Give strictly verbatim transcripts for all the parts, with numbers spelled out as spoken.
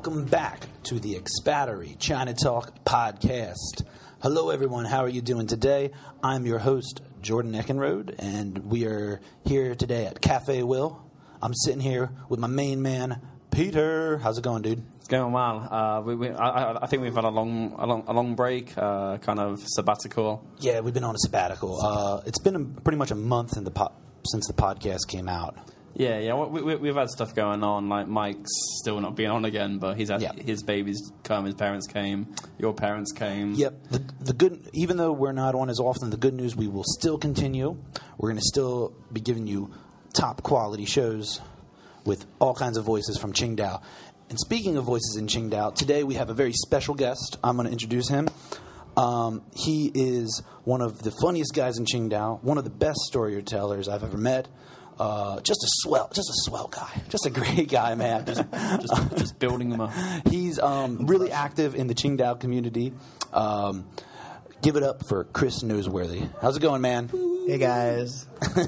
Welcome back to the Expattery China Talk podcast. Hello, everyone. How are you doing today? I'm your host, Jordan Eckenrode, and we are here today at Cafe Will. I'm sitting here with my main man, Peter. How's it going, dude? It's going well. Uh, we, we, I, I think we've had a long, a long, a long break, uh, kind of sabbatical. Yeah, we've been on a sabbatical. Uh, it's been a, pretty much a month in the po- since the podcast came out. Yeah, yeah, we, we, we've had stuff going on. Like Mike's still not being on again, but he's had yeah. his babies come, his parents came, your parents came. Yep. The, the good, even though we're not on as often, the good news, we will still continue. We're going to still be giving you top quality shows with all kinds of voices from Qingdao. And speaking of voices in Qingdao, today we have a very special guest. I'm going to introduce him. Um, he is one of the funniest guys in Qingdao, one of the best storytellers I've ever met. Uh, just a swell, just a swell guy, just a great guy, man. just, just, just building them up. He's um, really active in the Qingdao community. Um, give it up for Chris Noseworthy. How's it going, man? Hey guys,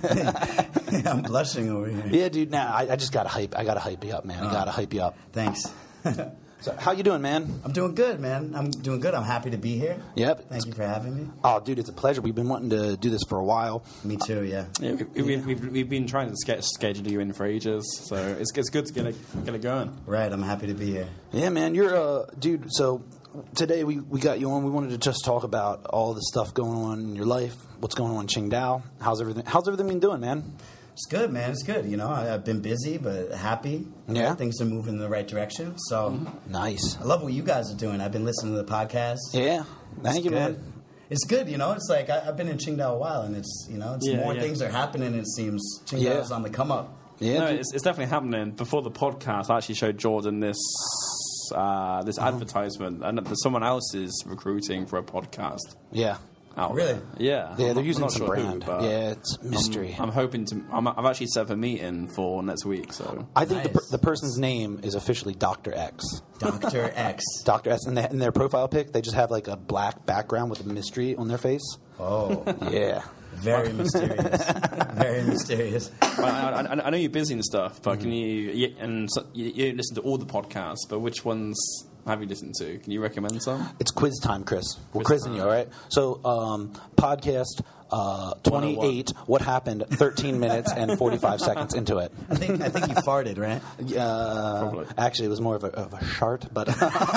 I'm blushing over here. Yeah, dude. Now nah, I, I just gotta hype. I gotta hype you up, man. I gotta hype you up. Thanks. So, how you doing, man? I'm doing good, man. I'm doing good. I'm happy to be here. Yep. Thank you for having me. Oh, dude, it's a pleasure. We've been wanting to do this for a while. Me too. Yeah. Yeah, we, we, yeah. We've, we've been trying to ske- schedule you in for ages, so it's it's good to get it get it going. Right. I'm happy to be here. Yeah, man. You're uh, dude. So today we, we got you on. We wanted to just talk about all the stuff going on in your life. What's going on in Qingdao? How's everything? How's everything been doing, man? It's good, man. It's good. You know, I, I've been busy, but happy. Yeah. Things are moving in the right direction. So mm-hmm. Nice. I love what you guys are doing. I've been listening to the podcast. Yeah. Thank it's you, good. man. It's good, you know. It's like I, I've been in Qingdao a while, and it's you know, it's Yeah, more yeah. things are happening. It seems Qingdao's Yeah. on the come up. Yeah. No, dude. it's, it's definitely happening. Before the podcast, I actually showed Jordan this uh, this Uh-huh. advertisement, and that someone else is recruiting for a podcast. Yeah. Out Really? there. Yeah. Yeah, I'm they're not- using I'm not some sure brand. Who, but Yeah, it's mystery. I'm, I'm hoping to. I'm, I've actually set up a meeting for next week. So I think the, Nice. per- the person's name is officially Doctor X. Doctor X. Doctor X. And in their profile pic, they just have like a black background with a mystery on their face. Oh, Yeah. very mysterious. Very mysterious. I, I, I know you're busy and stuff, but Mm-hmm. can you, you and so, you, you listen to all the podcasts? But which ones have you listened to? Can you recommend some? It's quiz time, Chris. We're Quiz quizzing time. you, all right? So, um, podcast uh, twenty-eight, what happened thirteen minutes and forty-five seconds into it. I think I think you farted, right? Uh, Probably. Actually, it was more of a, of a shart, but...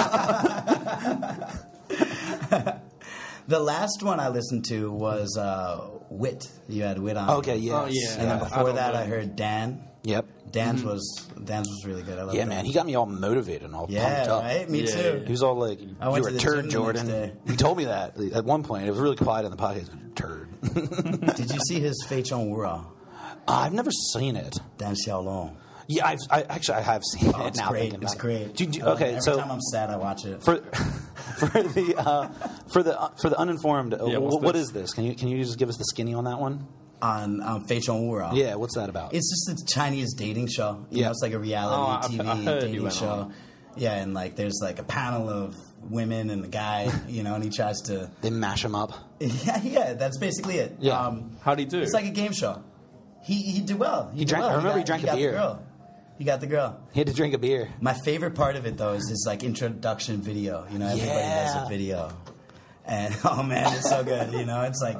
The last one I listened to was uh, Wit. You had Wit on. Okay, yeah. Oh, yeah. And then I before don't that, know. I heard Dan. Yep. Dan's was Dan's was really good. I love Yeah, Dan. man. He got me all motivated and all Yeah, pumped up. right. Me Yeah, too. He was all like, I "You went were to a the turd, gym the Jordan." next day. He told me that at one point. It was really quiet in the podcast. Turd. Did you see his Fei Chong Wura? I've never seen it. Dan Xiaolong. Yeah, I've, I actually I have seen Oh, it it's now. great. thinking It's about great. It. Do, do, Uh, okay, every so time I'm sad, I watch it. for for the uh, for the uh, for the uninformed, uh, Yeah, wh- what's what this? is this? Can you can you just give us the skinny on that one? on um, Fei Chong Wura. Yeah, what's that about? It's just a Chinese dating show. You Yeah. know, it's like a reality Oh, I've- T V I've heard you dating went show. on. Yeah, and like there's like a panel of women and the guy, you know, and he tries to. They mash them up. Yeah, yeah, that's basically it. Yeah. Um, How'd he do? It's like a game show. He he did well. He, He did drank- well. I remember he got, drank a got beer. The girl. He got the girl. He had to drink a beer. My favorite part of it though is his like introduction video. You know, everybody Yeah. does a video. And oh man, it's so good. You know, it's like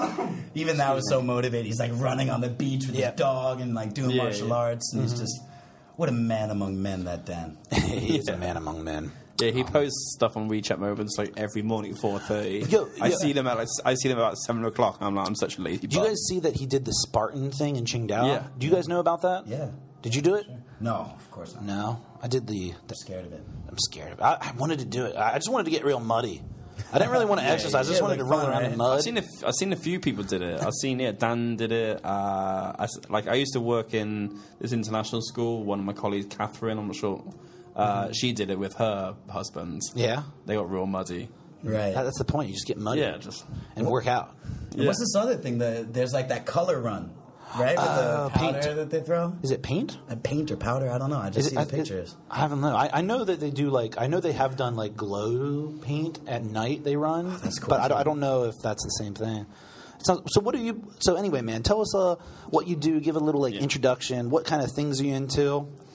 even that was so motivating. He's like running on the beach with Yeah. his dog and like doing Yeah, martial yeah. arts, and he's just what a man among men that Dan. he is Yeah. a man among men. Yeah, he posts stuff on WeChat Moments like every morning at four thirty. Yo, I yo. see them at like, I see them about seven o'clock. I'm like, I'm such a lazy. Do you bug. guys see that he did the Spartan thing in Qingdao? Yeah. Do you guys know about that? Yeah. Did you do it? No, of course not. No, I did the. I'm the scared of it. I'm scared of it. I, I wanted to do it. I I just wanted to get real muddy. I didn't really want to exercise. I just yeah, wanted like to run fun, around right? in mud. I've seen a, f- I've seen a few people did it. I've seen it. Dan did it. Uh, I, s- like I used to work in this international school. One of my colleagues, Catherine, I'm not sure. Uh, Mm-hmm. She did it with her husband. Yeah. They got real muddy. Right. That- That's the point. You just get muddy. Yeah, just and work out. And yeah. What's this other thing? The, there's like that color run, right? With Uh, the powder paint. that they throw. Is it paint? A paint or powder? I don't know. I just Is see it, the I- pictures. I haven't know. I, I know that they do like. I know they have done like glow paint at night. They run. Oh, that's cool, But I don't, too. I don't know if that's the same thing. So, so what do you? So anyway, man, tell us uh, what you do. Give a little like Yeah. introduction. What kind of things are you into?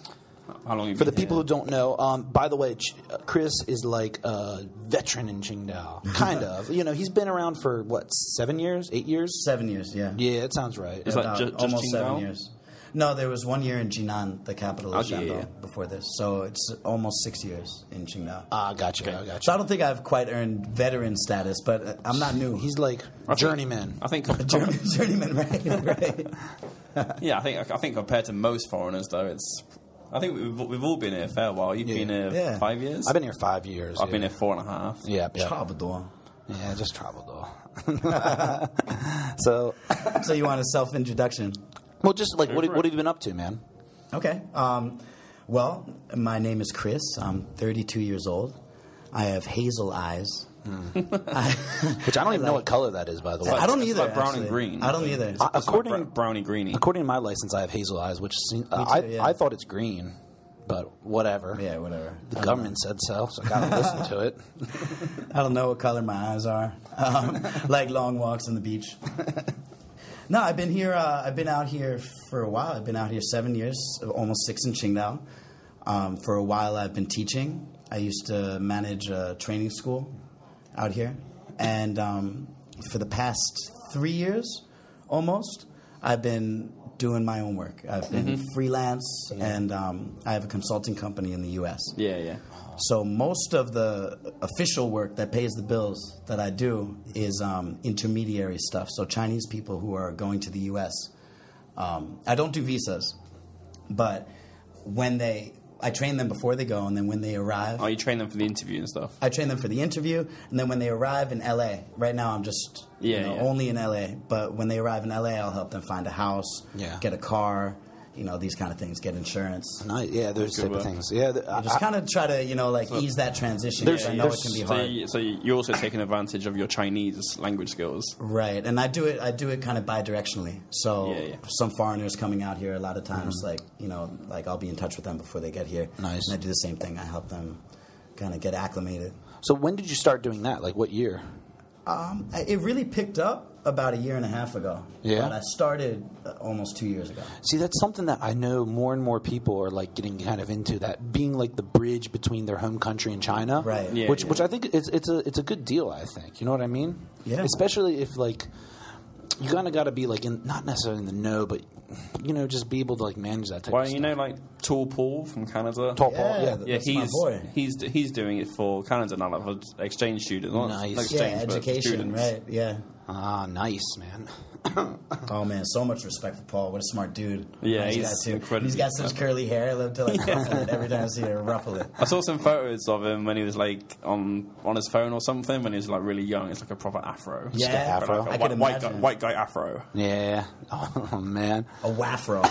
How long have you For the been people here? who don't know, um, by the way, Ch- uh, Chris is like a veteran in Qingdao, kind of. You know, he's been around for what, seven years, eight years? Seven years, yeah. Yeah, it sounds right. Is that About ju- just almost seven Qingdao? years. No, there was one year in Jinan, the capital of Oh, yeah, Shandong, yeah. before this. So it's almost six years in Qingdao. Ah, gotcha, I So gotcha. I don't think I've quite earned veteran status, but uh, I'm not new. He's like journeyman. I think, Journey- journeyman, right? right. yeah, I think I think compared to most foreigners, though, it's. I think we've, we've all been here a fair while. You've Yeah. been here Yeah. five years. I've been here five years. I've yeah. been here four and a half. Yeah, yeah. 差不多. Yeah, just travel though. So, So you want a self-introduction? well, just like, what, for what it. have you been up to, man? Okay. Um, well, my name is Chris. I'm thirty-two years old. I have hazel eyes. I, Which I don't even know what color that is, by the way. I don't It's either. like brown and actually. green. I don't either. I- It's like according, bra- brownie greeny. according to my license, I have hazel eyes, which seem, uh, too, I, yeah. I thought it's green, but whatever. Yeah, whatever. The government said so, so I gotta listen to it. I don't know what color my eyes are. Um, like long walks on the beach. No, I've been here. Uh, I've been out here for a while. I've been out here seven years, almost six in Qingdao. Um, for a while, I've been teaching. I used to manage a training school out here, and um, for the past three years, almost, I've been doing my own work. I've been freelance, and um, I have a consulting company in the U S. Yeah, yeah. So most of the official work that pays the bills that I do is um, intermediary stuff. So Chinese people who are going to the U S. Um, I don't do visas, but when they, I train them before they go, and then when they arrive, Oh, you train them for the interview and stuff. I train them for the interview, and then when they arrive in L A, right now I'm just Yeah, you know, yeah. only in L A, but when they arrive in L A, I'll help them find a house, Yeah. get a car, you know, these kind of things, get insurance. Nice. Yeah, those Good type of work. things. Yeah, th- I, Just kind of try to, you know, like ease that transition. 'cause I know it there's- can be So, hard. you, so you're also taking advantage of your Chinese language skills. Right, and I do it. I do it kind of bi-directionally. So Yeah, yeah. some foreigners coming out here, a lot of times, like you know, like I'll be in touch with them before they get here. Nice. And I do the same thing. I help them kind of get acclimated. so when did you start doing that? Like what year? Um, I- it really picked up about a year and a half ago. Yeah? but I started uh, almost two years ago. See, that's something that I know more and more people are like getting kind of into, that being like the bridge between their home country and China. Right. Yeah, which yeah. which I think it's it's a it's a good deal, I think. You know what I mean? Yeah. Especially if like you kind of got to be like in, not necessarily in the know, but you know, just be able to like manage that type Well, of you stuff. know, like Tall Paul from Canada. Tall Paul, Yeah, yeah. th- Yeah, That's my he's boy. he's he's doing it for Canada now, like for exchange students. Not Nice. not Yeah, exchange, but education, students. right? Yeah. Ah, nice, man. Oh man, so much respect for Paul. What a smart dude. Yeah, Nice he's guy, too. incredibly He's got such curly hair. I love to like ruffle it every time I see her ruffle it. I saw some photos of him when he was like on on his phone or something when he was like really young. It's like a proper afro. Yeah, afro. Like a I white, can white guy, imagine. white guy afro. Yeah. Oh man. A waffro.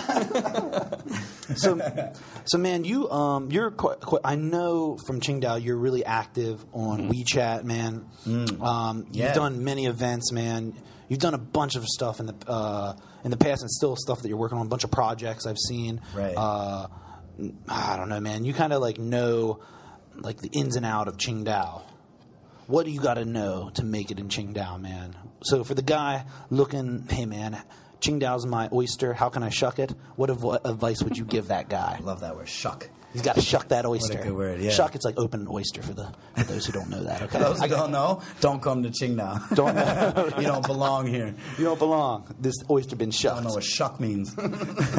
So, so man, you um, you're quite, quite, I know from Qingdao you're really active on WeChat, man. Um, Yeah. You've done many events, man. You've done a bunch of stuff in the uh, in the past, and still stuff that you're working on. A bunch of projects I've seen. Right. Uh, I don't know, man. You kind of like know like the ins and out of Qingdao. What do you got to know to make it in Qingdao, man? So for the guy looking, hey man, Qingdao's my oyster. How can I shuck it? What adv- advice would you give that guy? Love that word, shuck. He's got to shuck that oyster. good word, yeah. Shuck, it's like open oyster for the for those who don't know that. Okay, Those I who don't know, don't come to Qingdao. don't know. You don't belong here. You don't belong. This oyster been I shucked. don't know what shuck means. um,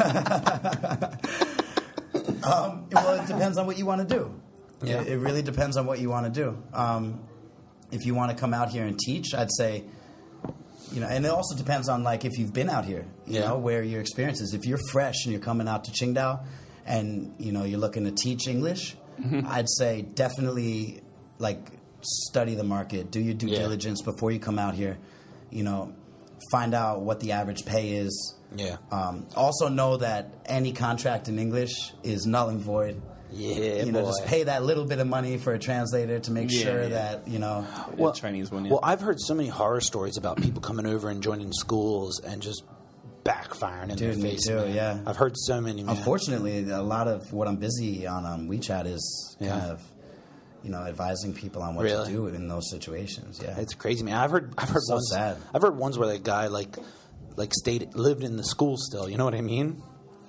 well, it depends on what you want to do. Yeah. It, it really depends on what you want to do. Um, if you want to come out here and teach, I'd say, you know, and it also depends on like if you've been out here, you Yeah. know, where your experience is. If you're fresh and you're coming out to Qingdao and, you know, you're looking to teach English, I'd say definitely like study the market, do your due Yeah. diligence before you come out here, you know, find out what the average pay is. Yeah. Um, also know that any contract in English is null and void. Yeah, You know, boy. just pay that little bit of money for a translator to make Yeah, sure yeah. that, you know, Well, Chinese one. Yeah. Well, I've heard so many horror stories about people coming over and joining schools and just backfiring in Dude, their me face. too, man. yeah. I've heard so many. Man. unfortunately, a lot of what I'm busy on on WeChat is kind Yeah. of, you know, advising people on what Really? to do in those situations. Yeah. It's crazy, man. I've heard. I've heard So ones. sad. I've heard ones where that guy like, like stayed lived in the school still. You know what I mean?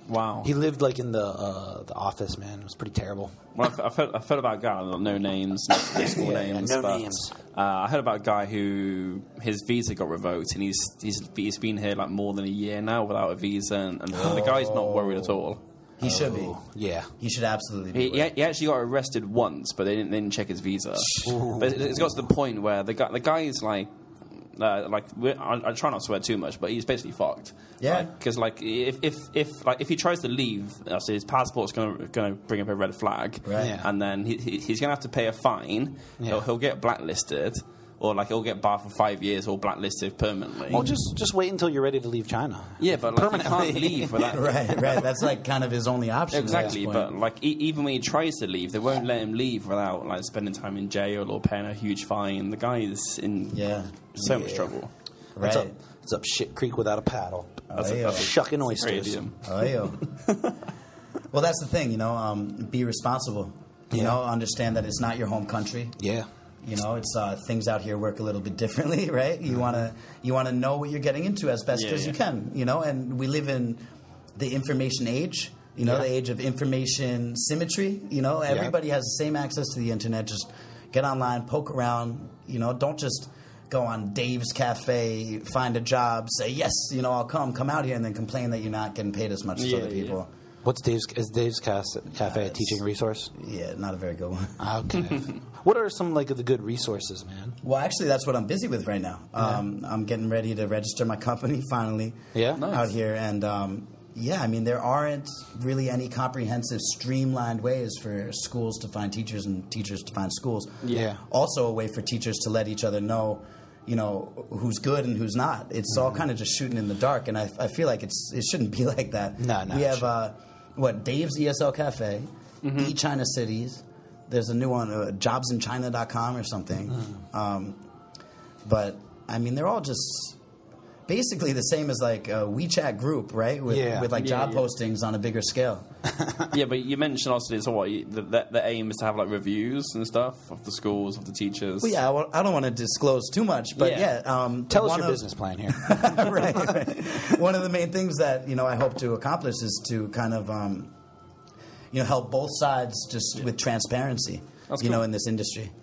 Wow. He lived like in the uh, the office, man. It was pretty terrible. Well, I've, I've, heard, I've heard about a guy, no names, no school Yeah, names. no but, names. Uh, I heard about a guy who his visa got revoked, and he's he's he's been here like more than a year now without a visa, and, and the guy's not worried at all. He should be. Oh, yeah. He should absolutely be. He, worried. he actually got arrested once, but they didn't, they didn't check his visa. But it's got to the point where the guy the guy is like. Uh, like we're, I, I try not to swear too much, but he's basically fucked. Yeah. Because like, if if if like if he tries to leave, uh, so his passport's going to going to bring up a red flag, Right. Yeah. and then he, he, he's going to have to pay a fine. Yeah. He'll, he'll get blacklisted, or like he'll get barred for five years or blacklisted permanently. Well, just just wait until you're ready to leave China. yeah, but like, he permanently. can't leave without. Right, right. That's like kind of his only option. at Exactly, this but point. like e- even when he tries to leave, they won't let him leave without like spending time in jail or paying a huge fine. The guy is in Yeah. so much Yeah. trouble. It's Right. up, it's up shit creek without a paddle. Oh, yeah. that's a- Shucking oysters. Crazy. Oh, yo. Well, that's the thing, you know. Um, be responsible. You Yeah. know, understand that it's not your home country. Yeah. You know, it's uh, things out here work a little bit differently, right? You wanna you wanna know what you're getting into as best Yeah, as you yeah. can. You know, and we live in the information age. You know, Yeah. the age of information symmetry. You know, everybody has the same access to the internet. Just get online, poke around. You know, don't just go on Dave's Cafe, find a job, say yes. You know, I'll come, come out here, and then complain that you're not getting paid as much as Yeah, other yeah. people. What's Dave's is Dave's Cas- Cafe a it's- teaching resource? Yeah, not a very good one. Okay. What are some like of the good resources, man? Well, actually, that's what I'm busy with right now. Um, I'm getting ready to register my company finally Yeah? Nice. out here. And um, yeah, I mean, there aren't really any comprehensive, streamlined ways for schools to find teachers and teachers to find schools. Yeah. Also, a way for teachers to let each other know, you know, who's good and who's not. It's all kind of just shooting in the dark. And I, I feel like it's it shouldn't be like that. No, no, We it have, shouldn't. uh, what, Dave's E S L Cafe, Mm-hmm. E China Cities. There's a new one, uh, jobs in china dot com or something. Mm. Um, but, I mean, they're all just basically the same as like a WeChat group, right? With, Yeah. with like Yeah, job yeah. postings on a bigger scale. Yeah, but you mentioned also so what you, the, the, the aim is to have like reviews and stuff of the schools, of the teachers. Well, yeah, I, wa- I don't want to disclose too much, but yeah. Yeah. um, Tell us one your of- business plan here. right, right. One of the main things that you know I hope to accomplish is to kind of um, you know help both sides just with transparency. That's you know, cool. in this industry,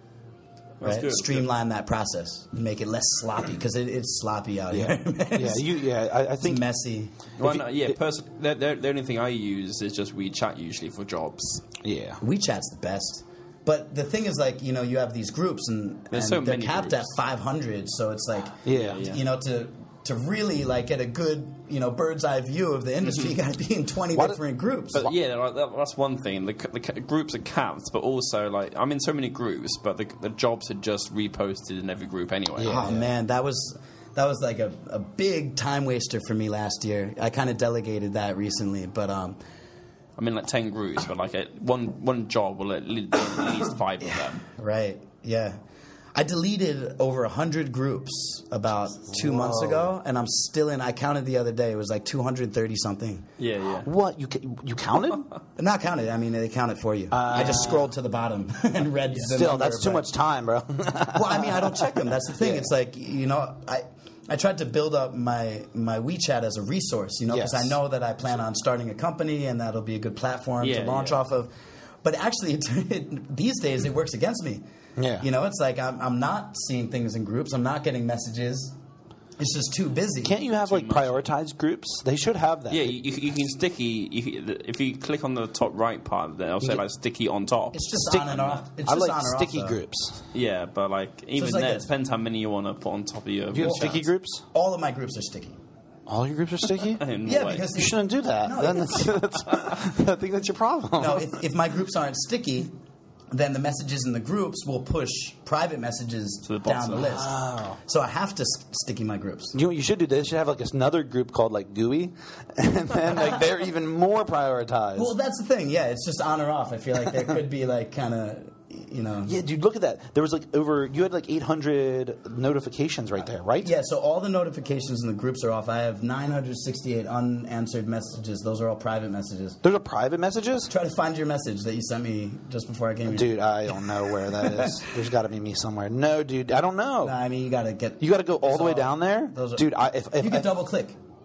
That's right? good, Streamline that process, make it less sloppy because it, it's sloppy out Yeah. here. man. yeah, It's- you yeah, I, I it's think messy. Well, If no, you- yeah, it- person, the, the, the only thing I use is just WeChat usually for jobs. yeah. WeChat's the best. But the thing is, like, you know, you have these groups, and, There's and so they're many capped groups. at five hundred. So it's like, Yeah. Yeah. you know, to to really like get a good, you know, bird's eye view of the industry, you got to be in twenty Why do- different groups. But yeah, like, that, that's one thing. The, the ca- groups are capped, but also like I'm in so many groups, but the, the jobs are just reposted in every group anyway. Yeah. Oh man, that was that was like a, a big time waster for me last year. I kind of delegated that recently, but um, I'm in like ten groups, but like a, one one job will at least, at least five of them. right, yeah. I deleted over a hundred groups about two months Whoa. ago, and I'm still in. I counted the other day; it was like two hundred thirty something. Yeah, yeah. What you ca- you counted? Not counted. I mean, they count it for you. I just scrolled to the bottom and read. the Still, number, that's too but- much time, bro. Well, I mean, I don't check them. That's the thing. Yeah. It's like, you know, I I tried to build up my my WeChat as a resource, you know, because Yes. I know that I plan on starting a company and that'll be a good platform Yeah, to launch yeah. off of. But actually, it, it, these days, it works against me. Yeah. You know, it's like I'm, I'm not seeing things in groups. I'm not getting messages. It's just too busy. Can't you have like prioritized groups? They should have that. Yeah, you, you you can sticky. You, can- if you click on the top right part, then it'll say get- like sticky on top. It's just Stick- on and off. It's I just like on or sticky off, though. groups. Yeah, but like even like there, a- it depends how many you want to put on top of your. Do you have chats. sticky groups? All of my groups are sticky. All your groups are sticky? In what Yeah, way? because You shouldn't do that. No, Then it- that's, that's, I think that's your problem. No, if, if my groups aren't sticky, then the messages in the groups will push private messages To the down the bottom. list. Wow. So I have to s- sticky my groups. You know what you should do? They should have like another group called like G U I, and then like they're even more prioritized. Well, that's the thing. Yeah, it's just on or off. I feel like there could be like kind of, you know. yeah, dude, look at that. There was like over. You had like eight hundred notifications right there, right? Yeah, so all the notifications in the groups are off. I have nine hundred sixty-eight unanswered messages. Those are all private messages. There's a private messages. Try to find your message that you sent me just before I came here. Dude, I don't know where that is. There's got to be me somewhere. No, dude, I don't know. Nah, I mean, you got to get. You got to go all Those the way are- down there, those are- dude. I, if if You can I- double click.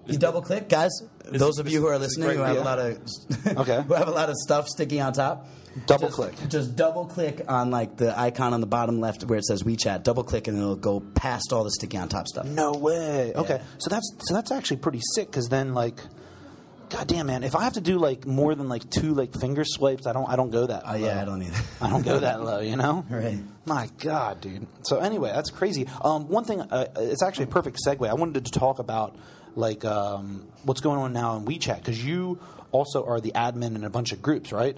You double click, guys. This- those of this- you who are this is listening who great, have yeah. a lot of Okay. who have a lot of stuff sticking on top. Double just, click. Just double click on like the icon on the bottom left where it says WeChat. Double click and it'll go past all the sticky on top stuff. No way. Okay, Yeah. so that's so that's actually pretty sick. Because then, like, God damn, man, if I have to do like more than like two like finger swipes, I don't I don't go that. Oh low. yeah, I don't either. I don't go that low. You know. Right. My God, dude. So anyway, that's crazy. Um, one thing, uh, it's actually a perfect segue. I wanted to talk about like um, what's going on now in WeChat because you also are the admin in a bunch of groups, right?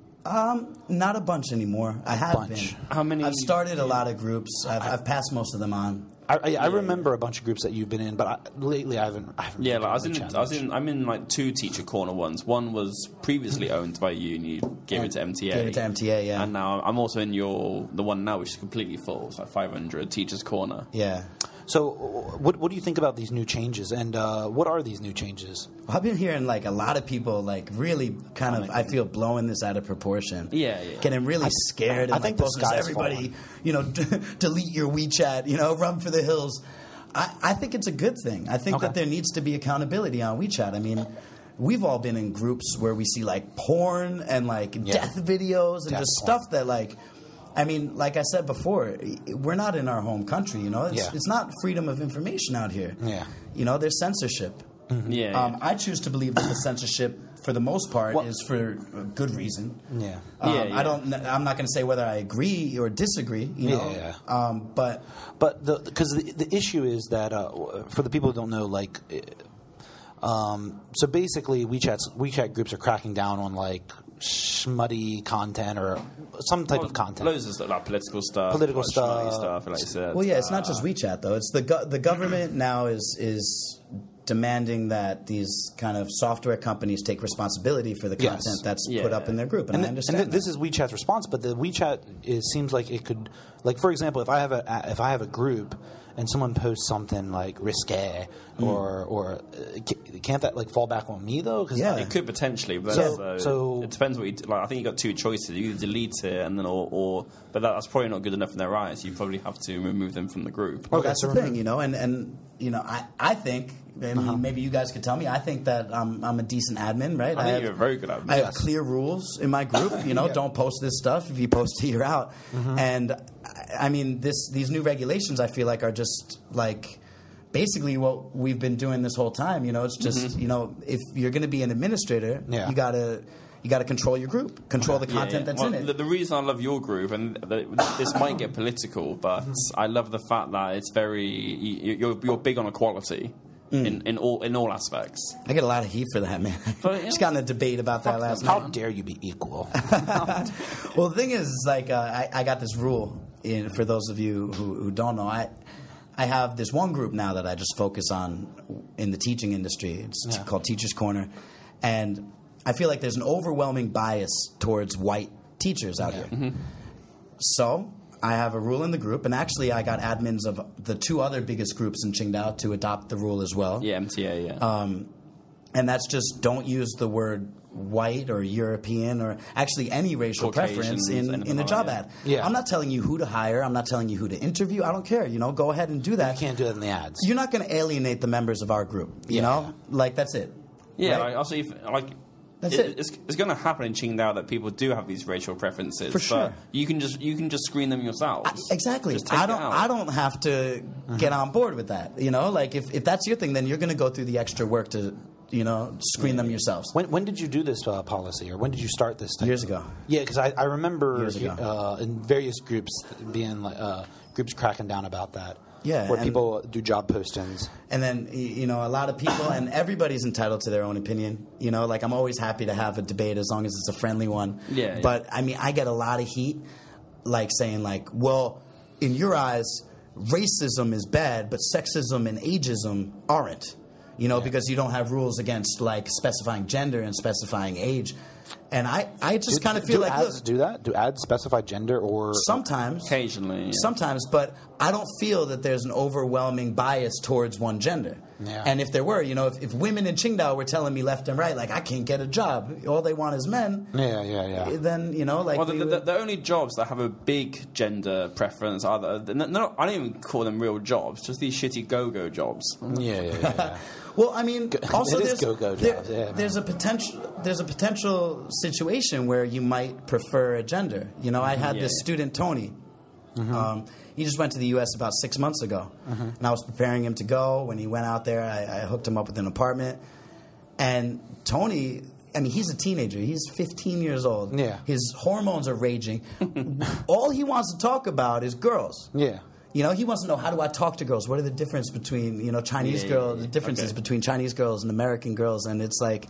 Um, not a bunch anymore. I have Bunch. been. How many- I've started a lot of groups. I've, I've passed most of them on. I, I, I remember a bunch of groups that you've been in, but I, lately I haven't. I haven't Yeah, been like I was on in, WeChat I was much. in, I'm in like two teacher corner ones. One was previously owned by you, and you gave it to M T A. Gave it to M T A, yeah. And now I'm also in your the one now, which is completely full. It's like five hundred teachers corner. Yeah. So, what what do you think about these new changes, and uh, what are these new changes? Well, I've been hearing like a lot of people like really kind of I feel blowing this out of proportion. Yeah, yeah. Getting really scared and I like think the posting to sky's everybody, falling. you know, delete your WeChat, you know, run for the hills. I, I think it's a good thing. I think Okay. that there needs to be accountability on WeChat. I mean, we've all been in groups where we see like porn and like Yeah. death videos and Death just porn. stuff that like. I mean, like I said before, we're not in our home country. You know, it's, Yeah. it's not freedom of information out here. Yeah. You know, there's censorship. Yeah, Um, yeah. I choose to believe that the censorship, for the most part, Well- is for a good reason. Yeah. Um, Yeah, yeah. I don't. I'm not going to say whether I agree or disagree. You know. Yeah, Um, but But the because the, the issue is that uh, for the people who don't know, like, uh, um, so basically, WeChat's WeChat groups are cracking down on like smutty content or some type of content. Loads of stuff, like political stuff, Political like schmutty stuff. stuff, like you said. well, yeah, it's not Uh, just WeChat though. It's the go- the government now is is demanding that these kind of software companies take responsibility for the Yes. content that's Yeah. put up in their group, and, And, I th- understand. and th- this that. is WeChat's response, but the WeChat it seems like it could, like for example, if I have a if I have a group and someone posts something like risque or or uh, ca- can't that like fall back on me though? 'Cause Yeah. It could potentially, but So- that's, uh, so- it depends what you do. Like. I think you got two choices: you either delete it and then, or, or but that, that's probably not good enough in their eyes. You probably have to remove them from the group. Well, Okay, that's so the thing, you know, and, and you know, I, I think, and Uh-huh. maybe you guys could tell me, I think that I'm, I'm a decent admin, right? I think have, you're a very good admin. I have Yes. clear rules in my group, you know, don't post this stuff. If you post it, you're out. Mm-hmm. And I, I mean, this these new regulations, I feel like, are just like basically what we've been doing this whole time. You know, it's just, you know, if you're going to be an administrator, Yeah. you got to. You got to control your group, control the Yeah, content yeah. that's Well, in it. The, the reason I love your group, and the, this might get political, but I love the fact that it's very you, you're you're big on equality Mm. in, in all in all aspects. I get a lot of heat for that, man. But, Just yeah. got in a debate about that last night. How dare you be equal? Well, the thing is, is like uh, I, I got this rule. In, for those of you who, who don't know, I I have this one group now that I just focus on in the teaching industry. It's t- Yeah. called Teachers Corner, and I feel like there's an overwhelming bias towards white teachers out Yeah. here. So I have a rule in the group, and actually I got admins of the two other biggest groups in Qingdao to adopt the rule as well. Yeah, M T A. Yeah. Um, and that's just don't use the word white or European or actually any racial Caucasians, preference in, anything in a like job that. ad. Yeah. I'm not telling you who to hire. I'm not telling you who to interview. I don't care. You know, go ahead and do that. You can't do that in the ads. You're not going to alienate the members of our group. You Yeah. know, like that's it. yeah. right? Like, also, if, like. That's it, it. It's, it's going to happen in Qingdao that people do have these racial preferences. For but sure. you can just you can just screen them yourselves. I- exactly. Just take I it don't. out. I don't have to get on board with that. You know, like if, if that's your thing, then you're going to go through the extra work to, you know, screen them yourselves. When, when did you do this uh, policy, or when did you start this? Type Years of- ago. Yeah, because I, I remember Years ago. uh, in various groups being like uh, groups cracking down about that. Yeah, where and- people do job postings. And then, y- you know, a lot of people, and everybody's entitled to their own opinion. You know, like I'm always happy to have a debate as long as it's a friendly one. Yeah, yeah. But, I mean, I get a lot of heat, like saying, like, well, in your eyes, racism is bad, but sexism and ageism aren't. You know, because you don't have rules against, like, specifying gender and specifying age. And I, I just Do- kind of feel do like, ads look, do that? Do ads specify gender or sometimes, Occasionally, yeah. sometimes, but I don't feel that there's an overwhelming bias towards one gender. Yeah. And if there were, you know, if, if women in Qingdao were telling me left and right, like, I can't get a job, all they want is men, Yeah, yeah, yeah. then, you know, like, Well, the, we the, would- the only jobs that have a big gender preference are the, they're not, I don't even call them real jobs, just these shitty go-go jobs. Yeah, yeah, yeah. yeah. Well, I mean, also It is there's go-go there- jobs, yeah, man. there's a potential there's a potential situation where you might prefer a gender. You know, I had Yeah, this yeah. student Tony. Mm-hmm. Um, he just went to the U S about six months ago, and I was preparing him to go. When he went out there, I, I hooked him up with an apartment. And Tony, I mean, he's a teenager. He's fifteen years old. Yeah. His hormones are raging. All he wants to talk about is girls. Yeah. You know, he wants to know, how do I talk to girls? What are the difference between, you know, Chinese Yeah, girls, yeah, the yeah. differences Okay. between Chinese girls and American girls? And it's like,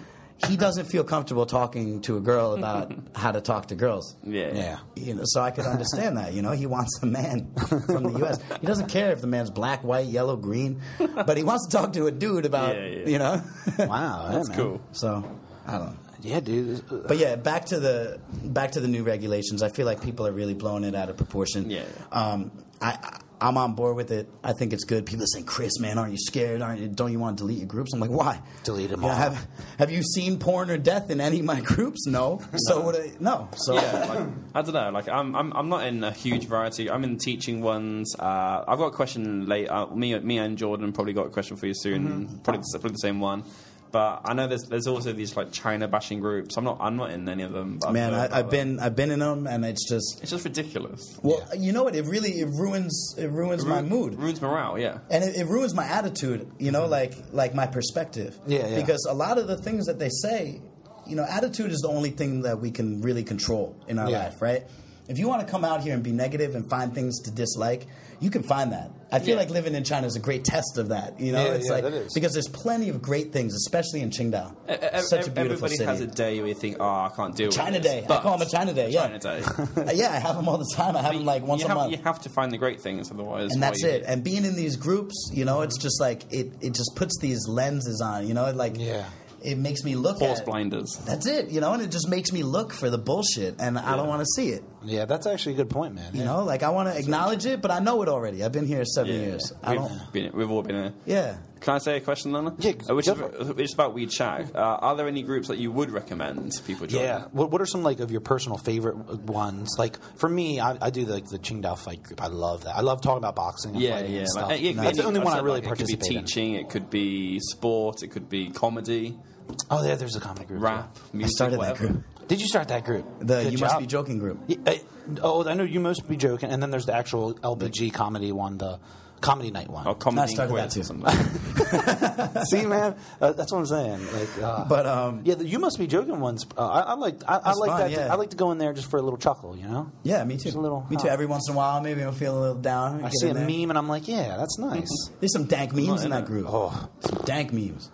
he doesn't feel comfortable talking to a girl about how to talk to girls. Yeah. Yeah. You know, so I could understand that. You know, he wants a man from the U S. He doesn't care if the man's black, white, yellow, green, but he wants to talk to a dude about, Yeah, yeah. you know. Wow, yeah, That's man. cool. So, I don't know. Yeah, dude. But yeah, back to the back to the new regulations. I feel like people are really blowing it out of proportion. Yeah, Um, I, I I'm on board with it. I think it's good. People are saying, "Chris, man, aren't you scared? Aren't you, don't you want to delete your groups?" I'm like, "Why? Delete them You know, all. have Have you seen porn or death in any of my groups? No. So what? I, no. So Yeah, like, I don't know. Like, I'm, I'm, I'm not in a huge variety. I'm in teaching ones. Uh, I've got a question late. Uh, me, me and Jordan probably got a question for you soon. Mm-hmm. Probably, the, probably the same one. But I know there's, there's also these like China bashing groups. I'm not, I'm not in any of them. But man, I've, heard I, about I've them. been I've been in them, and it's just It's just ridiculous. well, you know what? It really it ruins it ruins my Ru- mood. Ruins morale. Yeah. And it, it ruins my attitude, you know, like like my perspective. Yeah, yeah. Because a lot of the things that they say, you know, attitude is the only thing that we can really control in our Yeah. life, right? If you want to come out here and be negative and find things to dislike, you can find that. I feel Yeah. like living in China is a great test of that. You know, Yeah, it's yeah, like that is. because there's plenty of great things, especially in Qingdao. E- e- Such a beautiful Everybody city. has a day where you think, oh, I can't deal with China this. Day. I But call 'em a China Day, yeah. China Day. Uh, yeah, I have them all the time. I have them like once you a have, month. You have to find the great things, otherwise. And why that's you- it. And being in these groups, you know, it's just like it, it just puts these lenses on, you know, it like Yeah. it makes me look Horse at blinders. That's it, you know, and it just makes me look for the bullshit and I don't want to see it. Yeah, that's actually a good point, man. You know, like I want to acknowledge it, but I know it already. I've been here seven Yeah, years. yeah. I We've, don't been, we've all been here. Yeah. Can I say a question, Lana? Yeah, Uh, which, go is, for it. which is about WeChat. Uh, are there any groups that you would recommend people join? Yeah. What, what are some like of your personal favorite ones? Like for me, I, I do like the Qingdao fight group. I love that. I love talking about boxing and Yeah, fighting yeah. and stuff. Like, it- That's the any- only I've one I said, really like, participate It could be in. teaching, it could be sport, it could be comedy, Oh, yeah. There's a comedy group. rap, I music, started that whatever. group. too. Did you start that group? The Good You Must job. Be Joking group. Yeah, I- oh, I know you must be joking. And then there's the actual L B G comedy one, the comedy night one. Or comedy I started and that quiz too. or something. See, man, uh, that's what I'm saying. Like, uh, But um yeah, the, you must be joking ones. Uh, I, I like, I, I That's like fun, that. yeah. I like to go in there just for a little chuckle. You know, yeah, me too. Just a little- me too. huh. Every once in a while, maybe I'll feel a little down. I get see a in there. meme and I'm like, yeah, that's nice. There's some dank memes in in that it. group. Oh. Some dank memes.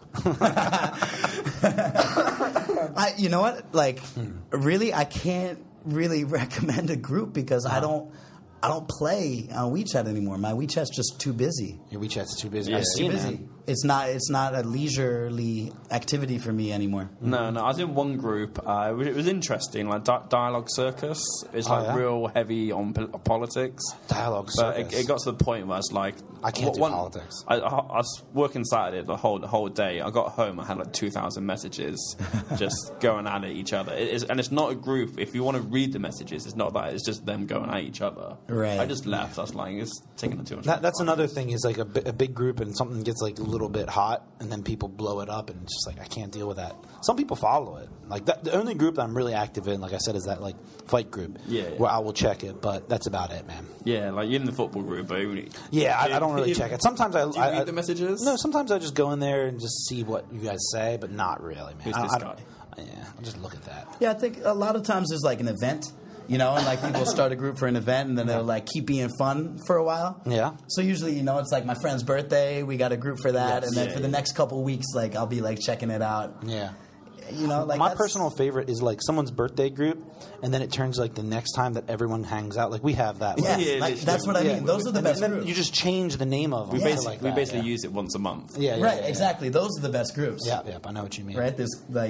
I, you know what? Like, really, I can't really recommend a group because I don't, I don't play on WeChat anymore. My WeChat's just too busy. Your WeChat's too busy. Yeah. I It's see, Too man. busy. It's not. It's not a leisurely activity for me anymore. No, no. I was in one group. Uh, it, was, it was interesting, like Di- Dialogue Circus. It's Oh, like yeah? real heavy on pol- politics. Dialogue But it, Circus. it got to the point where it's like I can't do one- politics. I, I, I was working Saturday the whole the whole day. I got home. I had like two thousand messages just going at each other. It is, and it's not a group. If you want to read the messages, it's not that. It's just them going at each other. Right. I just left. I was like, it's taking too much. That, that's another thing is like a, bi- a big group and something gets like a little bit hot and then people blow it up and it's just like I can't deal with that. Some people follow it. Like that, the only group that I'm really active in, like I said, is that like fight group. Yeah, yeah. Where I will check it, but that's about it, man. Yeah, like you're in the football group, but you- Yeah, I, I don't really you- check it. Sometimes I, Do you I, read I the messages? No, sometimes I just go in there and just see what you guys say, but not really, man. Who's I, this I don't- guy? Yeah, I'll just look at that. Yeah, I think a lot of times there's like an event, you know, and like people start a group for an event and then they'll like keep being fun for a while. Yeah. So usually, you know, it's like my friend's birthday, we got a group for that, Yes. and then Yeah, for the yeah. next couple weeks, like I'll be like checking it out. Yeah. You know, like my that's- personal favorite is like someone's birthday group, and then it turns like the next time that everyone hangs out. Like we have that. Yeah, like, Yeah, like, literally. that's what I yeah, mean. Those are the and best then groups. you just change the name of them. we to basically, like we that, basically yeah. use it once a month. Yeah, yeah, right, yeah, yeah. exactly. Those are the best groups. Yeah, yeah, I know what you mean. Right. There's like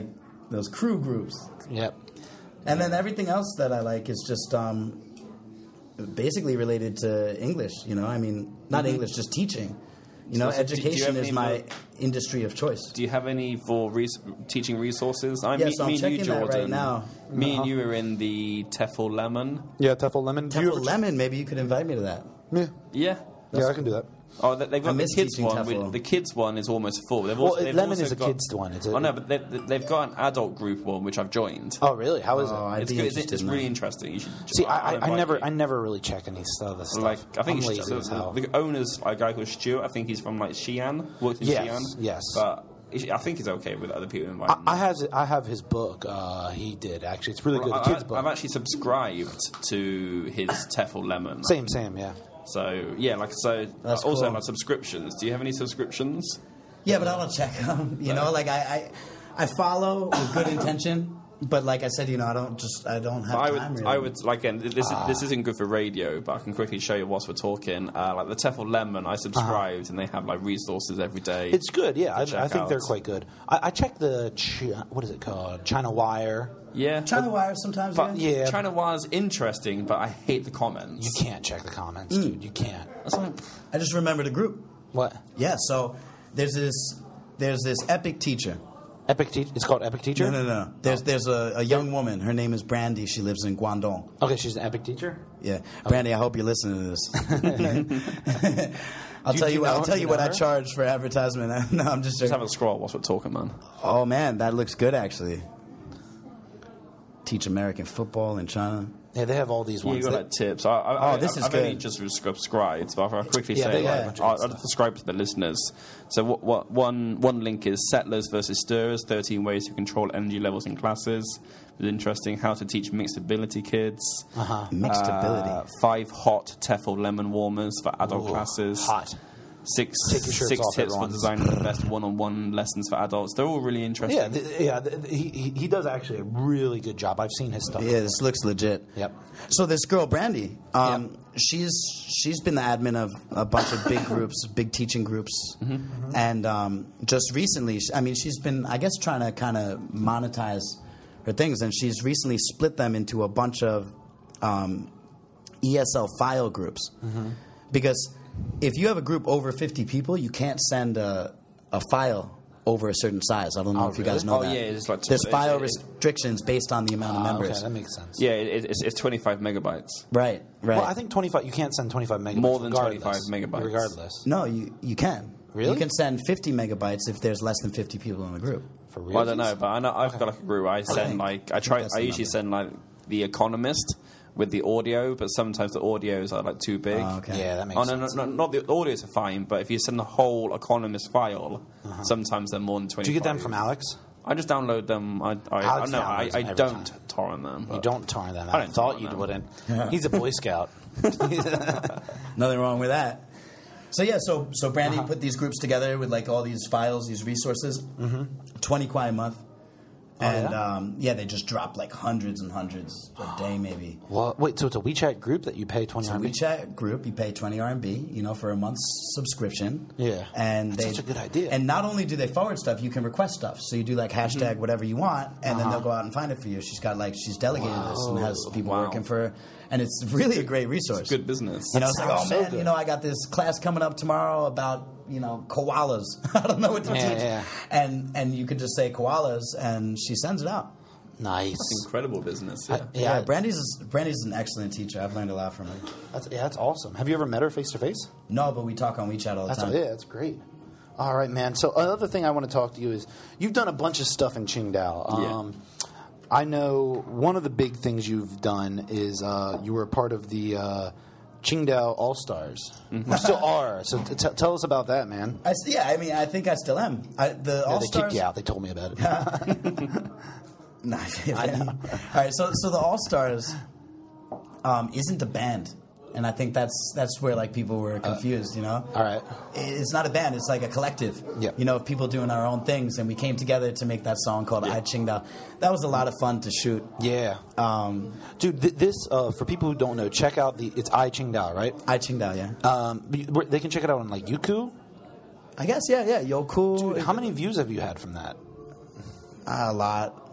those crew groups. Yep. And then everything else that I like is just um, basically related to English. You know, I mean, not Mhm. English, just teaching. You know, So, so do- do you education have is any my more- industry of choice. Do you have any for res- teaching resources? I Yeah, me, so I'm me and you, checking that right Jordan. now. Me Uh-huh. and you are in the Tefl Lemon. Yeah, Tefl Lemon. Do you Tefl ever- Lemon, maybe you could invite me to that. Yeah. Yeah. Yeah, I can do that. Oh, they- they've I got the miss kids teaching one. Tefl. With, the kids one is almost full. They've Well, also, they've Lemon also is a got, kids one. It's a- oh no, but they, they've got an adult group one which I've joined. Oh, really? How is Oh, it? I'd it's be good. It's, interested it's in really that. interesting. You should. See, I, I, I invite never, you. I never really check any stuff. This stuff. Like I think I'm he's, lazy as the, hell. the owner's a guy called Stuart. I think he's from like Xi'an. Worked in Yes, Xi'an. yes. But I think he's okay with other people inviting. I, I him. have, I have his book. Uh, he did actually. It's really good. Well, The I, kids book. I've actually subscribed to his Tefl Lemon. Same, same. Yeah. So yeah, like so. That's also cool. like subscriptions. Do you have any subscriptions? Yeah, but I don't check them. You know, like I, I, I follow with good intention, but like I said, you know, I don't just I don't have I would, time. Really. I would like, and this Ah. is, this isn't good for radio, but I can quickly show you whilst we're talking. Uh, like the Tefl Lemon, I subscribed, and they have like resources every day. It's good. Yeah, I, check I think out. they're quite good. I, I check the Chi- what is it called? China Wire. yeah, China Wire sometimes. but yeah. Yeah. China Wire's interesting, but I hate the comments. You can't check the comments, Mm. dude. You can't. That's like, I just remembered a group. What? Yeah, so there's this there's this epic teacher. Epic Teacher. It's called Epic Teacher. No, no, no. There's there's a, a young woman. Her name is Brandy. She lives in Guangdong. Okay, she's an Epic Teacher. Yeah, Brandy. I hope you're listening to this. I'll Do tell you you. know- I'll tell do you you what know I her? charge for advertisement. No, I'm just just have joking. a scroll whilst we're talking, man. Oh man, that looks good actually. Teach American football in China. Yeah, they have all these Yeah, you ones. got that- like tips. I, I, Oh, I, this is I've only good. just subscribed, but I'll quickly Yeah, say they got a like, bunch of I'll, good I'll stuff. subscribe to the listeners. So what, what one one link is Settlers versus Stirrers: thirteen ways to control energy levels in classes. It's interesting. How to teach mixed ability kids. Uh-huh. Mixed Uh, ability. Five hot Tefl lemon warmers for adult Ooh, classes. hot. Six Take your shirts six off, tips everyone. for designing the best one-on-one lessons for adults. They're all really interesting. Yeah, th- yeah. th- he, he he does actually a really good job. I've seen his stuff. Yeah, this looks legit. Yep. So this girl Brandy, um, she's she's been the admin of a bunch of big groups, big teaching groups, Mm-hmm. and um, just recently, I mean, she's been, I guess, trying to kind of monetize her things, and she's recently split them into a bunch of um, E S L file groups, Mm-hmm. because if you have a group over fifty people, you can't send a, a file over a certain size. I don't know Oh, if you guys really? know Oh, that. yeah, it's like- There's it's- file it- restrictions based on the amount of Ah, members. okay, that makes sense. Yeah, it, it's, it's twenty-five megabytes. Right, right. Well, I think twenty-five. You can't send twenty-five megabytes. More than regardless. twenty-five megabytes. Regardless. No, you you can. Really? You can send fifty megabytes if there's less than fifty people in the group. For real. Well, I don't know, but I know I've got like a group. I send think- like I I try. think that's I the usually number. send like The Economist with the audio, but sometimes the audios are like too big. Oh, okay. Yeah, that makes Oh no, no, sense. no, not the audios are fine, but if you send the whole Economist file, sometimes they're more than twenty. Do you get them from Alex? I just download them. I, I, I Alex no, I, downloads I them every don't time. torrent them. You but- don't torrent them. I I, don't thought torrent you them. wouldn't. He's a Boy Scout. Nothing wrong with that. So yeah, so so Brandy put these groups together with like all these files, these resources. Mm-hmm. Twenty kwai a month, Oh, and yeah? um, yeah, they just drop like hundreds and hundreds a day, maybe. Well, wait. So it's a WeChat group that you pay twenty So R M B? WeChat group, you pay twenty R M B, you know, for a month's subscription. Yeah. and That's they, such a good idea. And not only do they forward stuff, you can request stuff. So you do like hashtag whatever you want, and then Uh-huh. they'll go out and find it for you. She's got like she's delegated this and has people Wow. working for her, and it's really a great resource. Good business. You know, it's like, oh sounds so man, good. you know, I got this class coming up tomorrow about, you know, koalas. I don't know what to Yeah, teach. yeah. And and you could just say koalas, and she sends it out. Nice. Incredible business. Yeah. I- Yeah, yeah, Brandy's Brandy's an excellent teacher. I've learned a lot from her. that's, yeah, that's awesome. Have you ever met her face to face? No, but we talk on WeChat all the That's time. yeah, that's great. All right, man. So another thing I want to talk to you is you've done a bunch of stuff in Qingdao. Um, I know one of the big things you've done is uh, you were a part of the uh, Qingdao All Stars. Mm-hmm. You still are. So t- t- tell us about that, man. I, s- yeah, I mean, I think I still am. I, the Yeah, All they Stars. kicked you out. They told me about it. Nah, I know. All right, so so the All Stars um, isn't a band, and I think that's that's where like people were confused. You know, All right. it's not a band; it's like a collective. Yep. You know, of people doing our own things, and we came together to make that song called "I Qingdao." That was a lot of fun to shoot. Yeah. Um, Dude, th- this, uh, for people who don't know, check out the, it's I Qingdao, right? I Qingdao, yeah. Um, but they can check it out on like Youku. I guess, yeah, yeah. Yoku, Dude, how many views have you had from that? a lot.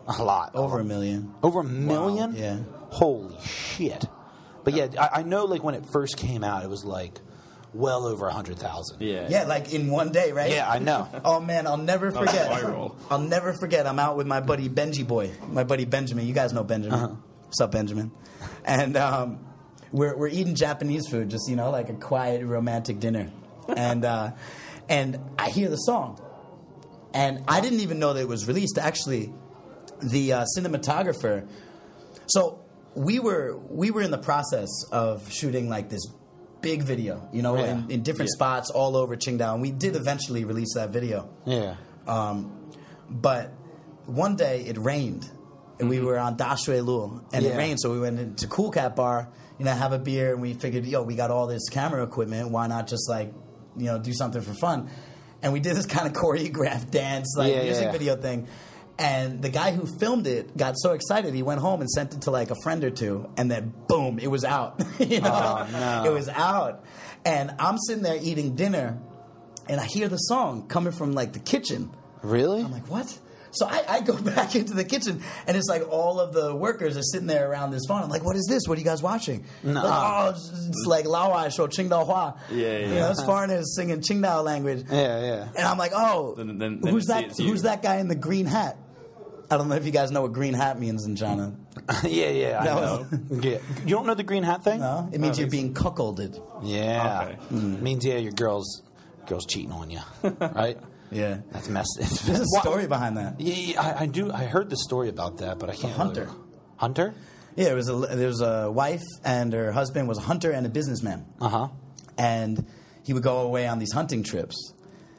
A lot. Over a million. Over a million? Wow. Yeah. Holy shit. But yeah, I, I know like when it first came out, it was like well over one hundred thousand. Yeah. Yeah, like in one day, right? Yeah, I know. Oh man, I'll never That was forget. viral. I'll never forget. I'm out with my buddy Benji Boy, my buddy Benjamin. You guys know Benjamin. Uh-huh. What's up, Benjamin? And um, we're we're eating Japanese food, just you know, like a quiet romantic dinner. And uh, and I hear the song, and I didn't even know that it was released. Actually, the uh, cinematographer. So we were we were in the process of shooting like this big video, you know, Yeah. in, in different Yeah. spots all over Qingdao. And we did eventually release that video. Yeah. Um, but one day it rained, and we were on Da Shui Lu, and Yeah. it rained, so we went into Cool Cat Bar, you know, have a beer, and we figured, yo, we got all this camera equipment, why not just like, you know, do something for fun? And we did this kind of choreographed dance, like Yeah, music yeah. video thing. And the guy who filmed it got so excited, he went home and sent it to like a friend or two, and then boom, it was out. you know? Oh, no. It was out. And I'm sitting there eating dinner, and I hear the song coming from like the kitchen. Really? I'm like, what? So I, I go back into the kitchen, and it's like all of the workers are sitting there around this phone. I'm like, what is this? What are you guys watching? Nuh-uh. Like, oh, it's, it's like Laowai show Qingdao Hua. Yeah, yeah. You know, it's foreigners singing Qingdao language. Yeah, yeah. And I'm like, oh, Then- then- then who's you see that? it's you. Who's that guy in the green hat? I don't know if you guys know what green hat means in China. yeah, yeah, I No. know. Yeah. You don't know the green hat thing? No, it means Oh, you're it's- being cuckolded. Yeah. Okay. Mm. Means, yeah, your girl's, girl's cheating on you. Right? Yeah, That's messed. there's a Why- story behind that. Yeah, yeah, I, I do. I heard the story about that, but I can't. hunter. really- Hunter? Yeah, it was a, there was a wife, and her husband was a hunter and a businessman. Uh huh. And he would go away on these hunting trips.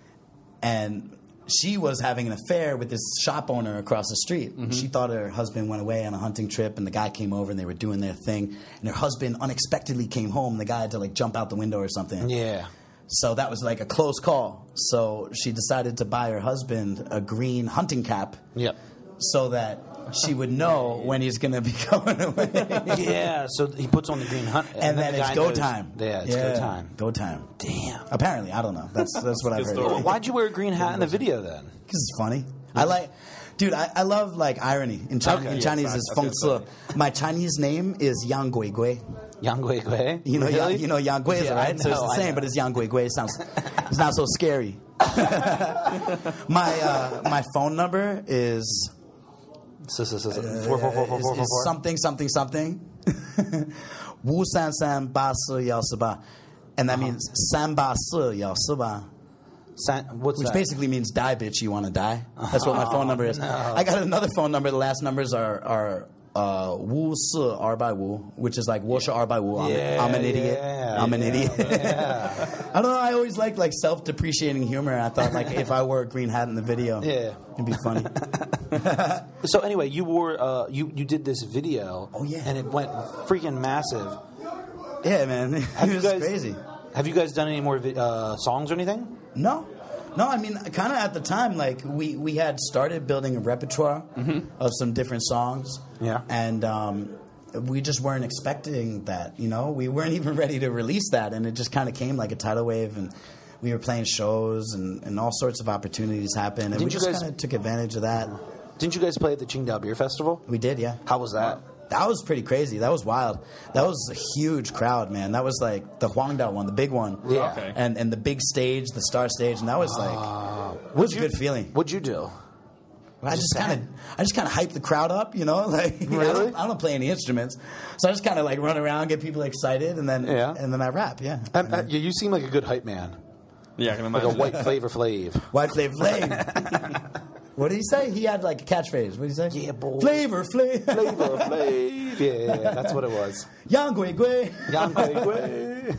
And she was having an affair with this shop owner across the street. Mm-hmm. She thought her husband went away on a hunting trip, and the guy came over, and they were doing their thing. And her husband unexpectedly came home, and the guy had to like jump out the window or something. Yeah. So that was like a close call. So she decided to buy her husband a green hunting cap Yep. so that she would know when he's going to be going away. Yeah. So he puts on the green hunt, And then the it's guy go knows- time. Yeah, it's go time. Go time. Damn. Apparently, I don't know. That's that's what I've Good heard. story. Why'd you wear a green hat in the video then? Because it's funny. I like, dude. I, I love like irony in, China, Okay, in yeah, Chinese. facts. Is I feng feel ci. My Chinese name is Yang Gui Gui. Yang Gui Gui? You know, really? Yang, you know Yang Gui is Yeah, right. I So it's know, the I same, know. but it's Yang Gui Gui. It sounds, it's not so scary. my uh, my phone number is So, so, so, so, four, four, four, four, is, four, four, is four. something something something. Wu san san ba si yao si ba, and that means san ba si yao si ba. San- What's Which that? basically means die, bitch, you want to die. That's what my phone number is. I got another phone number. The last numbers are are uh, Wu Si R by Wu, which is like Wu Shi R by Wu. I'm, Yeah, I'm an idiot. yeah, I'm an yeah, idiot. yeah. I don't know. I always liked like self-depreciating humor. I thought like if I wore a green hat in the video, Yeah. it'd be funny. So anyway, you wore uh, you you did this video. Oh, yeah. And it went freaking massive. Yeah, man, it Have you was guys crazy. Have you guys done any more vi- uh, songs or anything? No, no. I mean, kind of at the time, like we, we had started building a repertoire of some different songs. Yeah. and um, we just weren't expecting that. You know, we weren't even ready to release that, and it just kind of came like a tidal wave, and we were playing shows, and, and all sorts of opportunities happened, and Didn't we you just guys- kind of took advantage of that. Didn't you guys play at the Qingdao Beer Festival? We did, yeah. How was that? That was pretty crazy. That was wild. That was a huge crowd, man. That was like the Huangdao one, the big one. Yeah. Okay. And and the big stage, the star stage, and that was like it was a good feeling. What'd you do? I just Just kind of, I just kind of hype the crowd up, you know. Like I, Really? don't, I don't play any instruments, so I just kind of like run around, get people excited, and then Yeah. and then I rap. Yeah, Um, uh, you you seem like a good hype man, Yeah, I can like a imagine. white Flavor Flav. White Flavor Flav. What did he say? He had like a catchphrase. What did he say? Yeah, boy. Flavor Flav. Flavor Flav. Yeah, that's what it was. Yang Gui Gui. Yang Gui Gui.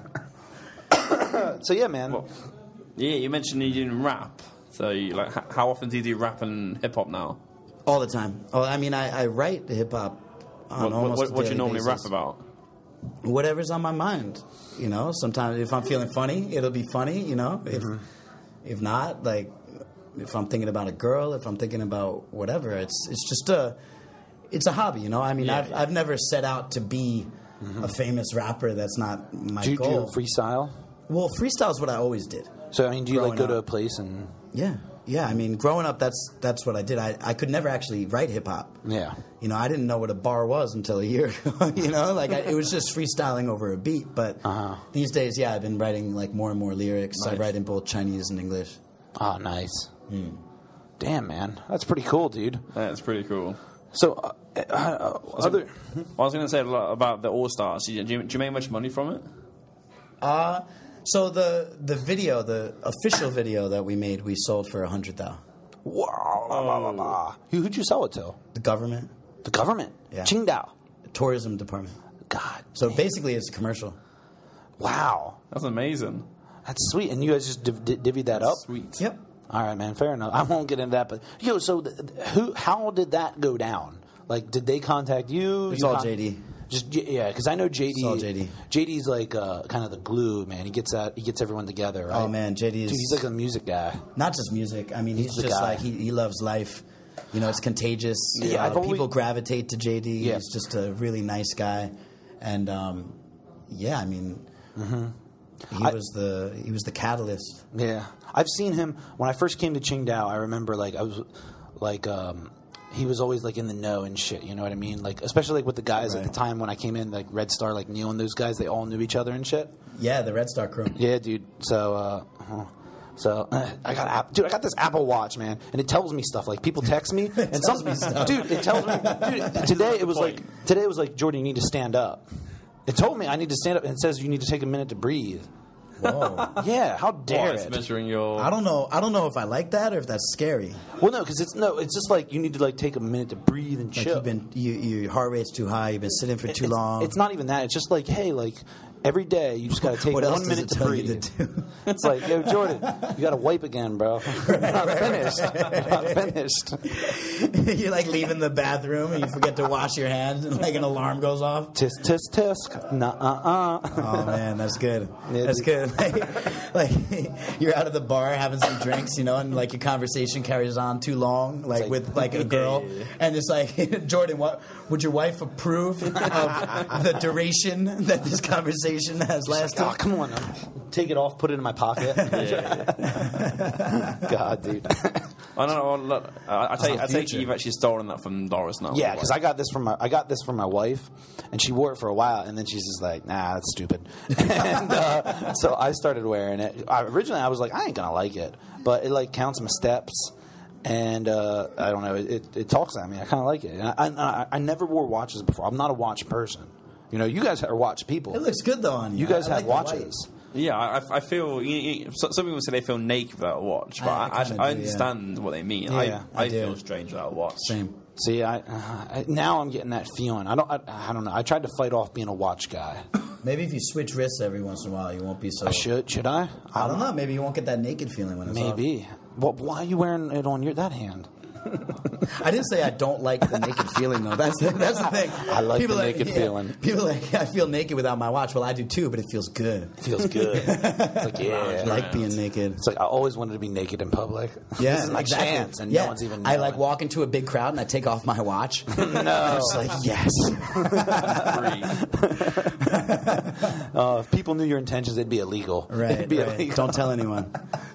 So yeah, man. Well, yeah, you mentioned you didn't rap. So, you, like, h- how often do you do rap and hip hop now? All the time. Oh, I mean, I, I write hip hop on What, almost what, a what do you daily normally basis. rap about? Whatever's on my mind. You know, sometimes if I'm feeling funny, it'll be funny. You know, if if not, like if I'm thinking about a girl, if I'm thinking about whatever, it's it's just a it's a hobby. You know, I mean, Yeah, I've yeah. I've never set out to be a famous rapper. That's not my Do you do goal. freestyle? Well, freestyle is what I always did. So I mean, do you like Growing go to up. a place and Yeah, yeah, I mean, growing up, that's that's what I did. I, I could never actually write hip hop. Yeah. You know, I didn't know what a bar was until a year ago. You know, like I, it was just freestyling over a beat. But Uh-huh. these days, yeah, I've been writing like more and more lyrics. I Nice. write in both Chinese and English. Oh, nice. Damn, man, that's pretty cool, dude. That's pretty cool. So, uh, uh, uh, other. I was going to say a lot about the All Stars. Do you, do you make much money from it? Uh, so the the video, the official video that we made, we sold for a hundred thousand. Wow. Blah, blah, blah, blah. Who, who'd you sell it to? The government, The government. Yeah. Qingdao. the tourism department. God. So damn. basically, it's a commercial. Wow. That's amazing. That's sweet. And you guys just div- div- divvied that up? Sweet. Yep. All right, man. Fair enough. I won't get into that, but yo, so th- th- who? How did that go down? Like, did they contact you? It's You all con- J D. Just J- yeah, because I know J D. It's all J D. J D's like uh, kind of the glue, man. He gets that. He gets everyone together. Right? Oh man, J D is Dude, he's like a music guy. not just music. I mean, he's, He's the just guy. like he, he loves life. You know, it's contagious. Yeah, Uh, I've always- people gravitate to J D. Yeah. He's just a really nice guy, and um, yeah, I mean, he I- was the he was the catalyst. Yeah, I've seen him when I first came to Qingdao. I remember like I was like um, he was always like in the know and shit. You know what I mean? Like especially like with the guys at Right. the time when I came in, like Red Star, like Neil and those guys. They all knew each other and shit. Yeah, the Red Star crew. Yeah, dude. So, uh, uh, so uh, I got app- dude. I got this Apple Watch, man, and it tells me stuff. Like people text me, and some me stuff. dude. It tells me, dude. Today it was like today it was like Jordan, you need to stand up. It told me I need to stand up, and it says you need to take a minute to breathe. Whoa. Yeah, how dare What, it's it? measuring your... I don't know. I don't know if I like that or if that's scary. Well, no, because it's no. It's just like you need to like take a minute to breathe and Like chill. you've been, you, your heart rate's too high. You've been sitting for too it's, long. It's not even that. It's just like, hey, like every day you just got to take What else one does minute it to tell breathe. you to do? It's like, yo, Jordan, you got to wipe again, bro. You're not finished. You're not finished. You're like leaving the bathroom and you forget to wash your hands, and like an alarm goes off. Tisk, tisk, tisk. Nah, uh, uh. Oh man, that's good. Yeah, That's dude. good. Like, like you're out of the bar having some drinks, you know, and like your conversation carries on too long, like, like- with like a girl, Yeah, yeah, yeah. and it's like, Jordan, what would your wife approve of the duration that this conversation has lasted? Oh, come on. Take it off, put it in my pocket. God, dude. I don't know. Look, I, I take, the I take it future. you've actually stolen that from Doris now. Yeah, because I got this from my I got this from my wife, and she wore it for a while, and then she's just like, "Nah, that's stupid." And uh, so I started wearing it. I, originally, I was like, "I ain't gonna like it," but it like counts my steps, and uh, I don't know. It, it, it talks at me. I kind of like it. And I, I I never wore watches before. I'm not a watch person. You know, you guys are watch people. It looks good though on you. You guys I have like the white. watches. Yeah, I, I feel. You, you, so- some people say they feel naked without a watch, but I- I I, I, kinda I do, understand what they mean. Yeah, I, I I, do. feel strange without a watch. Same. See, I, uh, I now I'm getting that feeling. I don't. I, I don't know. I tried to fight off being a watch guy. Maybe if you switch wrists every once in a while, you won't be so. I should. Should I? I don't know. Maybe you won't get that naked feeling when it's off. Maybe. Well, why are you wearing it on your that hand? I didn't say I don't like the naked feeling though. That's the, that's the thing. I like the are naked feeling. People are like, I feel naked without my watch. Well, I do too, but it feels good. It feels good. It's like, I yeah. like being naked. It's like I always wanted to be naked in public. Yeah, This is my exactly. chance, and yeah. no one's even. I knowing. like walk into a big crowd and I take off my watch. No. I'm just like yes. Uh, if people knew your intentions, it'd be illegal. Right. It'd be right. illegal. Don't tell anyone.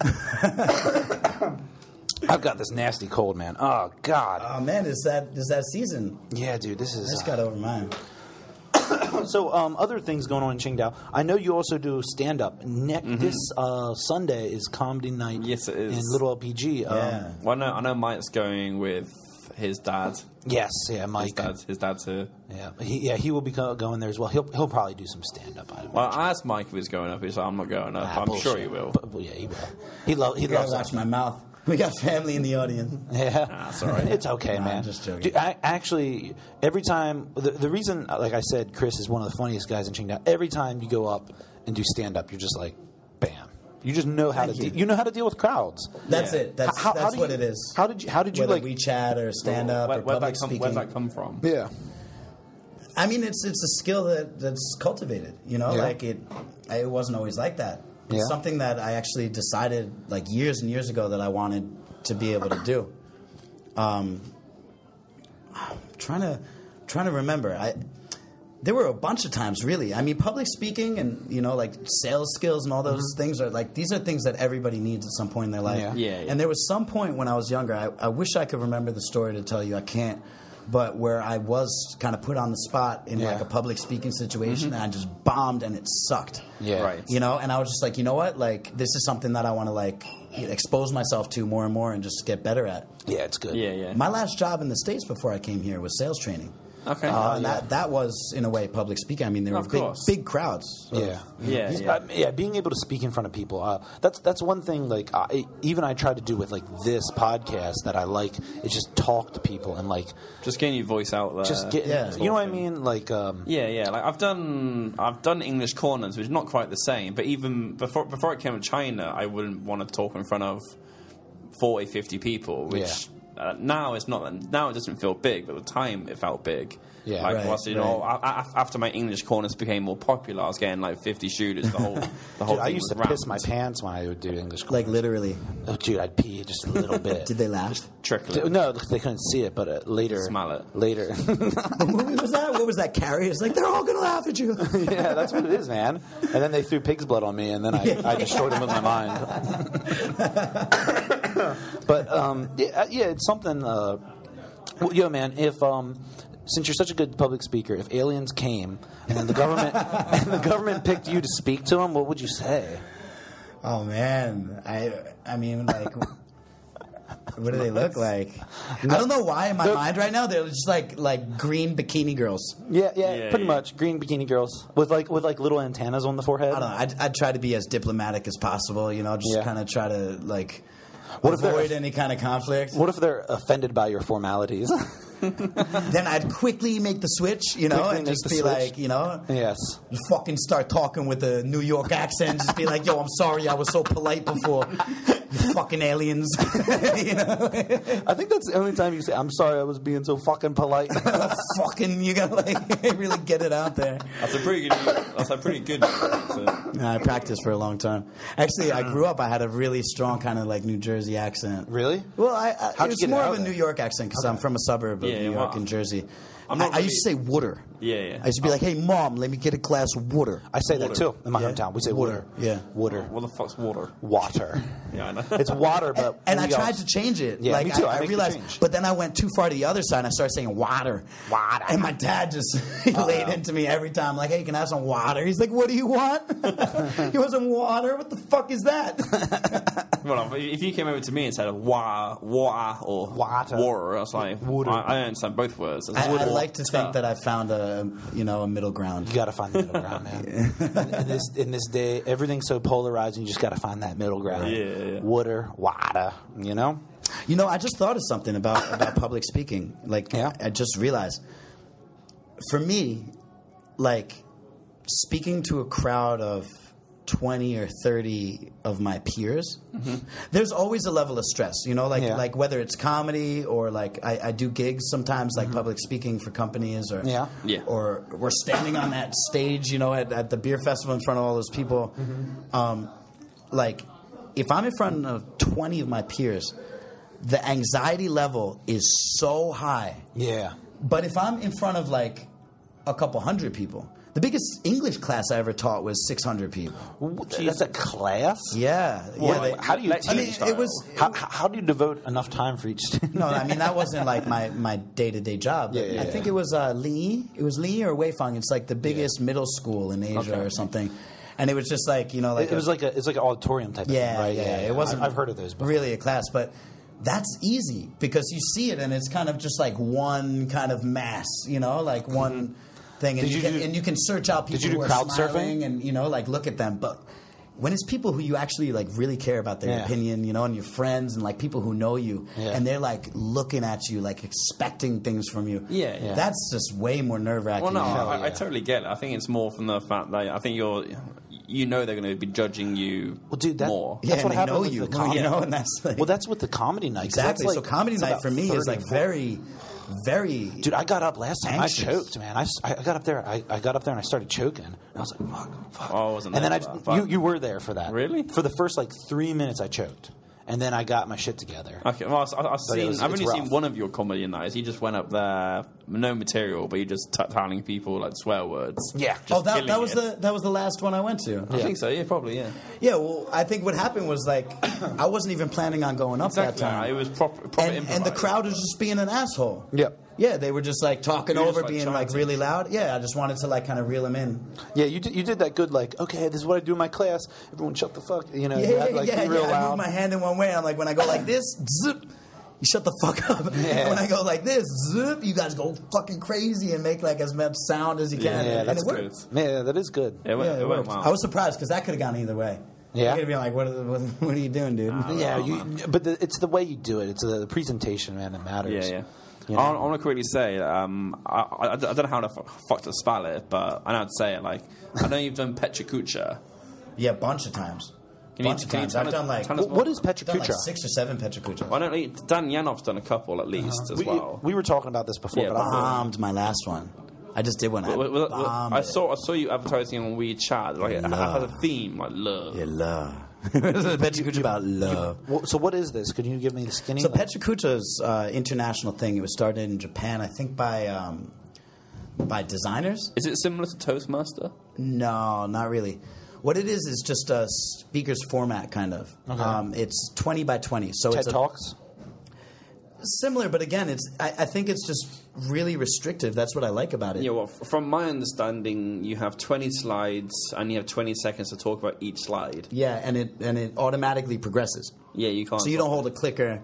I've got this nasty cold, man. Oh God. Oh man, is that is that season? Yeah, dude. This I is. just uh, got over mine. So, um, other things going on in Qingdao. I know you also do stand up. Ne- This uh, Sunday is comedy night. Yes, it is. In Little L P G. Um, Yeah. Well, I know, I know Mike's going with his dad. Yes. Yeah, His Mike. dad, his dad's here. Yeah. He, yeah. He will be go- going there as well. He'll he'll probably do some stand up. I Well, I asked Mike if he was going up. He said, "I'm not going up." Ah, but I'm bullshit. sure he will. But, well, yeah, he will. He, lo- he You gotta loves watch that. my mouth. We got family in the audience. Yeah, that's all right. It's okay, Nah, man. I'm just joking. Dude, I, actually, every time the, the reason, like I said, Chris is one of the funniest guys in Qingdao. Every time you go up and do stand up, you're just like, bam. You just know how Thank to you. de- you know how to deal with crowds. That's Yeah. it. That's How- how that's do what you- it is. How did you? How did you Whether like? WeChat or stand up Where, or where'd, public that come, speaking. where'd that come from? Yeah, I mean, it's it's a skill that, that's cultivated. You know, Yeah. like it. I, it wasn't always like that. It's Yeah. something that I actually decided like years and years ago that I wanted to be able to do. Um, I'm trying to trying to remember. I there were a bunch of times, really. I mean, public speaking and, you know, like sales skills and all those mm-hmm. things are like, these are things that everybody needs at some point in their life. Yeah. Yeah, yeah. And there was some point when I was younger, I, I wish I could remember the story to tell you. I can't. But where I was kind of put on the spot in Yeah. like a public speaking situation, and I just bombed and it sucked. Yeah. Right. You know, and I was just like, you know what? Like, this is something that I want to like expose myself to more and more and just get better at. Yeah, it's good. Yeah, yeah. My last job in the States before I came here was sales training. Okay. Uh, Oh, and yeah. that, that was, in a way, public speaking. I mean, there Of were big, course. big crowds. of- Yeah, Yeah, He's- yeah. uh, yeah. Being able to speak in front of people, uh, that's that's one thing. Like I, even I try to do with like this podcast that I like. Is just talk to people and like Just getting your voice out there. just get. yeah. You know what I mean? Like um, Yeah, yeah. Like I've done, I've done English corners, which is not quite the same. But even before before I came to China, I wouldn't want to talk in front of forty, fifty people. Which uh, now it's not. Now it doesn't feel big, but at the time it felt big. Yeah. like Right, whilst, you know, right. I, I, after my English corners became more popular, I was getting like fifty shooters. The whole, the whole dude, I thing used to was piss rammed. my pants when I would do English. Like, Corners. literally. Oh, dude, I'd pee just a little bit. Did they laugh? Trickling. No, they couldn't see it, but uh, later. Smell it. Later. What movie was that? What was that, Carrie? It's like, they're all going to laugh at you. Yeah, that's what it is, man. And then they threw pig's blood on me, and then I, I destroyed them with my mind. But um, yeah, yeah, it's something. Uh, well, yo, man, if um, since you're such a good public speaker, if aliens came and then the government and the government picked you to speak to them, what would you say? Oh, man. I I mean, like, what do they look like? I don't know why in my They're- mind right now they're just like like green bikini girls. Yeah, yeah, Yeah, pretty yeah. much. Green bikini girls with like with like little antennas on the forehead. I don't know. I'd, I'd try to be as diplomatic as possible, you know, just Yeah. kind of try to, like, What if they're- avoid any kind of conflict. What if they're offended by your formalities? Then I'd quickly make the switch, you know, Quickly and make just the be switch. like, you know, Yes. you fucking start talking with a New York accent. Just be like, yo, I'm sorry I was so polite before. You fucking aliens. You know? I think that's the only time you say, "I'm sorry, I was being so fucking polite." Fucking, you gotta like really get it out there. That's a pretty good. That's a pretty good. So, No, I practiced for a long time. Actually, I grew up, I had a really strong kind of like New Jersey accent. Really? Well, I, I How'd you it's get it more out of a there? New York accent because I'm from a suburb of Yeah, New yeah, York wow. and Jersey. I'm I, not I used to say water. yeah, yeah. I used to be like, "Hey, mom, let me get a glass of water." I say that Water. too in my Yeah. hometown. We say Water. water. Yeah. Water. What the fuck's water? Water. Yeah, I know. It's water, but And I we tried also- to change it. Yeah, like me too. I I, I make the realized, change. but then I went too far to the other side. and I started saying water. Water. And my dad just he laid into me every time, like, "Hey, can I have some water?" He's like, "What do you want?" You want some water? What the fuck is that? Well, if you came over to me and said "wa, water" or Water. water, I was like, Water. I, I understand both words. I, I like to think that I found a you know a middle ground. You got to find the middle ground, man. in, in this in this day, everything's so polarized. You just got to find that middle ground. Yeah, yeah. Water, water. You know. You know, I just thought of something about about public speaking. Like, Yeah. I just realized, for me, like speaking to a crowd of twenty or thirty of my peers, there's always a level of stress, you know, like Yeah. like whether it's comedy or like I, I do gigs sometimes, like public speaking for companies, or Yeah. Yeah. or we're standing on that stage, you know, at, at the beer festival in front of all those people. Um, like, if I'm in front of twenty of my peers, the anxiety level is so high. Yeah. But if I'm in front of like a couple hundred people, the biggest English class I ever taught was six hundred people. That's a class. Yeah, yeah. Well, they- how do you like, teach? I mean, it was. How, how how do you devote enough time for each student? No, I mean that wasn't like my, my day to day job. Yeah, yeah, I think yeah. it was uh, Li. It was Li or Weifang. It's like the biggest middle school in Asia Okay. or something. And it was just like you know, like It, it was like a it's like an auditorium type. yeah, of thing, right? yeah, It wasn't. I've, I've heard of those. Before. Really a class, but that's easy because you see it and it's kind of just like one kind of mass, you know, like one thing, and Did you, you can do- and you can search out people did you do who are crowd smiling surfing? and you know, like look at them, but. When it's people who you actually like really care about their Yeah. opinion, you know, and your friends and like people who know you, Yeah. and they're like looking at you, like expecting things from you. Yeah, yeah. That's just way more nerve wracking. Well, no, Hell I, I yeah. totally get it. I think it's more from the fact that I think you're, you know, they're going to be judging you Well, dude, that- more. yeah, That's and what they happened know with you, the comedy. you know, and that's like, Well, that's with the comedy night. 'cause that's exactly. like- so comedy it's night about for me is thirty, like forty. very, very. Dude, I got up last time. Anxious. I choked, man. I, s- I got up there. I, I got up there and I started choking. And I was like, "Fuck, fuck." Oh, I wasn't and then there I, for that, but- you, you were there for that. Really? For the first like three minutes, I choked, and then I got my shit together. Okay, well, I, I've seen. was- I've it's only rough. seen one of your comedy nights. You just went up there, no material, but you just t- telling people like swear words. Yeah. Oh, that, killing that was it. the that was the last one I went to. I think so. Yeah, probably. Yeah. Yeah, well, I think what happened was like I wasn't even planning on going up Exactly. that time. It was proper, proper and, and the improvised. crowd was just being an asshole. Yep. Yeah, they were just like talking You were over, just, like, being like chanting. really loud. Yeah, I just wanted to like kind of reel them in. Yeah, you did, you did that good, like, okay, this is what I do in my class. Everyone shut the fuck, you know, Yeah, you had, like, yeah, be real yeah. I loud. move my hand in one way. I'm like, when I go like this, zip, you shut the fuck up. Yeah. And when I go like this, zip, you guys go fucking crazy and make like as much sound as you can. Yeah, and that's it good. worked. Yeah, that is good. Yeah, it went, Yeah, it it went worked. well. I was surprised because that could have gone either way. Yeah. I could have been like, what, are- what, what are you doing, dude? Yeah, you, but the, it's the way you do it. It's the, the presentation, man, that matters. Yeah, yeah. You know? I, I want to quickly say, um, I, I, I don't know how the f- fuck to spell it, but I know how to say it. Like, I know you've done Petra Kucha. Yeah, a bunch of times. Can you- bunch of can you times. tell I've us- done like, tell us Wh- what is Petra done like Kucha? six or seven Petra Kucha. I don't know. Dan Yanov's done a couple at least as we, well. we were talking about this before, Yeah, but I don't know. Bombed my last one. I just did one. I Well, well, well, bombed I it. saw I saw you advertising on WeChat. Like, it Love. has a theme like love. Yeah, love. Petra Kucha about love. Well, so what is this? Could you give me the skinny? So Petra Kucha's uh, international thing. It was started in Japan, I think, by um, by designers. Is it similar to Toastmaster? No, not really. What it is is just a speaker's format, kind of. Okay. Um, it's twenty by twenty, so TED it's a, Talks? similar, but again, it's I, I think it's just really restrictive. That's what I like about it. Yeah, well, f- from my understanding, you have twenty slides and you have twenty seconds to talk about each slide. Yeah, and it and it automatically progresses. Yeah, you can't. So you don't hold a clicker,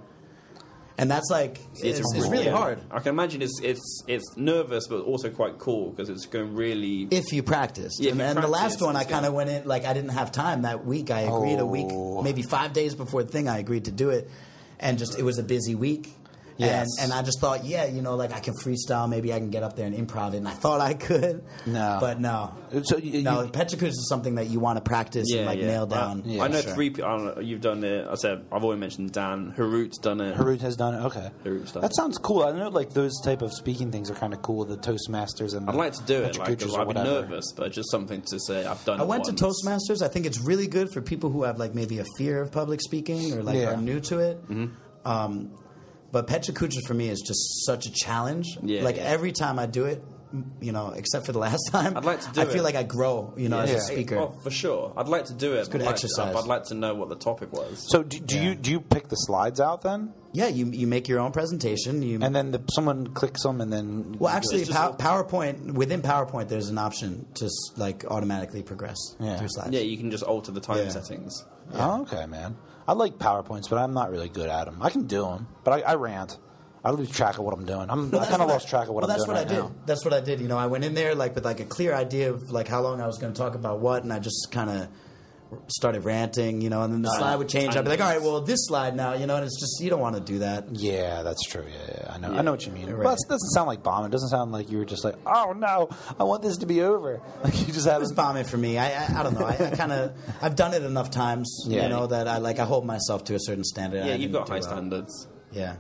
and that's like it's, it's a- really yeah. hard I can imagine it's it's it's nervous, but also quite cool because it's going really. if you practice. Yeah, if and you and the practice, last one, I it's kind of good. went in like I didn't have time that week. I agreed a Oh. week, maybe five days before the thing. I agreed to do it, and just it was a busy week. Yes. And, and I just thought, yeah, you know, like I can freestyle. Maybe I can get up there and improv it. And I thought I could. No. But no. So you, No, you- Petra Kucha is something that you want to practice Yeah, and like yeah. nail down. I, Yeah, I know sure. three people. I don't know, you've done it. I said I've already mentioned Dan. Harut's done it. Harut has done it. Okay, Harut's done that it. sounds cool. I know like those type of speaking things are kind of cool. The Toastmasters and I'd the like to do it. Petra Like, Kuchas 'cause or I'd be whatever. nervous, but just something to say. I've done. I it went once. to Toastmasters. I think it's really good for people who have like maybe a fear of public speaking or like Yeah. are new to it. Um, but Petra Kucha for me is just such a challenge. Yeah, like yeah. every time I do it, m- you know, except for the last time, I'd like to do I feel it. like I grow, you know, as Yeah. a speaker. Oh, for sure. I'd like to do it. It's good I'd like exercise. To, I'd like to know what the topic was. So do, do Yeah. you do you pick the slides out then, Yeah, you you make your own presentation. You and then the, someone clicks them, and then well, actually, It's just pow- a- PowerPoint within PowerPoint, there's an option to s- like automatically progress Yeah. through slides. Yeah, you can just alter the time Yeah. settings. Oh, okay, man. I like PowerPoints, but I'm not really good at them. I can do them, but I, I rant. I lose track of what I'm doing. I'm, Well, I that's kind of what lost track of what well, I'm that's doing what right I did. now. That's what I did. You know, I went in there like with like a clear idea of like how long I was going to talk about what, and I just kind of started ranting. You know, and then the slide would change. I'd be like, all right, well, this slide now. You know, and it's just you don't want to do that. Yeah, that's true. Yeah, yeah, I know. I know what you mean. Right. Well, it doesn't sound like bombing. It doesn't sound like you were just like, oh no, I want this to be over. Like you just It have was bombing for me. I I, I don't know. I, I kind of I've done it enough times. Yeah. You know that I like I hold myself to a certain standard. Yeah, I you've didn't got do high well. standards. Yeah.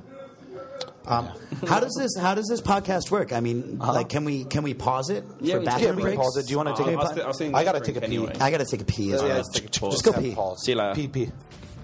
Um, how does this How does this podcast work? I mean, like, can we can we pause it Yeah, for we- bathroom Yeah, we can breaks? pause it. Do you want to take I a was pause? thi- I was thinking I got to drink take a pee. anyway. I got to take a pee as Yeah, well. let's take a pause. Just go Have a pee. pause. See you later. Pee, pee.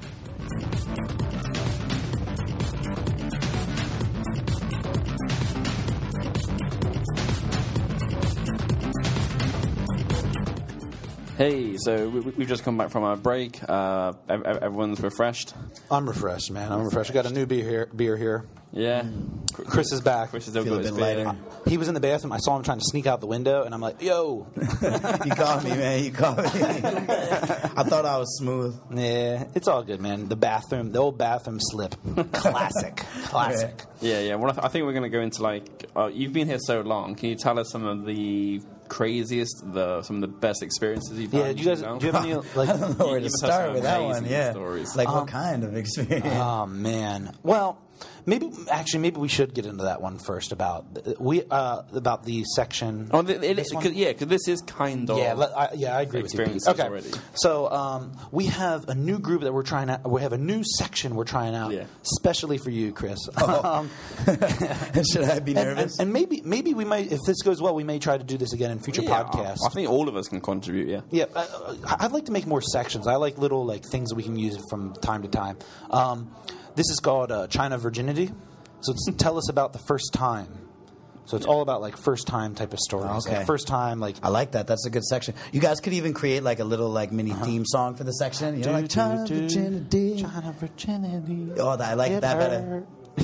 Hey, so we, we've just come back from our break. Uh, ev- ev- everyone's refreshed. I'm refreshed, man. I'm refreshed. I got a new beer here. Beer here. Yeah. Chris is back. Chris is still Feel a got his bit beer. lighter. He was in the bathroom. I saw him trying to sneak out the window, and I'm like, "Yo, You caught me, man. You caught me. I thought I was smooth. yeah, it's all good, man." The bathroom, the old bathroom slip, classic, classic. Yeah, yeah. Well, I, th- I think we're going to go into like uh, you've been here so long. Can you tell us some of the craziest, the some of the best experiences you've Yeah, had? do you guys, know? do you have any like? I don't know where You to must have start some with that amazing one. Yeah. stories. Like Um, what kind of experience? Oh man. Well, maybe actually maybe we should get into that one first about we uh, about the section. Oh, it, it, this cause, yeah, because this is kind of yeah, let, I, yeah, I agree with you. Pete. Okay, already. so um, we have a new group that we're trying out. We have a new section we're trying out, yeah. especially for you, Chris. Oh. um, Should I be and, nervous? and, and maybe maybe we might, if this goes well, we may try to do this again in future yeah, podcasts. I think all of us can contribute. Yeah, yeah. Uh, I'd like to make more sections. I like little like things that we can use from time to time. Um, this is called uh, China Virginity. So it's tell us about the first time. So it's all about like first time type of stories. Okay. Like first time, like I like that. That's a good section. You guys could even create like a little like mini uh-huh. theme song for the section. You know, like China Virginity. China Virginity. Oh, I like it that better.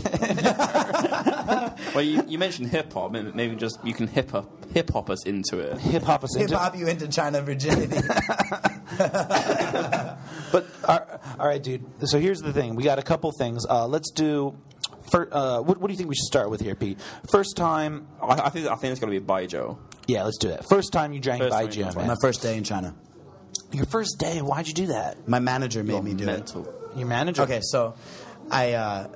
Well, you, you mentioned hip hop. Maybe just you can hip hop hip hop us into it. Hip hop us hip into hop you into China Virginity. But uh, all right, dude. So here's the thing. We got a couple things. Uh, let's do. For, uh, what, what do you think we should start with here, Pete? First time. I, I think I think it's going to be Baijiu. Yeah, let's do that. First time you drank Baijiu, man. My first day in China. Your first day. Why'd you do that? My manager made You're me do mental. it. Your manager. Okay, so I. Uh,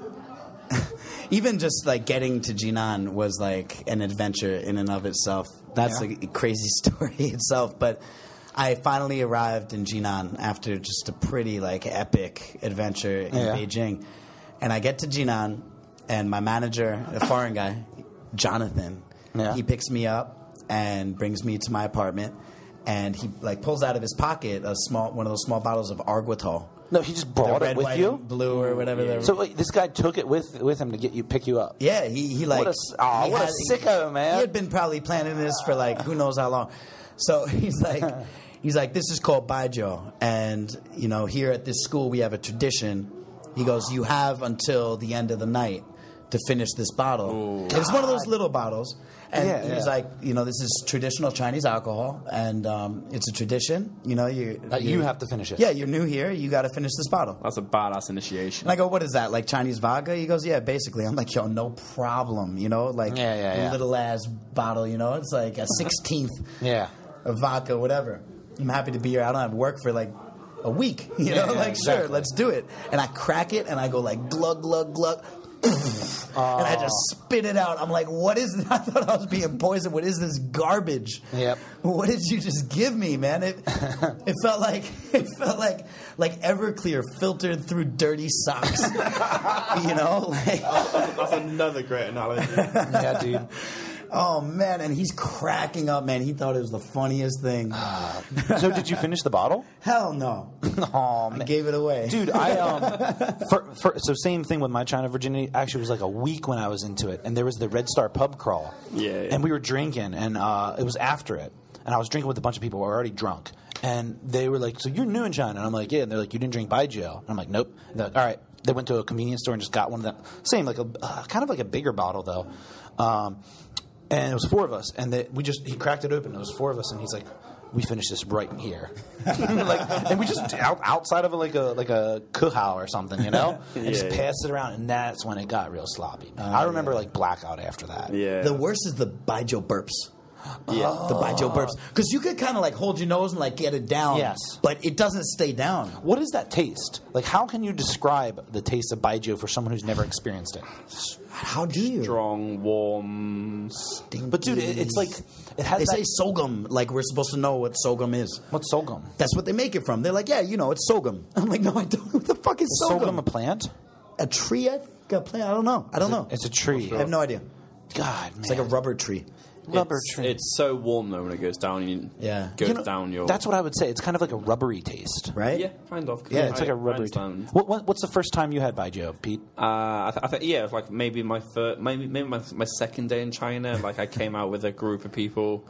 even just like getting to Jinan was like an adventure in and of itself. That's yeah. a crazy story itself. But I finally arrived in Jinan after just a pretty like epic adventure in yeah. Beijing. And I get to Jinan, and my manager, a foreign guy, Jonathan, yeah. he picks me up and brings me to my apartment. And he like pulls out of his pocket a small one of those small bottles of Arguital. No, he just brought red, it with white, you, and blue or whatever. Yeah. So wait, this guy took it with with him to get you pick you up. Yeah, he he like what a, oh, he what had, a sicko, man. He had been probably planning this for like who knows how long. So he's like he's like this is called Baijiu, and you know here at this school we have a tradition. He goes, you have until the end of the night to finish this bottle. And it's one of those little bottles. And yeah, he's yeah. like, you know, this is traditional Chinese alcohol, and um, it's a tradition. You know, you uh, you have to finish it. Yeah, you're new here. You got to finish this bottle. That's a badass initiation. And I go, what is that? Like Chinese vodka? He goes, yeah, basically. I'm like, yo, no problem. You know, like yeah, yeah, yeah. a little ass bottle. You know, it's like a sixteenth yeah. of vodka, whatever. I'm happy to be here. I don't have work for like a week, you know, yeah, like exactly. sure, let's do it. And I crack it, and I go like glug glug glug, oh. and I just spit it out. I'm like, what is this? I thought I was being poisoned. What is this garbage? Yep. What did you just give me, man? It it felt like it felt like like Everclear filtered through dirty socks. You know, like that's another great analogy. Yeah, dude. Oh man, and he's cracking up, man. He thought it was the funniest thing. So did you finish the bottle? Hell no. Oh, man. I gave it away. Dude, I um for, for, so same thing with my China Virginity. Actually, it was like a week when I was into it, and there was the Red Star pub crawl. Yeah, yeah. And we were drinking, and uh, it was after it, and I was drinking with a bunch of people who were already drunk, and they were like, "So you're new in China?" And I'm like, "Yeah." And they're like, "You didn't drink Baijiu?" And I'm like, "Nope." And they're like, all right. They went to a convenience store and just got one of them. Same, like a uh, kind of like a bigger bottle though. Um, And it was four of us, and they, we just he cracked it open. It was four of us, and he's like, "We finished this right here," like, and we just out, outside of a, like a like a kuhao or something, you know, and yeah, just yeah. passed it around, and that's when it got real sloppy. Uh, I remember yeah. like blackout after that. Yeah. The worst is the Baijiu burps. Yeah. The Baijiu burps. Because you could kind of like hold your nose and like get it down. Yes. But it doesn't stay down. What is that taste? Like, how can you describe the taste of Baijiu for someone who's never experienced it? How do you? Strong, warm. Stinky. But dude, it, it's like it has. They that, say sorghum, like we're supposed to know what sorghum is. what's sorghum? That's what they make it from. They're like, yeah, you know, it's sorghum. I'm like, no, I don't. What the fuck is Is sorghum? sorghum a plant? A tree? I think a plant? I don't know. I don't know. It's a tree. I have no idea. God, man. It's like a rubber tree. rubber it's, tree. It's so warm though when it goes down. You Yeah. goes You know, down your. That's what I would say. It's kind of like a rubbery taste. Right? yeah, kind of. Yeah, it's I- like a I rubbery taste. understand. What, what, what's the first time you had Baijiu, Pete? Uh, I, th- I think yeah, it was like maybe my first, maybe maybe my, my second day in China. Like I came out with a group of people,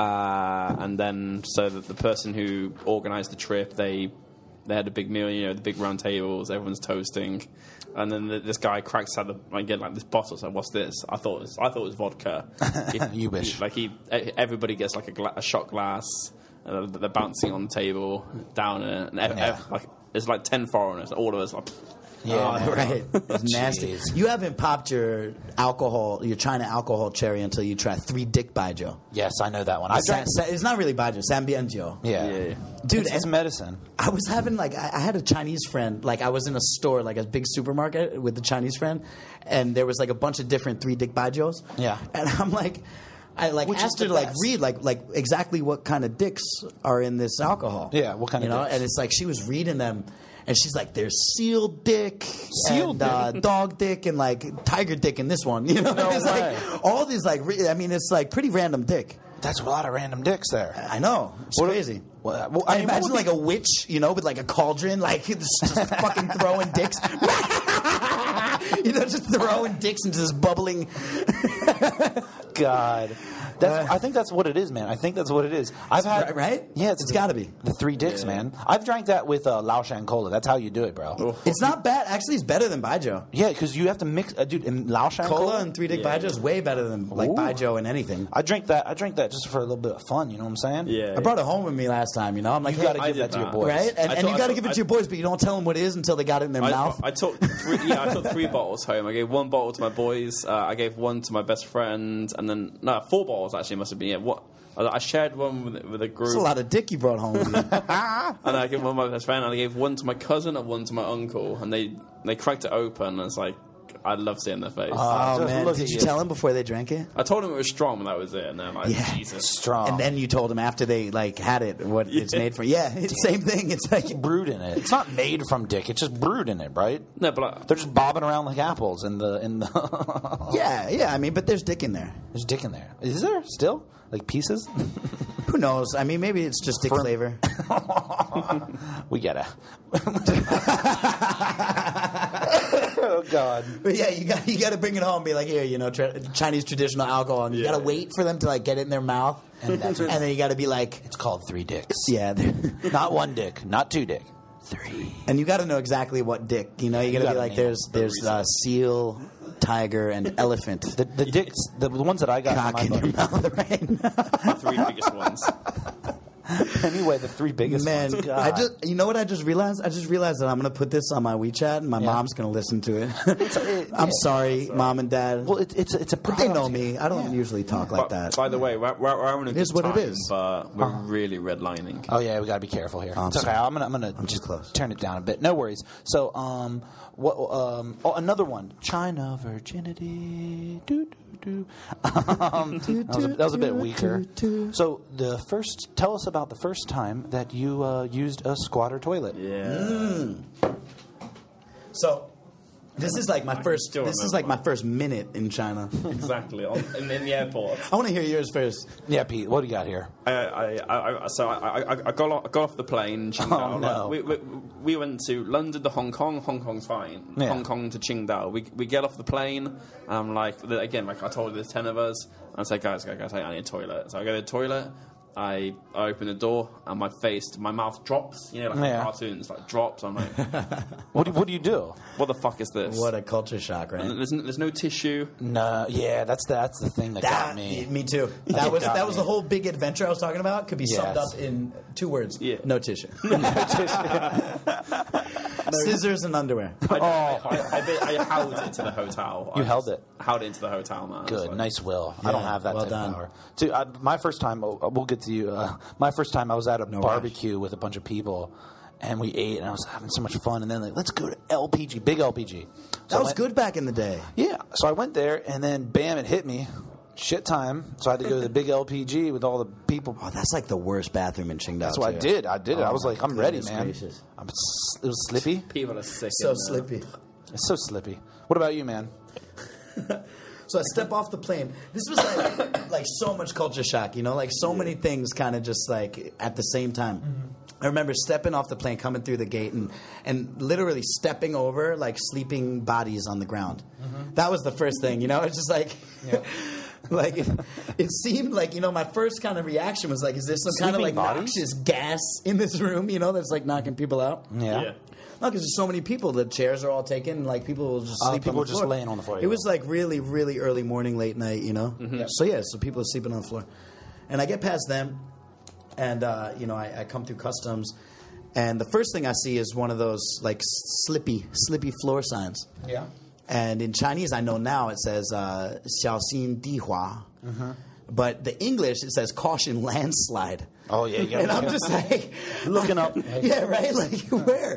uh, and then so that the person who organised the trip, they they had a big meal, you know, the big round tables, everyone's toasting, and then the, this guy cracks out the like get like this bottle. So what's this? I thought it was, I thought it was vodka. He- You wish. he- like he, everybody gets like a, gla- a shot glass. Uh, they're bouncing on the table down it, and ev- Yeah. ev- like there's like ten foreigners, all of us like. Yeah, oh, man. Right. It's nasty. Jeez. You haven't popped your alcohol, your China alcohol cherry until you try three dick Baijiu. Yes, I know that one. I Sa- drank. sa- it's not really Baijiu, Sambianjiu. Yeah. Yeah. Dude, it's, it's and- medicine. I was having like I I had a Chinese friend. Like I was in a store, like a big supermarket with a Chinese friend, and there was like a bunch of different three dick baijius. Yeah. and I'm like, I like Which is asked her the to like best? read like like exactly what kind of dicks are in this alcohol. Yeah, what kind you of know? dicks? And it's like she was reading them. And she's like, "There's seal dick, Seal and, uh, dog dick, and like tiger dick in this one." You know, No it's way. like all these like. Re- I mean, it's like pretty random dick. That's a lot of random dicks there. I know, it's What- crazy. Well, well, I I mean, what imagine would like be- a witch, you know, with like a cauldron, like just, just fucking throwing dicks. You know, just throwing dicks into this bubbling. God. That's, Uh, I think that's what it is, man. I think that's what it is. I've had Right- right? Yeah, It's the- gotta be. the three dicks, Yeah. man. I've drank that with uh, Laoshan Cola. That's how you do it, bro. It's not bad. Actually, it's better than Baijiu. Yeah, because you have to mix, uh, dude. In Laoshan Cola Cola, and three dick Yeah. Baijiu is way better than like Ooh. Baijiu and anything. I drink that. I drink that just for a little bit of fun. You know what I'm saying? Yeah. I brought it home with me last time. You know, I'm like, You hey, got to I give did that to your that. boys, right, and, I and told- you I got to told- give it I- to your boys, but you don't tell them what it is until they got it in their I, mouth. I took three, yeah, I took three bottles home. I gave one bottle to my boys. Uh, I gave one to my best friend, and then no, four bottles actually must have been. Yeah, what I I shared one with, with a group. It's a lot of dick you brought home with you. And I gave one to my best friend, and I gave one to my cousin and one to my uncle, and they they cracked it open, and it's like I'd love seeing their face. Uh, Oh Just man, look did at you you. tell them before they drank it? I told them it was strong, and that was it. And then I'm like, Yeah. Jesus. strong. And then you told them after they like had it what it's Yeah. made for. Yeah, it's the same thing. It's like brewed in it. It's not made from dick. It's just brewed in it, right? No, but I, They're just bobbing around like apples in the in the. yeah, yeah. I mean, but there's dick in there. There's dick in there. Is there still like pieces? Who knows? I mean, maybe it's just dick Firm- flavor. We gotta. Oh God. But yeah, you got you got to bring it home. And be like, here, you know, tra- Chinese traditional alcohol, and you Yeah. got to wait for them to like get it in their mouth, And that's and then you got to be like, It's called three dicks. yeah, they're- Not one dick. Not two dick. Three. and you got to know exactly what dick. You know, you got to gotta be like, name there's the there's uh, seal, tiger, and elephant. The, the dicks, the ones that I got Cock from in my your buddy. mouth, right? the three biggest ones. Anyway, the three biggest Man, ones. God. I just you know what I just realized? I just realized that I'm gonna put this on my WeChat, and my Yeah. mom's gonna listen to it. it- I'm yeah. sorry, mom and dad. well, it, it's a, it's a but they know product. me. I don't Yeah. usually talk like But, that. by the way, we're, we're, we're having a It good is what it time, is. but we're really redlining. Oh yeah, we gotta be careful here. I'm it's okay. sorry. I'm gonna I'm gonna I'm too just close. turn it down a bit. No worries. So um, what um, oh, another one. China virginity. Doo, doo, doo. Um, that, was a, that was a bit weaker. So the first, tell us about the first time that you uh, used a squatter toilet. Yeah. So, this is like my I first. still This is remember. like my first minute in China. Exactly. On, in, in the airport. I want to hear yours first. Yeah, Pete. What do you got here? I, I, I, I, so I, I, I got off, I got off the plane. Qingdao. Oh, no. Like, we, we, we went to London to Hong Kong. Hong Kong's fine. Yeah. Hong Kong to Qingdao. We we get off the plane. And I'm like, again, like I told you, there's ten of us. And I say, guys, guys, guys, I need a toilet. So I go to the toilet. I, I open the door and my face, my mouth drops. You know, like Yeah. in cartoons, like drops. I'm like, What do, what do you do? what the fuck is this? What a culture shock, right? And there's, n- there's no tissue. No, yeah, that's the, that's the thing that, That got me. me too. That was got that was me. the whole big adventure I was talking about. Could be summed Yes. up in two words. Yeah. No tissue. Scissors and underwear. I, I, I, I, bit- I held it to the hotel. You I held just it? Held it into the hotel, man. I was Good, like- nice will. I don't Yeah, have that well type done. of power. Dude, I, my first time, oh, we'll get to you. Uh, my first time, I was at a No barbecue with a bunch of people, and we ate, and I was having so much fun. And then like, let's go to L P G, big L P G. So That I was went- good back in the day. Yeah, so I went there, and then bam, it hit me. Shit time. So I had to go to the big L P G with all the people. Oh, that's like the worst bathroom in Qingdao. That's what I too. did. I did it. Oh I was my like, I'm ready, goodness man. gracious. I'm, s- it was slippy. People are sick. So in there. slippy. It's so slippy. What about you, man? So I step off the plane. This was like like so much culture shock, you know, like so many things kind of just like at the same time. I remember stepping off the plane, coming through the gate, and and literally stepping over like sleeping bodies on the ground. That was the first thing, you know. It's just like. Like it, it seemed like, you know, my first kind of reaction was like, is there some kind of like Sleeping bodies? noxious gas in this room, you know, that's like knocking people out? Yeah. Yeah. No, because there's so many people. The chairs are all taken. Like people will just Oh, sleep. people on the were just floor. laying on the floor, It yeah. was like really, really early morning, late night. You know. So yeah, so people are sleeping on the floor, and I get past them, and uh, you know I, I come through customs, and the first thing I see is one of those like slippy, slippy floor signs. Yeah. And in Chinese, I know now it says uh, 小心地滑. but the English it says caution landslide. Oh yeah, you And gotta- I'm just like looking up. yeah, right. Like where?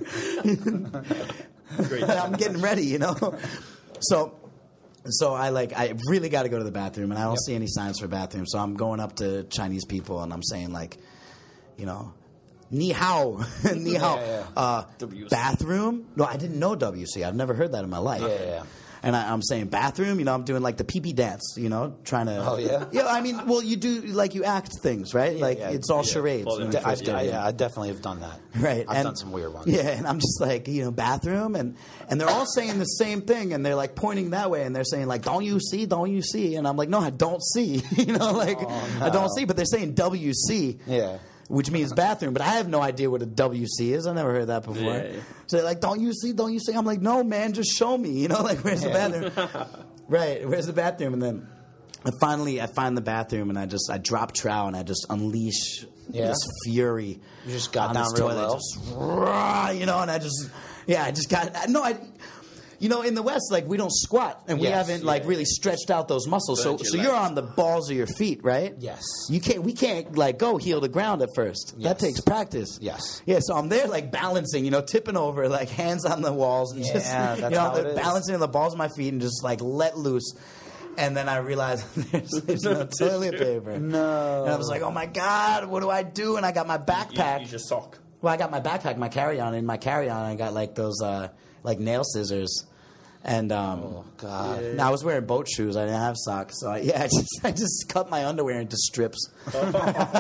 Great. I'm getting ready, you know. So, so I like I really got to go to the bathroom, and I don't Yep. see any signs for bathroom. So I'm going up to Chinese people, and I'm saying like, you know, ni hao, ni hao, Yeah, yeah. Uh, W C. bathroom. No, I didn't know W C. I've never heard that in my life. Yeah, yeah. And I, I'm saying bathroom, you know, I'm doing like the pee-pee dance, you know, trying to. Oh, yeah? Yeah, I mean, well, you do like you act things, right? like yeah, it's all yeah. charades. Well, when de- you I, first get I, in. yeah, I definitely have done that. Right, I've and- done some weird ones. Yeah, and I'm just like, you know, bathroom, and and they're all saying the same thing, and they're like pointing that way, and they're saying like, "Don't you see? Don't you see?" And I'm like, "No, I don't see." you know, like I don't see, but they're saying W C, Yeah. which means bathroom, but I have no idea what a W C is. I never heard that before. Yeah, yeah. So they're like, "Don't you see? Don't you see?" I'm like, "No, man, just show me." You know, like where's the bathroom? Right, where's the bathroom? And then I finally I find the bathroom, and I just I drop trow, and I just unleash Yeah. this fury. You just got on down this real toilet, low? just rah, you know, and I just yeah, I just got no, I. You know, in the West, like we don't squat, and we Yes, haven't like yeah. really stretched out those muscles. So, Burnt your so you're legs. on the balls of your feet, right? Yes. You can't. We can't like go heel to ground at first. Yes. That takes practice. Yes. Yeah. So I'm there like balancing, you know, tipping over, like hands on the walls, and Yeah, just that's you know, how it is. balancing on the balls of my feet, and just like let loose. And then I realized there's, there's no toilet paper. No. And I was like, oh my god, what do I do? And I got my backpack. You, use your sock. Well, I got my backpack, my carry-on. In my carry-on, I got like those uh, like nail scissors, and um, Oh God. no, I was wearing boat shoes. I didn't have socks, so I, yeah, I just I just cut my underwear into strips, and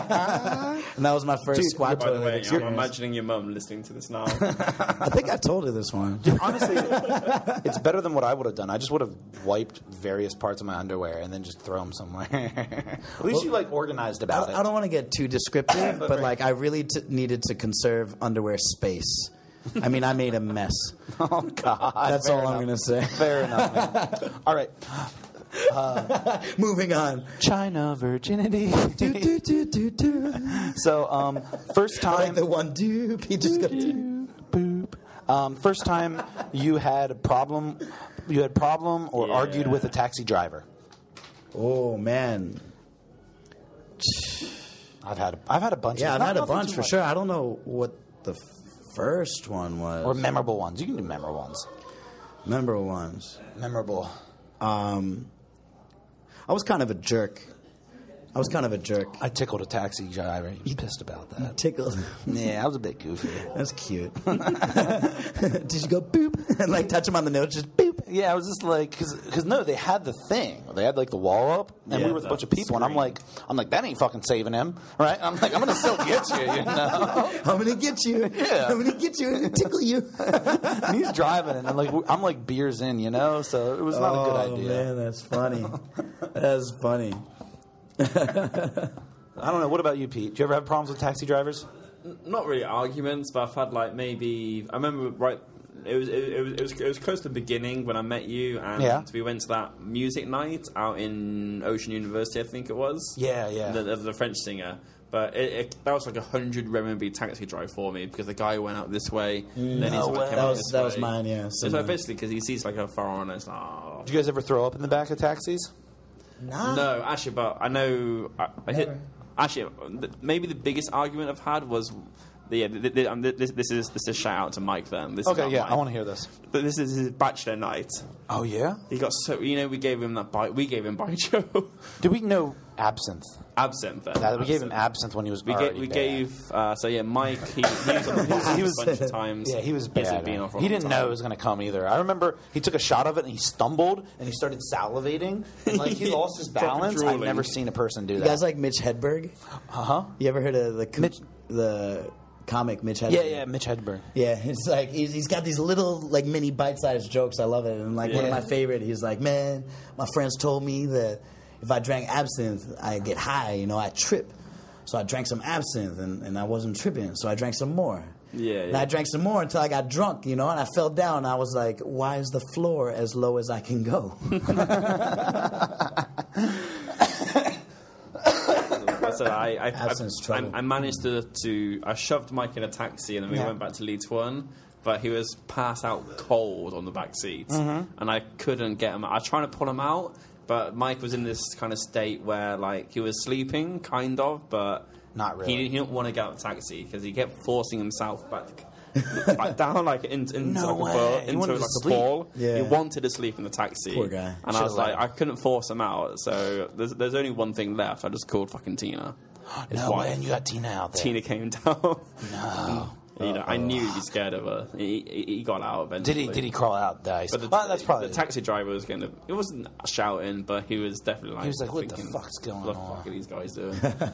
that was my first squat By the toilet way, I'm experience. imagining your mum listening to this now. I think I told her this one. Honestly, it's better than what I would have done. I just would have wiped various parts of my underwear and then just throw them somewhere. At least you like organized I about don't, it. I don't want to get too descriptive, but like I really t- needed to conserve underwear space. I mean, I made a mess. Oh God. That's Fair all I'm enough. going to say. Fair enough. Man. All right. Moving on. China virginity. Do, do, do, do, do. So, um, first I like time. the one dude. He just got to. Boop. Um, first time you had a problem. You had problem or Yeah. argued with a taxi driver. Oh man. I've had. I've had a bunch. Yeah, of, I've had a nothing bunch too for much. sure. I don't know what the f- first one was. Or memorable ones. You can do memorable ones. memorable ones. Memorable. Um, I was kind of a jerk. I was kind of a jerk. I tickled a taxi driver. He was pissed about that. Tickled. Yeah, I was a bit goofy. That's cute. Did you go boop and like touch him on the nose? Just boop. Yeah, I was just like, because no, they had the thing. They had like the wall up, and Yeah, we were with a bunch of the people, and I'm screen. like, I'm like, that ain't fucking saving him, right? I'm like, I'm gonna still get you, you know. I'm gonna get you. Yeah. I'm gonna get you and tickle you. And he's driving, and I'm like, I'm like beers in, you know. So it was not a good idea. Oh man, that's funny. That's funny. I don't know. What about you, Pete? Do you ever have problems with taxi drivers? Not really arguments, but I've had like maybe I remember right. It was it, it was it was it was close to the beginning when I met you, and Yeah. we went to that music night out in Ocean University, I think it was. Yeah, yeah. The, the, the French singer. But it, it, that was like a hundred renminbi taxi drive for me because the guy went out this way, then he's No like, way. came That out was this that was way. mine. Yeah. So similar. basically, because he sees like a foreigner, it's like, oh. Do you guys ever throw up in the back of taxis? Nah. No, actually, but I know. I, I hit, actually, th- maybe the biggest argument I've had was. Yeah, th- th- um, th- this, this is this is a shout out to Mike. Then this is Okay, not yeah, mine. I want to hear this. But this is his bachelor night. Oh yeah. He got so you know we gave him that bite. We gave him Baijiu, Did we know absinthe? absinthe. Then That we gave him Absinthe. absinthe when he was We, already ga- we bad. gave uh, so yeah Mike he, he was on the podcast He was- a bunch of times. Yeah, he was He's bad. been on for a He long didn't time. know it was going to come either. I remember he took a shot of it and he stumbled and he started salivating and like he Yeah, lost his proper balance. I've drooling. never seen a person do You that. guys like Mitch Hedberg? Uh huh. You ever heard of the com- Mitch- the comic Mitch Hedberg? Yeah, yeah, Mitch Hedberg. Yeah, it's like he's, he's got these little like mini bite-sized jokes. I love it. And like one of Yeah. my favorite, he's like, "Man, my friends told me that if I drank absinthe, I get high. You know, I trip. So I drank some absinthe, and, and I wasn't tripping. So I drank some more. Yeah, And yeah. I drank some more until I got drunk. You know, and I fell down. And I was like, why is the floor as low as I can go? I said I I, Absence I, trouble. I, I managed to, to I shoved Mike in a taxi and then we Yeah. went back to Leeds One, but he was passed out cold on the back seat, Mm-hmm. and I couldn't get him. I was trying to pull him out, but Mike was in this kind of state where like he was sleeping, kind of, but Not really. He, he didn't want to get out of the taxi because he kept forcing himself back. back down like in, into No like way. a ball, He into wanted like to a sleep. ball. Yeah. He wanted to sleep in the taxi. Poor guy. And I Should've was like, let him. I couldn't force him out. So there's there's only one thing left. I just called fucking Tina. His No wife. man, you got Tina out there. Tina came down. No. You know, I knew he'd be scared of her. He, he, he got out eventually. Did he? Did he crawl out? Nice. But the, Well, that's probably the taxi driver was going to. It wasn't shouting, but he was definitely like. He was like, "What the thinking, fuck's going what on?" the fuck are these guys doing?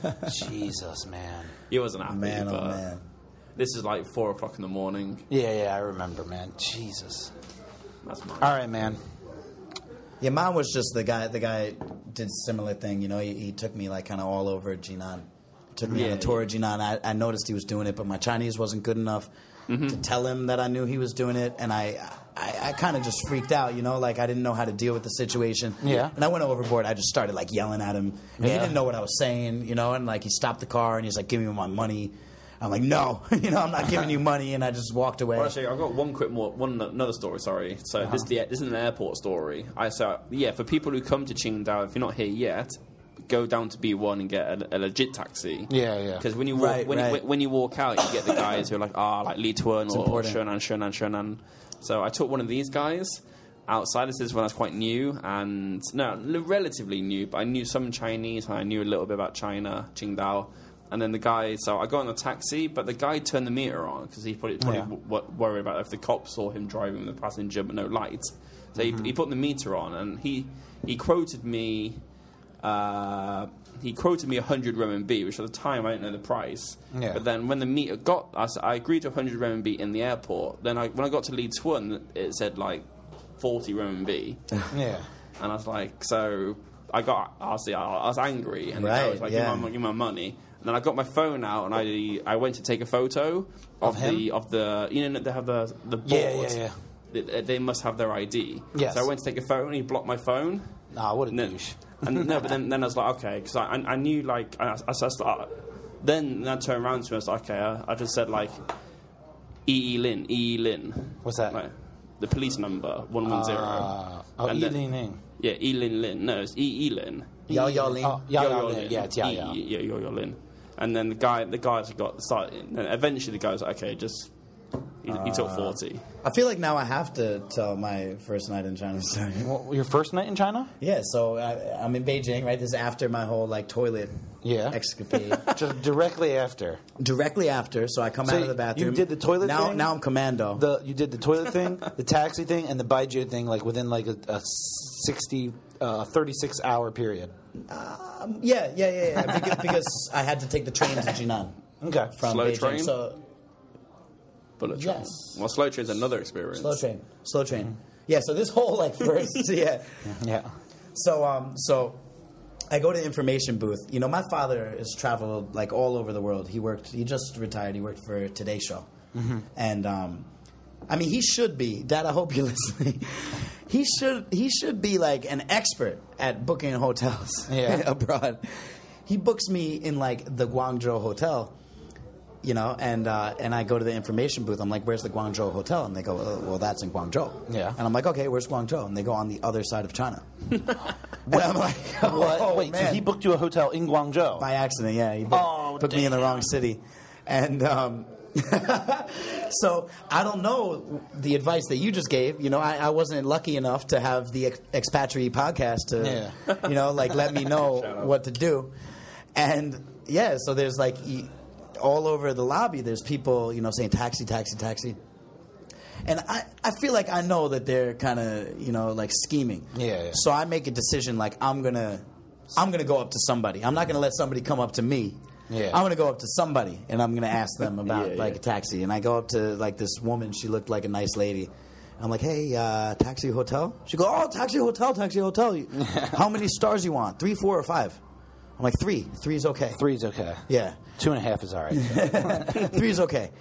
Jesus, man. He wasn't happy. Man, but oh man. This is like four o'clock in the morning. Yeah, yeah, I remember, man. Jesus. That's mine. All right, man. Yeah, mine was just the guy. The guy did a similar thing. You know, he, he took me like kind of all over Jinan. Took me on Yeah, a tour yeah. of Jinan. I, I noticed he was doing it, but my Chinese wasn't good enough Mm-hmm. to tell him that I knew he was doing it, and I I, I kind of just freaked out. You know, like I didn't know how to deal with the situation. Yeah. And I went overboard. I just started like yelling at him. And Yeah. He didn't know what I was saying. You know, and like he stopped the car and he's like, "Give me my money." I'm like, "No, you know, I'm not giving you money," and I just walked away. Well, actually, I've got one quick more, one another story. Sorry, so Uh-huh. this is the, this is an airport story. I so yeah, for people who come to Qingdao, if you're not here yet, go down to B one and get a, a legit taxi. Yeah, yeah. Because when you walk, Right, when, right. You, when you walk out, you get the guys who are like, ah, like Li Tuan or important. Shernan, Shernan, Shernan. So I took one of these guys outside. This is when I was quite new, and no, l- relatively new, but I knew some Chinese. And I knew a little bit about China, Qingdao. And then the guy, so I got in the taxi, but the guy turned the meter on because he probably, probably Yeah. w- w- worried about if the cops saw him driving with the passenger but no lights. So Mm-hmm. he, he put the meter on, and he he quoted me. Uh, he quoted me one hundred renminbi, which at the time I didn't know the price. Yeah. But then when the meter got, I, s- I agreed to one hundred renminbi in the airport. Then I, when I got to Li Tuan, it said like forty renminbi. Yeah. And I was like, so I got, obviously, I, I was angry, and I was Right, like, yeah. give, me my, give me my money. And then I got my phone out, and I I went to take a photo of, Of him? the of the you know they have the the board. Yeah, yeah, yeah. They, they must have their I D. Yes. So I went to take a photo, and he blocked my phone. Nah, what a And then, douche. and no, but then, then I was like, okay, because I, I I knew like I, I, I started, then I turned around to him. I was like, okay, I, I just said like E E Lin, E E Lin. What's that? Like, the police number one one zero. Uh, oh, And then- Yi Ling Ling. Yeah, E Lin Lin. No, it's E E Lin. Yao Yao Ling. Oh, Yao Yo Yao Yo Ling. Lin. Yeah, it's Yao E- Yao. E- Yeah, Yo Yo Lin. And then the guy, the guys got started. And eventually, the guy was like, okay, just he, he took forty. I feel like now I have to tell my first night in China story. Well, your first night in China? Yeah, so I, I'm in Beijing, right? This is after my whole like toilet Yeah. escapade. Just directly after. Directly after, so I come So out of the bathroom. you did the toilet now, thing? Now I'm commando. The you did the toilet thing, the taxi thing, and the Baijiu thing, like within like a, a sixty, uh, thirty-six hour period. Um, yeah, yeah, yeah, yeah. because, because I had to take the train to Jinan Okay. from Slow Beijing. train? So Bullet train. Yes. Well, slow train's another experience. slow train, slow train. Yeah. So this whole like first, yeah. Yeah. So um, so I go to the information booth. You know, my father has traveled like all over the world. He worked. He just retired. He worked for Today Show, Mm-hmm. and um, I mean, he should be. Dad, I hope you're listening. He should. He should be like an expert at booking hotels Yeah. abroad. He books me in like the Guangzhou hotel. You know, and uh, and I go to the information booth. I'm like, "Where's the Guangzhou hotel?" And they go, oh, "Well, that's in Guangzhou." Yeah. And I'm like, "Okay, where's Guangzhou?" And they go, "On the other side of China." And I'm like, What? "Oh, Wait, man." so he booked you a hotel in Guangzhou? By accident, yeah. He booked, Oh, put me in the damn. wrong city. And um, so I don't know the advice that you just gave. You know, I, I wasn't lucky enough to have the ex- Expatriate podcast to, you know, like let me know what to do. And yeah, so there's like e- all over the lobby, there's people, you know, saying taxi, taxi, taxi. And I, I feel like I know that they're kind of, you know, like scheming. Yeah, yeah. So I make a decision like I'm going to I'm going to go up to somebody. I'm not going to let somebody come up to me. Yeah. I'm going to go up to somebody and I'm going to ask them about Yeah, like yeah. a taxi. And I go up to like this woman. She looked like a nice lady. I'm like, "Hey, uh, taxi hotel?" She go, "Oh, taxi hotel, taxi hotel. How many stars you want? Three, four, or five?" I'm like, three. Three's okay. Three's okay. Yeah. Two and a half is all right. Three's okay.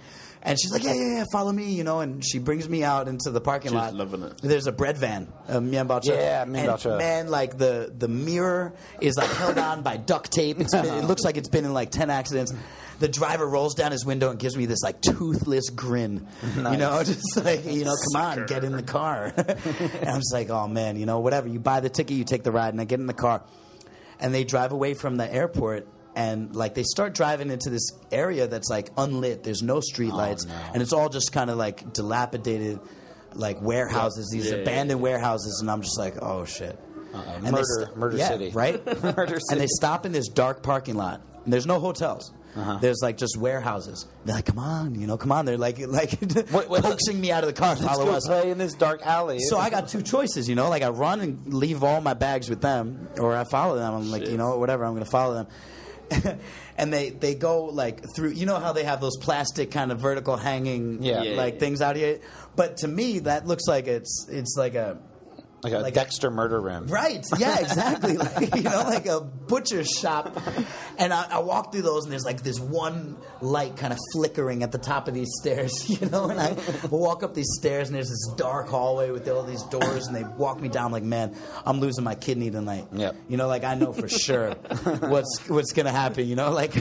And she's like, yeah, yeah, yeah, follow me, you know. And she brings me out into the parking She's lot. loving it. There's a bread van, a Mian Bao Cha. Yeah, Mian Bao Cha. And man, like the the mirror is like held on by duct tape. It's been, it looks like it's been in like ten accidents. The driver rolls down his window and gives me this like toothless grin. Nice. You know, just like, you know, come on, get in the car. And I'm just like, oh man, you know, whatever. You buy the ticket, you take the ride, and I get in the car. And they drive away from the airport, and like they start driving into this area that's like unlit. There's no street lights, no. and it's all just kind of like dilapidated, like warehouses, these Yeah, yeah, abandoned yeah. warehouses. And I'm just like, oh shit. Uh-oh. And they Murder, st- Murder yeah, City. right? Murder And they City. stop in this dark parking lot. And there's no hotels. Uh-huh. There's like just warehouses. They're like, come on, you know, come on. They're like, like Wait, wait, coaxing me out of the car. Let's Follow go us. play in this dark alley. So I got two choices, you know, like I run and leave all my bags with them, or I follow them. I'm like, Shit. you know, whatever, I'm going to follow them. And they, they go like through, you know how they have those plastic kind of vertical hanging Yeah. Yeah, like yeah. things out here. But to me, that looks like it's it's like a like a like a- Dexter murder room. Right. Yeah, exactly. Like, you know, like a butcher's shop. And I, I walk through those, and there's like this one light kind of flickering at the top of these stairs, you know, and I walk up these stairs, and there's this dark hallway with all these doors, and they walk me down like, man, I'm losing my kidney tonight. Yep. You know, like I know for sure what's what's going to happen, you know, like,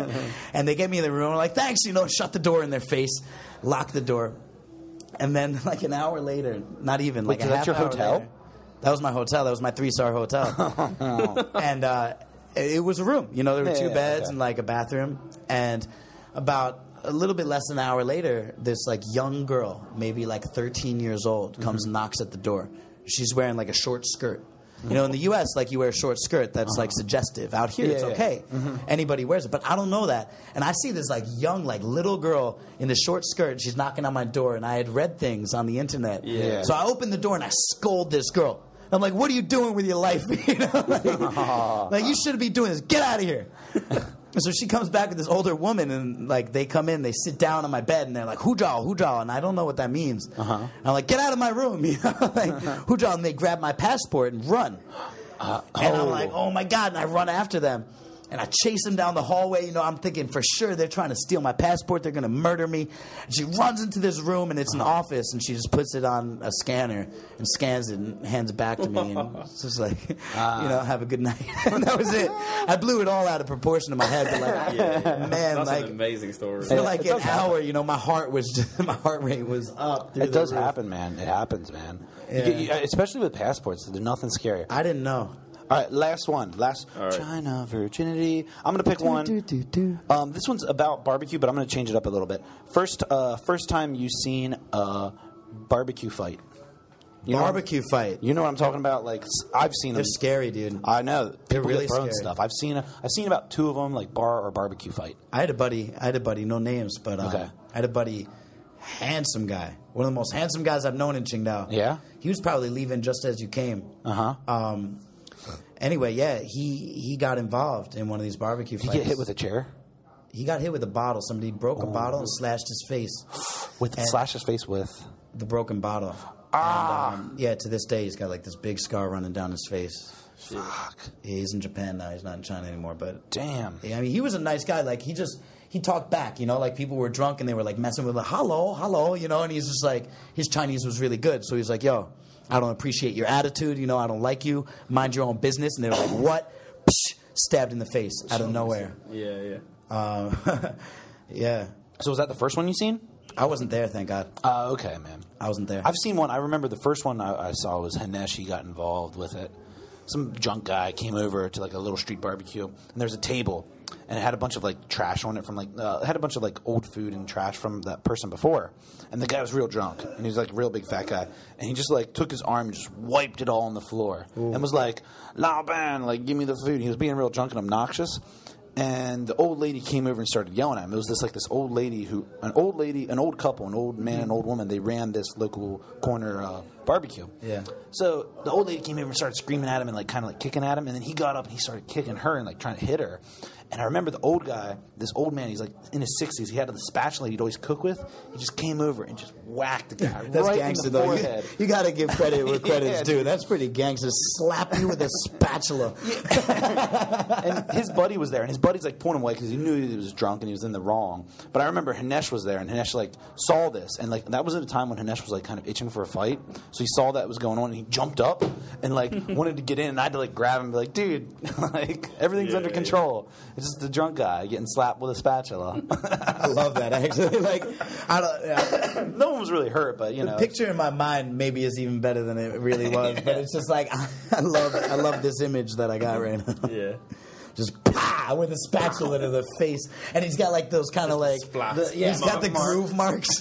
and they get me in the room, I'm like, thanks, you know, shut the door in their face, lock the door. And then, like an hour later, not even like Wait, a is that half your hour hotel? later- that was my hotel. That was my three-star hotel. And uh, it was a room. You know, there were Yeah, two yeah, beds okay. and like a bathroom. And about a little bit less than an hour later, this like young girl, maybe like thirteen years old, comes Mm-hmm. and knocks at the door. She's wearing like a short skirt. You know, in the U S, like you wear a short skirt, that's like suggestive. Out here, Yeah, it's yeah. okay. Anybody wears it, but I don't know that. And I see this like young, like little girl in the short skirt. And she's knocking on my door, and I had read things on the internet. Yeah. So I open the door and I scold this girl. I'm like, "What are you doing with your life? You know, like, like, you shouldn't be doing this. Get out of here." And so she comes back with this older woman, and like they come in, they sit down on my bed, and they're like, "Hujal, Hujal," and I don't know what that means. Uh-huh. I'm like, "Get out of my room!" You know, like Hujal, and they grab my passport and run. Uh, And oh. I'm like, oh my God. And I run after them. And I chase them down the hallway. You know, I'm thinking for sure they're trying to steal my passport. They're going to murder me. And she runs into this room, and it's an office. And she just puts it on a scanner and scans it and hands it back to me. And it's just like, you know, have a good night. And that was it. I blew it all out of proportion in my head. But like, man, That's like an amazing story. for Yeah, like it an does happen. hour, you know, my heart was just, my heart rate was up. through It the does roof. happen, man. It happens, man. You Yeah. get- you- especially with passports. There's nothing scary. I didn't know. All right, last one. Last All right. China virginity. I'm going to pick one. Do, do, do. Um, this one's about barbecue, but I'm going to change it up a little bit. First, uh, first time you've seen a barbecue fight. You know- Barbecue fight. You know what I'm talking about? Like s- I've seen They're them. scary, dude. I know They're people really get thrown scary. stuff. I've seen a, I've seen about two of them, like bar or barbecue fight. I had a buddy. I had a buddy. No names, but uh, Okay. I had a buddy. Handsome guy. One of the most handsome guys I've known in Qingdao. Yeah? He was probably leaving just as you came. Uh huh. Um. Anyway, yeah, he he got involved in one of these barbecue Did fights. you get hit with a chair? He got hit with a bottle. Somebody broke a bottle and slashed his face. With And- slash his face with. The broken bottle. Ah. And, um, yeah, to this day, he's got like this big scar running down his face. Fuck. Yeah, he's in Japan now. He's not in China anymore. But Damn. yeah, I mean, he was a nice guy. Like he just he talked back, you know, like people were drunk and they were like messing with like, hello, hello, you know, and he's just like his Chinese was really good. So he's like, yo, I don't appreciate your attitude, you know, I don't like you. Mind your own business. And they were like, what? Psh, stabbed in the face out of nowhere. Yeah, yeah. Um, yeah. So was that the first one you seen? I wasn't there, thank God. Uh, okay, man. I wasn't there. I've seen one. I remember the first one I, I saw was Haneshi got involved with it. Some drunk guy came over to like a little street barbecue, and there's a table, and it had a bunch of like trash on it from like uh, it had a bunch of like old food and trash from that person before. And the guy was real drunk, and he was like a real big fat guy, and he just like took his arm and just wiped it all on the floor, and was like, "Lao ban, like give me the food." He was being real drunk and obnoxious. And the old lady came over and started yelling at him. It was this like this old lady who, an old lady, an old couple, an old man, and an old woman. They ran this local corner uh, barbecue. Yeah. So the old lady came over and started screaming at him and like kind of like kicking at him. And then he got up and he started kicking her and like trying to hit her. And I remember the old guy, this old man, he's like in his sixties. He had the spatula he'd always cook with. He just came over and just whacked the guy That's right gangster, in the though. forehead. You, you got to give credit where credit's Yeah, due. dude. That's pretty gangster. Slap you with a spatula. And his buddy was there, and his buddy's like pulling him away because he knew he was drunk and he was in the wrong. But I remember Hanesh was there, and Hanesh like saw this, and like that was at a time when Hanesh was like kind of itching for a fight. So he saw that was going on, and he jumped up and like wanted to get in, and I had to like grab him and be like, dude, like everything's Yeah, under yeah. control. It's just the drunk guy getting slapped with a spatula. I love that, actually. Like, I don't. Yeah. No one was really hurt, but you The know. picture in my mind maybe is even better than it really was, but it's just like I love I love this image that I got right now. Yeah. Just pow with a spatula to the face, and he's got like those kind of like splat. the, yeah, he's got the Mark. groove marks.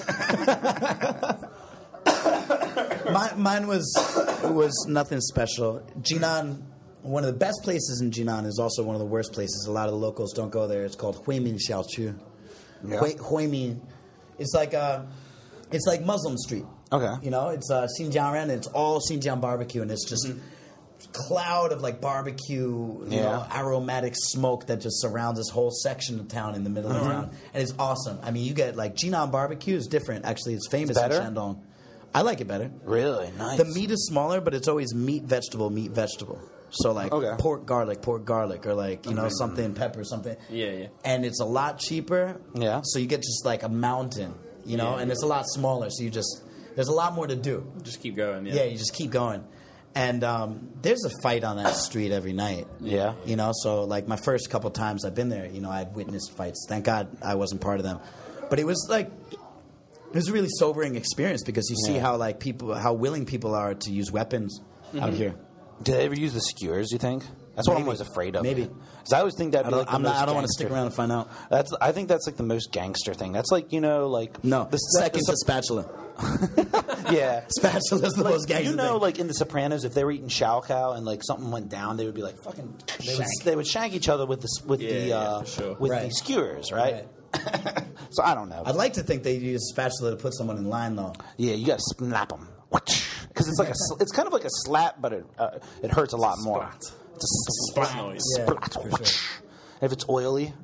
mine, mine was was nothing special. Jinan, one of the best places in Jinan, is also one of the worst places. A lot of the locals don't go there. It's called Huimin Xiaoqu. Yeah. Hui, Huimin, it's like a, it's like Muslim Street. Okay. You know, it's uh, Xinjiang, and it's all Xinjiang barbecue, and it's just. Cloud of like barbecue, you Yeah. know, aromatic smoke that just surrounds this whole section of town in the middle of town, and it's awesome. I mean, you get like Jinan barbecue is different. Actually, it's famous It's better? in Shandong. I like it better. Really nice. The meat is smaller, but it's always meat, vegetable, meat, vegetable. So like Okay. pork, garlic, pork, garlic, or like you know something, pepper, something. Yeah, yeah. And it's a lot cheaper. Yeah. So you get just like a mountain, you know, Yeah. and it's a lot smaller. So you just there's a lot more to do. Just keep going. Yeah. Yeah, you just keep going. And um, there's a fight on that street every night. Yeah. You know, so like my first couple times I've been there, you know, I've witnessed fights. Thank God I wasn't part of them. But it was like, it was a really sobering experience because you see Yeah. how like people, how willing people are to use weapons out here. Do they ever use the skewers, you think? That's what I'm Maybe. always afraid of. Maybe. Because I always think that'd I be don't, like the I'm not, most I don't want to gangster. stick around and find out. That's I think that's like the most gangster thing. That's like, you know, like No, the the second the, to spatula. yeah. Spatula is the most gangster You know, thing. like in The Sopranos, if they were eating shao cow and like something went down, they would be like fucking. They would, Shank. they would shank each other with the s- with Yeah, the yeah, uh, for sure. with Right. the skewers, right? So I don't know. I'd like to think they use spatula to put someone in line, though. Yeah, you got to snap them because it's like a sl- it's kind of like a slap, but it uh, it hurts a lot more. Splat. It's a Splat splat. noise. Yeah, Splat. for sure. If it's oily,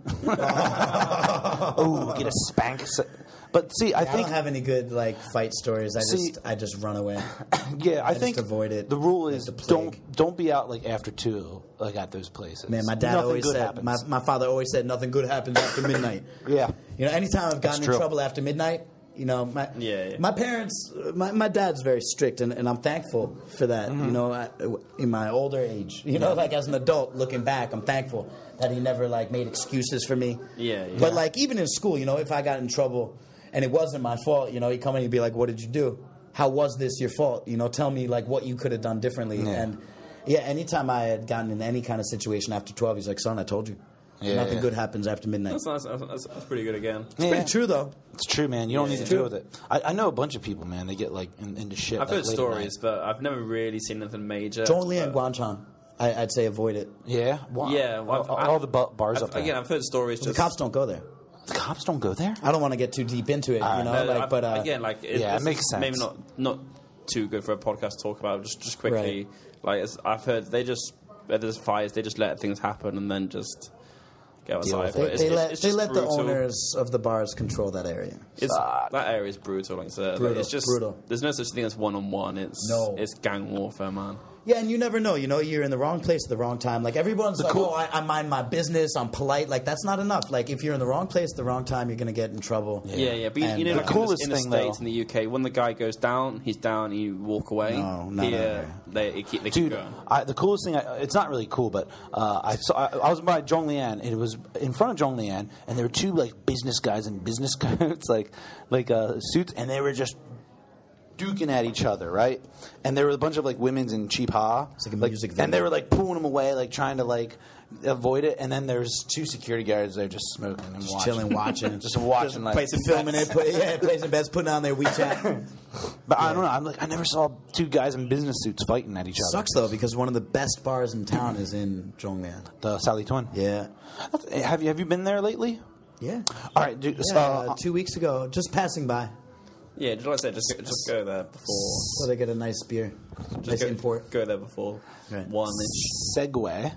oh, get a spank. But see, I I think don't have any good like fight stories. I See- just I just run away. yeah, I, just think avoid it The rule like is the plague. don't don't be out like after two, like at those places. Man, my dad Nothing always good said, happens. my, my father always said, nothing good happens after midnight. Yeah. You know, anytime I've gotten in true. trouble after midnight, you know, my Yeah, yeah. my parents, my, my dad's very strict, and, and I'm thankful for that. Mm-hmm. You know, I, in my older age, you know, like as an adult looking back, I'm thankful that he never like made excuses for me. Yeah, yeah. But like even in school, you know, if I got in trouble and it wasn't my fault, you know, he'd come in and he'd be like, "What did you do? How was this your fault? You know, tell me like what you could have done differently." Yeah. And yeah, anytime I had gotten in any kind of situation after twelve, he's like, "Son, I told you, Yeah, nothing yeah. good happens after midnight." That's, nice. that's, that's, that's pretty good again. It's pretty true though. It's true, man. You don't Yeah, need yeah. to deal with it. I, I know a bunch of people, man. They get like in, into shit. I've like, heard late at stories, night. but I've never really seen anything major. Zhongli and But- Guangchang, I, I'd say avoid it. Yeah, wow. Yeah, well, I've- all, I've- all the bu- bars I've, up there. Again, I've heard stories. The Just, cops don't go there. the cops don't go there. I don't want to get too deep into it, you know. No, like, I've- but uh, again, like it, yeah, it it's makes sense. Maybe not not too good for a podcast to talk about. Just just quickly, like it's, I've heard they just where there's fires, they just let things happen and then just go Deal outside. with they, it. But it's, they it's, let it's they just let the brutal. owners of the bars control that area. It's, that area is brutal. Like, so, like, Brutal, it's just brutal. there's no such thing as one on one. It's No. it's gang warfare, man. Yeah, and you never know. You know, you're in the wrong place at the wrong time. Like everyone's like, cool- "Oh, I, I mind my business. I'm polite." Like that's not enough. Like if you're in the wrong place at the wrong time, you're gonna get in trouble. Yeah, yeah. But you- And, you know, uh, like The coolest in the, in thing, the States, though- in the U K, when the guy goes down, he's down. You walk away. No, no, no, Here, no. they, they keep they Dude, keep going. I, the coolest thing, I, it's not really cool, but uh, I saw, I, I was by Zhonglian, and it was in front of Zhonglian, and there were two like business guys in business coats, like like uh, suits, and they were just duking at each other, right? And there were a bunch of like women's in cheap ha, It's like a music video. and they were like pulling them away, like trying to like avoid it. And then there's two security guards there just smoking and Just watching, chilling, watching, just watching, like placing, filming it, put, yeah, placing bets, putting on their WeChat. But I don't know. I'm like, I never saw two guys in business suits fighting at each other. Sucks though because one of the best bars in town is in Zhonglian. The Sally Twin. Yeah, Have you have you been there lately? yeah. All right, dude. Yeah, uh, uh, two weeks ago, just passing by. Yeah, just like I said, just just go there before. So they get a nice beer, nice Go, import. go there before Right. one. Inch. segue.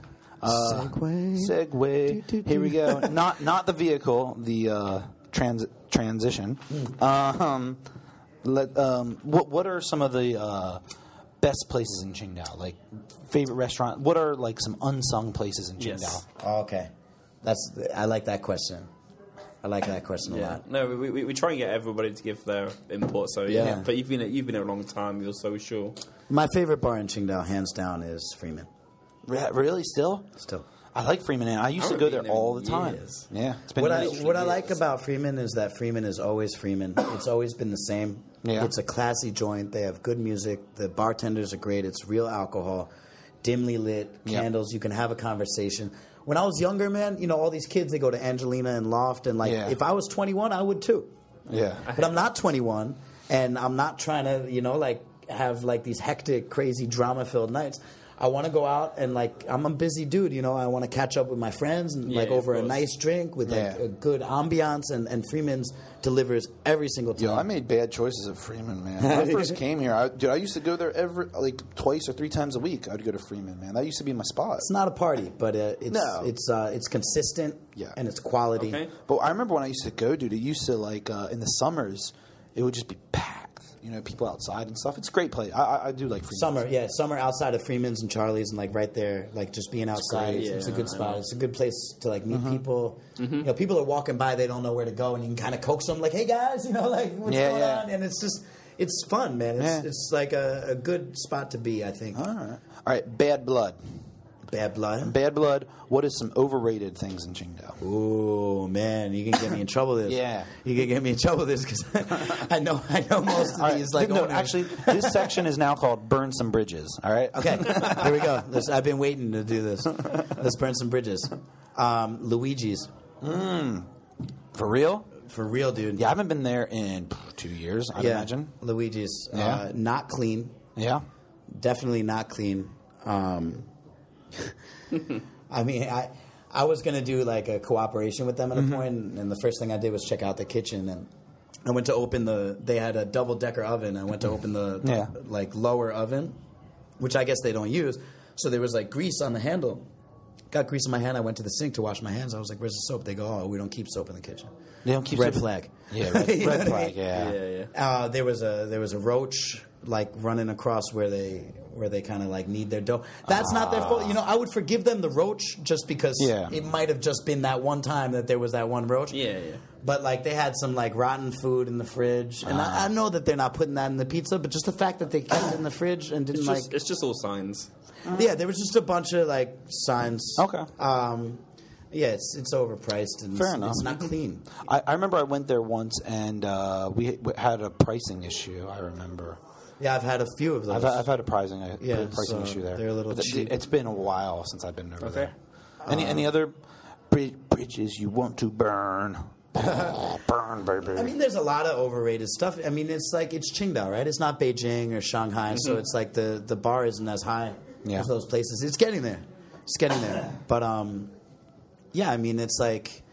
Uh, Segway. Segway. Here we go. Not not the vehicle, the uh, trans- transition. Mm. Um, let, um, what what are some of the uh, best places in Qingdao? Like favorite restaurant? What are like some unsung places in Qingdao? Yes. Oh, okay, that's I like that question. I like that question a Yeah. lot. No, we, we we try and get everybody to give their input. So yeah. Yeah. But you've been you've been there a long time. You're so sure. My favorite bar in Qingdao, hands down, is Freeman. Re- Really? Still? Still. I like Freeman Inn. I used I to haven't go there been there all in the time. years. Yeah. It's been What I years. what I like about Freeman is that Freeman is always Freeman. It's always been the same. Yeah. It's a classy joint. They have good music. The bartenders are great. It's real alcohol, dimly lit, Yep. candles. You can have a conversation. When I was younger, man, you know, all these kids, they go to Angelina and Loft, and like, Yeah. if I was twenty-one, I would too. Yeah. But I'm not twenty-one, and I'm not trying to, you know, like have like these hectic, crazy, drama-filled nights. I want to go out and like I'm a busy dude, you know. I want to catch up with my friends and Yeah, like of over a course. nice drink with like Yeah. a good ambiance, and, and Freeman's delivers every single time. Yo, I made bad choices at Freeman, man. When I first came here, I, dude, I used to go there every like twice or three times a week. I'd go to Freeman, man. That used to be my spot. It's not a party, but uh, it's No. it's uh, it's consistent, Yeah. and it's quality. Okay. But I remember when I used to go, dude. It used to like uh, in the summers, it would just be packed. You know, people outside and stuff. It's a great place. I, I, I do like Freeman. Summer, yeah, summer outside of Freeman's and Charlie's, and like right there, like just being outside. great, It's, it's a yeah, good I spot. know. It's a good place to like meet Mm-hmm. people. You know, people are walking by, they don't know where to go, and you can kind of coax them, like, "Hey guys, you know, like what's Yeah, going yeah. on?" And it's just, it's fun, man. It's Yeah. it's like a, a good spot to be, I think. All right, all right. Bad Blood. Bad blood. Bad Blood. What is some overrated things in Qingdao? Ooh, man, you can get me in trouble with this. Yeah. you can get me in trouble with this because I know I know most of All right, these. Like, no, owners. actually, this section is now called "Burn Some Bridges." All right. Okay, here we go. This, I've been waiting to do this. Let's burn some bridges. Um, Luigi's. For real? For real, dude. Yeah, I haven't been there in two years. I'd Yeah. imagine. Luigi's. Yeah. Uh, not clean. Yeah. Definitely not clean. Um, I mean, I I was going to do like a cooperation with them at a Mm-hmm. point, and the first thing I did was check out the kitchen, and I went to open the, they had a double decker oven. I went to open the, the Yeah. like lower oven, which I guess they don't use. So there was like grease on the handle. Got grease in my hand. I went to the sink to wash my hands. I was like, "Where's the soap?" They go, "Oh, we don't keep soap in the kitchen." They don't keep red soap- flag. Yeah, red, You know red what I flag. mean? Yeah. Yeah, yeah. Uh, there was a there was a roach like running across where they where they kind of like need their dough. That's not their fault. You know, I would forgive them the roach just because Yeah. it might have just been that one time that there was that one roach. Yeah, yeah. But like they had some like rotten food in the fridge, and I, I know that they're not putting that in the pizza, but just the fact that they kept it in the fridge and didn't It's like just, it's just all signs. yeah, there was just a bunch of like signs. Okay. Um, yeah, it's it's overpriced and Fair it's, enough. it's not clean. I, I remember I went there once and uh, we, we had a pricing issue. I remember. Yeah, I've had a few of those. I've, I've had a pricing, a Yeah, pricing so issue there. they're a little But cheap. It's been a while since I've been over Okay. there. Any any other bri- bridges you want to burn? Oh, burn, baby. I mean, there's a lot of overrated stuff. I mean, it's like it's Qingdao, right? It's not Beijing or Shanghai, so it's like the, the bar isn't as high Yeah. as those places. It's getting there. It's getting there. But um, yeah, I mean, it's like,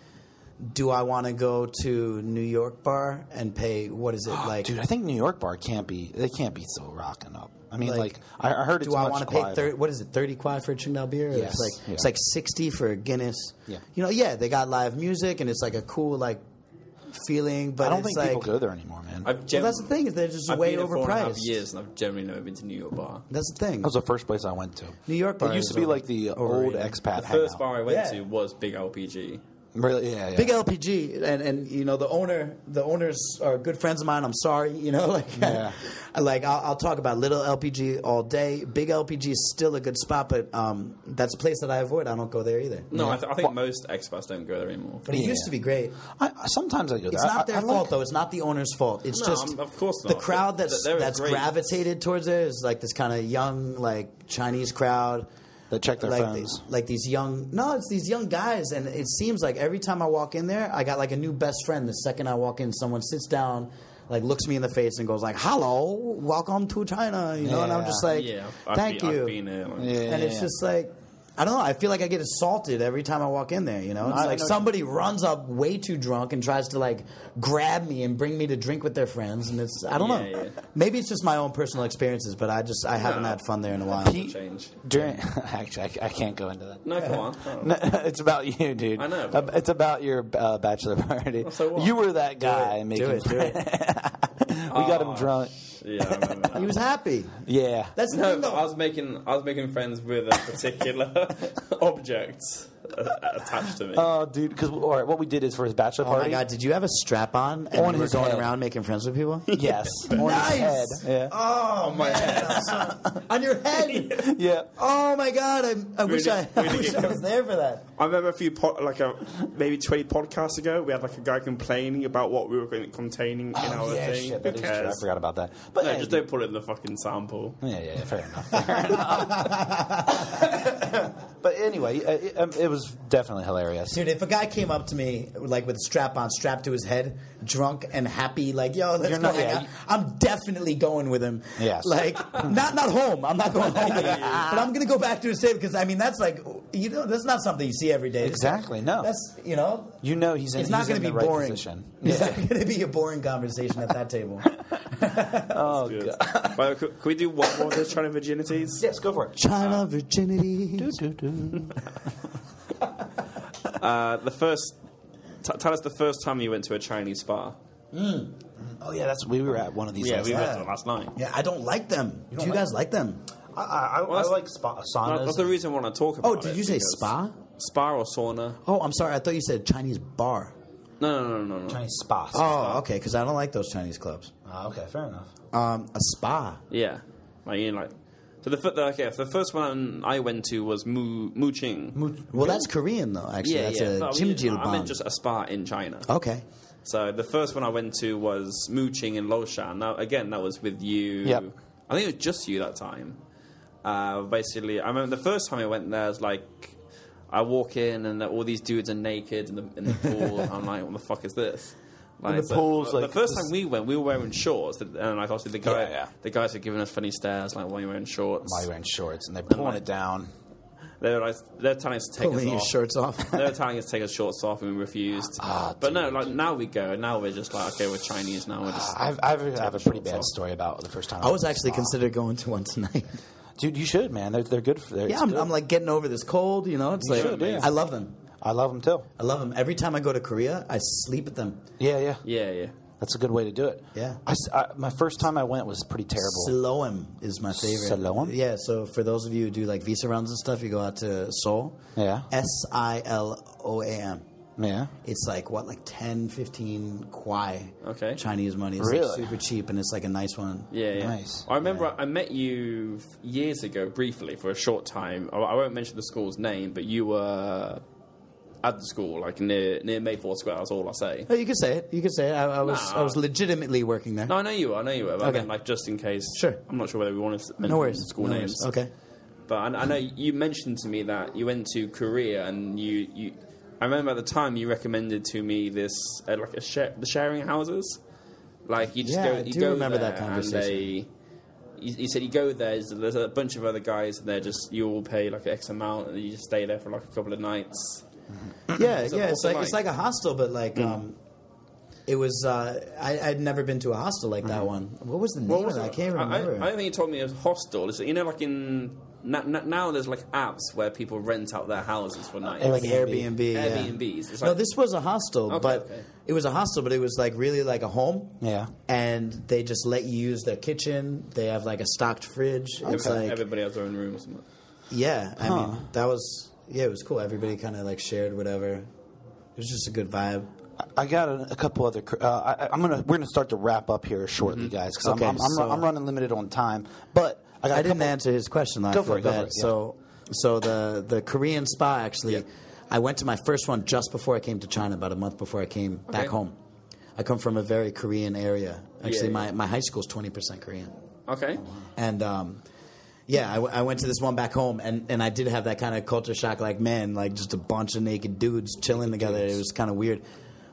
do I want to go to New York bar and pay? What is it like? Dude, I think New York bar can't be. They can't be so rocking up. I mean, like, Like, I, I heard it's do I much want to pay quieter. thirty? What is it? Thirty quid for a Qingdao beer? Yes, It's like yeah. it's like sixty for a Guinness. Yeah. You know, yeah, they got live music and it's like a cool like feeling. But I don't it's think like, people go there anymore, man. I've well, gem- that's the thing. Is they're just I've way been here four and a half overpriced. years, and I've generally never been to New York bar. That's the thing. That was the first place I went to. New York bar It used is to be over- like the old overrated. expat The first hangout. bar I went Yeah. to was Big L P G. Really? Yeah, yeah. Big L P G, and, and you know the owner, the owners are good friends of mine. I'm sorry, you know, like, Yeah. like I'll, I'll talk about Little L P G all day. Big L P G is still a good spot, but um, that's a place that I avoid. I don't go there either. No, I, th- I think most expats don't go there anymore. But it Yeah. used to be great. I, I- sometimes I go there. It's not I- their I fault like- though. It's not the owner's fault. It's No, just I'm- of course the not. crowd Th- that's they're that's great. gravitated towards there is like this kind of young, like Chinese crowd. They check their like phones. Like these young, no, it's these young guys, and it seems like every time I walk in there, I got like a new best friend. The second I walk in, someone sits down, like looks me in the face, and goes like, "Hello, welcome to China," you know, and I'm Yeah. just like, Yeah, I've, "Thank been, you." I've been there. Like, Yeah, and it's yeah. just like, I don't know. I feel like I get assaulted every time I walk in there. You know, it's I like know- somebody runs up way too drunk and tries to like grab me and bring me to drink with their friends, and it's I don't Yeah, know. yeah. Maybe it's just my own personal experiences, but I just I haven't No. had fun there in a while. Pete- Change. During, actually, I, I can't go into that. No, come on. Oh. No, it's about you, dude. I know, Uh, but- It's about your uh, bachelor party. Well, so what? You were that guy it, making do it, do it. we got him Oh, drunk. Yeah, I remember that. He was happy. Yeah. That's the No, thing, but though. I was making I was making friends with a particular object uh, attached to me. Oh, dude. Because all right, what we did is for his bachelor Oh my party. god! Did you have a strap on and On you were his going head. around making friends with people? Yes. On Nice. his head. Yeah. Oh, my head. on your head. Yeah. Oh my god! I, I wish Really- I, I really wish I good. was there for that. I remember a few, po- like a maybe twenty podcasts ago, we had like a guy complaining about what we were going containing in our Oh, yeah, thing. shit, that Who is true. I cares? forgot about that. But no, hey, just don't put it in the fucking sample. Yeah, yeah, yeah, fair enough. Fair enough. But anyway, uh, it, um, it was definitely hilarious. Dude, if a guy came up to me like with a strap on, strapped to his head, drunk and happy, like yo, let's You're go not- hang yeah, out, you- I'm definitely going with him. Yes. Like not not home. I'm not going home with him, but I'm gonna go back to his table because I mean that's like you know that's not something you see every day. Exactly, no. That's you know. You know he's in, It's not he's going in to the be right boring. position. It's Yeah. not going to be a boring conversation at that table. Oh, Good. God. Well, could, could we do one more of those China virginities? Yes, go for it. China virginity. Do, do, do. Uh, the first, t- tell us the first time you went to a Chinese spa. Oh, yeah, that's we were at one of these Yeah, last we night. went to it last night. Yeah, I don't like them. Do don't you like guys like them? I, I, Well, that's- I like spa, That- saunas. That's the reason I want to talk about Oh, it. did you say because- spa? Spa or sauna? Oh, I'm sorry. I thought you said Chinese bar. No, no, no, no, no. Chinese spa. Oh, okay. Because I don't like those Chinese clubs. Oh, okay, fair enough. Um, a spa. Yeah, like you know, like so the fir- the, okay, the first one I went to was Mu Mu Ching. Well, that's Korean though. Actually, yeah, that's yeah. a No, I mean, jimjilbang. I meant just a spa in China. Okay. So the first one I went to was Mu Ching in Loshan. Now again, that was with you. Yep. I think it was just you that time. Uh, basically, I remember the first time I went there, it was like I walk in and all these dudes are naked in the in the pool. I'm like, what the fuck is this? Like, the so- pool's the like first this- time we went, we were wearing shorts, and like obviously the guy, Yeah, yeah. the guys were giving us funny stares, like, why are you wearing shorts? Why are you wearing shorts? And they're pulling it down. They were like, they're telling us to take Pulling us your off. shirts off. They were telling us to take our shorts off, and we refused. Ah, but no, like now we go, and now we're just like, okay, we're Chinese now. We're just I've, I've, I have a pretty shorts bad off. story about the first time. I was went to actually spa. considered going to one tonight. Dude, you should, man. They're, they're good. For, they're, yeah, it's I'm, good. I'm like getting over this cold. You know, it's You like should, yeah. I love them. I love them too. I love them. Every time I go to Korea, I sleep at them. Yeah, yeah. yeah, yeah. That's a good way to do it. Yeah. I s I my first time I went was pretty terrible. Siloam is my favorite. Siloam? Yeah, so for those of you who do like visa rounds and stuff, you go out to Seoul. Yeah. S I L O A M. Yeah. It's like, what, like ten, fifteen kwai Okay. Chinese money. It's Really? like super cheap, and it's like a nice one. Yeah, yeah. Nice. I remember I met you years ago, briefly, for a short time. I I won't mention the school's name, but you were at the school, like near near Mayfair Square. That's all I say. Oh, you could say it. You could say it. I, I was Nah. I was legitimately working there. No, I know you were. I know you were. But I Okay. meant, like, just in case. Sure. I'm not sure whether we want to mention No worries. school no names. worries. Okay. But I, I know you mentioned to me that you went to Korea, and you, you I remember at the time you recommended to me this uh, like a share, the sharing houses. Like you just Yeah, go, I you do go remember there that conversation. And they, you, you said you go there. There's, there's a bunch of other guys, and they're just you all pay like X amount, and you just stay there for like a couple of nights. Yeah, So yeah. It's what's it like it's like? like a hostel, but like Mm. um, it was. Uh, I, I'd never been to a hostel like that one. What was the name What of was it? it? I can't I, remember. I, I think you told me it was hostel. It's, you know, like in now, now there's like apps where people rent out their houses for nights. like Airbnb. Airbnb. yeah. Airbnbs. It's no, like- this was a hostel, Okay, but okay. it was a hostel, but it was like really like a home. Yeah. And they just let you use their kitchen. They have like a stocked fridge. It's Okay. like Everybody has their own room or something. yeah. I Huh. mean, that was yeah. It was cool. Everybody kind of like shared whatever. It was just a good vibe. I got a, a couple other. cr- Uh, I, I'm gonna. We're gonna start to wrap up here shortly, guys, because Okay, I'm, I'm, I'm, so- I'm running limited on time. But I got. I a didn't couple- answer his question. Though. Go I for feel it, go for bad. it, yeah. So, so the the Korean spa actually, Yeah. I went to my first one just before I came to China, about a month before I came back Okay. home. I come from a very Korean area. Actually, Yeah, my, yeah. my high school is twenty percent Korean, Okay. and um, yeah, I, w- I went to this one back home, and, and I did have that kind of culture shock. Like, man, like just a bunch of naked dudes chilling together. It was kind of weird.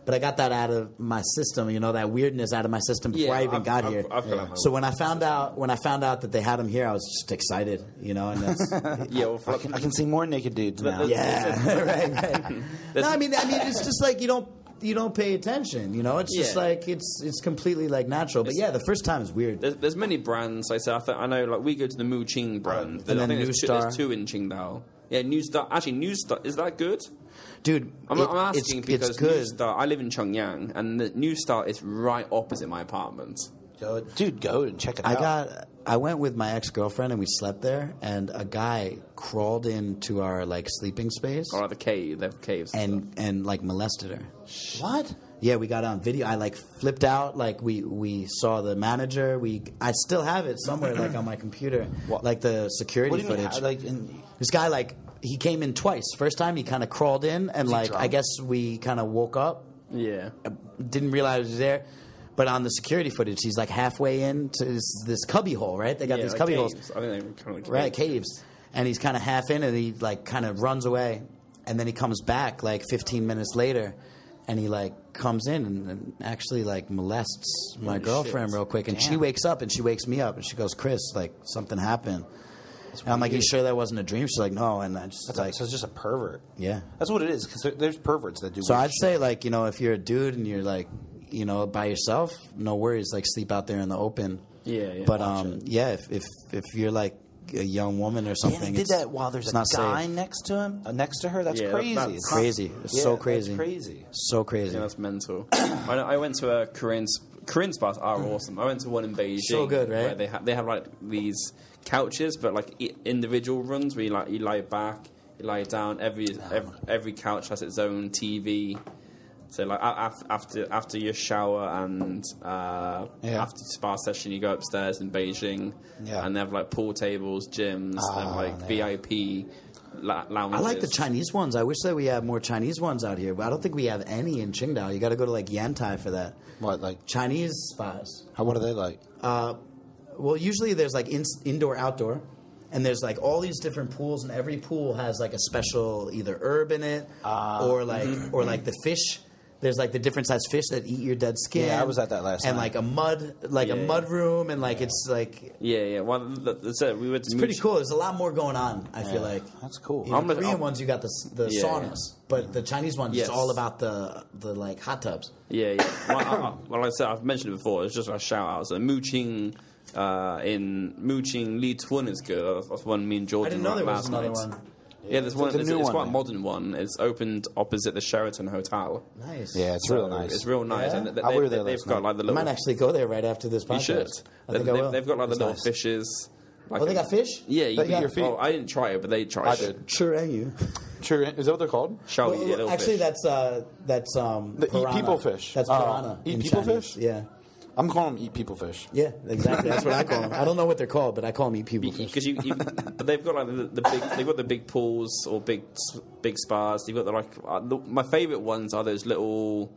but I got that out of my system. You know, that weirdness out of my system before Yeah, I even I've- got I've- here. I've got that. So when I found out when I found out that they had him here, I was just excited. You know, and that's Yeah, well, I can, I can see more naked dudes now. yeah, right, right. No, I mean, I mean, it's just like you don't. You don't pay attention, you know. It's just Yeah. like it's it's completely like natural. But yeah, the first time is weird. There's, there's many brands. Like I said, I, th- I know. Like we go to the Mu Qing brand. And I then think New there's two, Star. there's two in Qingdao. Yeah, New Star. Actually, New Star is that good? Dude, I'm, it- I'm asking it's, because it's good. New Star. I live in Chongyang, and the New Star is right opposite my apartment. Go, dude, go and check it I out. got. I went with my ex girlfriend and we slept there, and a guy crawled into our like sleeping space Or like the cave. They have caves. and and like molested her. What? Yeah, we got it on video. I like flipped out. Like we we saw the manager. We I still have it somewhere like on my computer. What? Like the security What do you mean? footage. How- Like, in, This guy, like, he came in twice. First time, he kind of crawled in, and, he like, I drunk? guess we kind of woke up, yeah. didn't realize he was there. But on the security footage, he's, like, halfway into this, this cubby hole, right? They got yeah, these like cubby caves. holes. I think they're kind of like Right, caves. And he's kind of half in, and he, like, kind of runs away. And then he comes back, like, fifteen minutes later, and he, like, comes in and, and actually, like, molests my Holy girlfriend shit. real quick. And she Damn. wakes up, and she wakes me up, and she goes, Chris, like, something happened. And I'm like, you sure that wasn't a dream? She's like, no. And I just, that's like, like, so it's just a pervert. yeah. That's what it is. Because there, there's perverts that do. So weird I'd shit. say, like, you know, if you're a dude and you're like, you know, by yourself, no worries. Like, sleep out there in the open. Yeah, yeah. But um, yeah, if if if you're like a young woman or Yeah, something, and he did it's- that while there's it's a not guy safe. next to him, uh, next to her. That's Yeah, crazy. that's It's crazy. It's yeah, so that's crazy. crazy. So crazy. Yeah, that's mental. I, I went to a Korean sp- Korean spas are awesome. I went to one in Beijing. So good, right? Where they have they have like these couches, but like i- individual runs where you like you lie back, you lie down. Every every, every couch has its own T V. So like a- af- after after your shower and uh, Yeah. after spa session, you go upstairs in Beijing, Yeah. and they have like pool tables, gyms, they have Ah, like yeah. V I P la- lounges. I like the Chinese ones. I wish that we had more Chinese ones out here, but I don't think we have any in Qingdao. You got to go to like Yantai for that. What like? Chinese spas. How? What are they like? Uh, well, usually there's like in, indoor, outdoor, and there's like all these different pools, and every pool has like a special either herb in it, Ah. or like or like the fish. There's like the different size fish that eat your dead skin. Yeah, I was at that last and night. like a mud, like a Yeah. mud room, and like it's like Yeah, yeah. Well, th- that's it. We went to it's pretty cool. There's a lot more going on. I feel Yeah, like that's cool. You know, I'm the a- Korean I'm- ones, you got the the Yeah. saunas, but the Chinese ones, Yes. it's all about the the like hot tubs. Yeah, yeah. Well, I, I, well, like I said, I've mentioned it before. It's just a shout out. So Muqing uh, in Muqing Li Tun is good. That's, that's one me and I Jordan didn't know were there at was last another night. one. Yeah, there's It's one. like a It's, new it's one, quite a man. modern one. It's opened opposite the Sheraton Hotel. Nice. Yeah, it's So real nice. It's real nice. Yeah? And they, I they, were there they, last they've got night. like the I little. might actually go there right after this podcast. You should. I They, think I they've, will. they've got like the It's little nice. fishes. Like Oh, they got fish? Yeah, you They can eat your feet. Oh, I didn't try it, but they tried I it. did. Sure, and you. Sure, is that what they're called? Shall we? Well, Yeah, little actually, fish. that's uh, that's um, The eat piranha. people fish. That's Uh, piranha. eat in people Chinese. fish? Yeah, I'm calling them eat people fish. yeah, exactly. That's what I call them. I don't know what they're called, but I call them eat people fish. Because you, you, but they've got like the, the big, they've got the big pools or big, big spas. They've got the like, uh, the, my favourite ones are those little,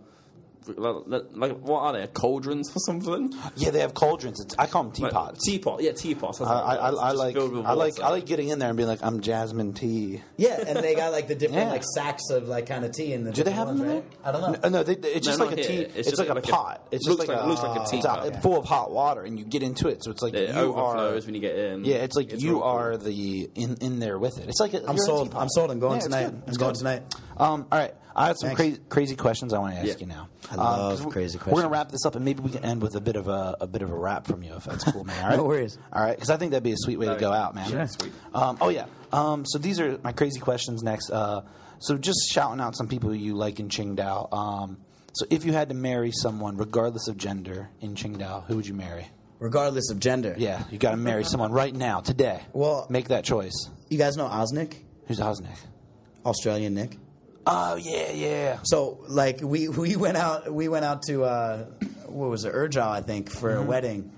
like, like what are they? Cauldrons or something? Yeah, they have cauldrons. It's, I call them Like, teapots. teapot, yeah, teapots. That's I, what I, it I, is. I Just like filled with I like water. I like getting in there and being like, I'm Jasmine tea. Yeah, and they got like the different Yeah. like sacks of like kind of tea in the. Do they different have them ones, in right? there? I don't know. No, no they, it's No, just not like a here. tea. It's It's, just like, like a a- pot. It's just looks like, like- a, looks like a it's teapot. out- full of hot water, and you get into it. So it's like It you overflows are. when you get in. Yeah, it's like It's you real cool. are the in in there with it. It's like a, I'm you're a sold. teapot. I'm sold. I'm going Yeah, it's tonight. good. I'm It's going good. tonight. Um, all right, I have some Thanks. crazy crazy questions I want to ask Yeah. you now. I Um, love 'cause we- crazy We're gonna questions. wrap this up, and maybe we can end with a bit of a a bit of a rap from you, if that's cool, man. All right? No worries. All right, because I think that'd be a sweet way to Very go good. out, man. Sure. Sweet. Um, oh yeah. Um, so these are my crazy questions next. Uh, so just shouting out some people you like in Qingdao. Um, so if you had to marry someone, regardless of gender, in Qingdao, who would you marry? Regardless of gender. Yeah, you got to marry someone right now, today. Well- make that choice. You guys know Osnick, Who's Osnick? Australian Nick. Oh yeah, yeah. So like we we went out we went out to uh, what was it Urjao I think for Mm-hmm. a wedding,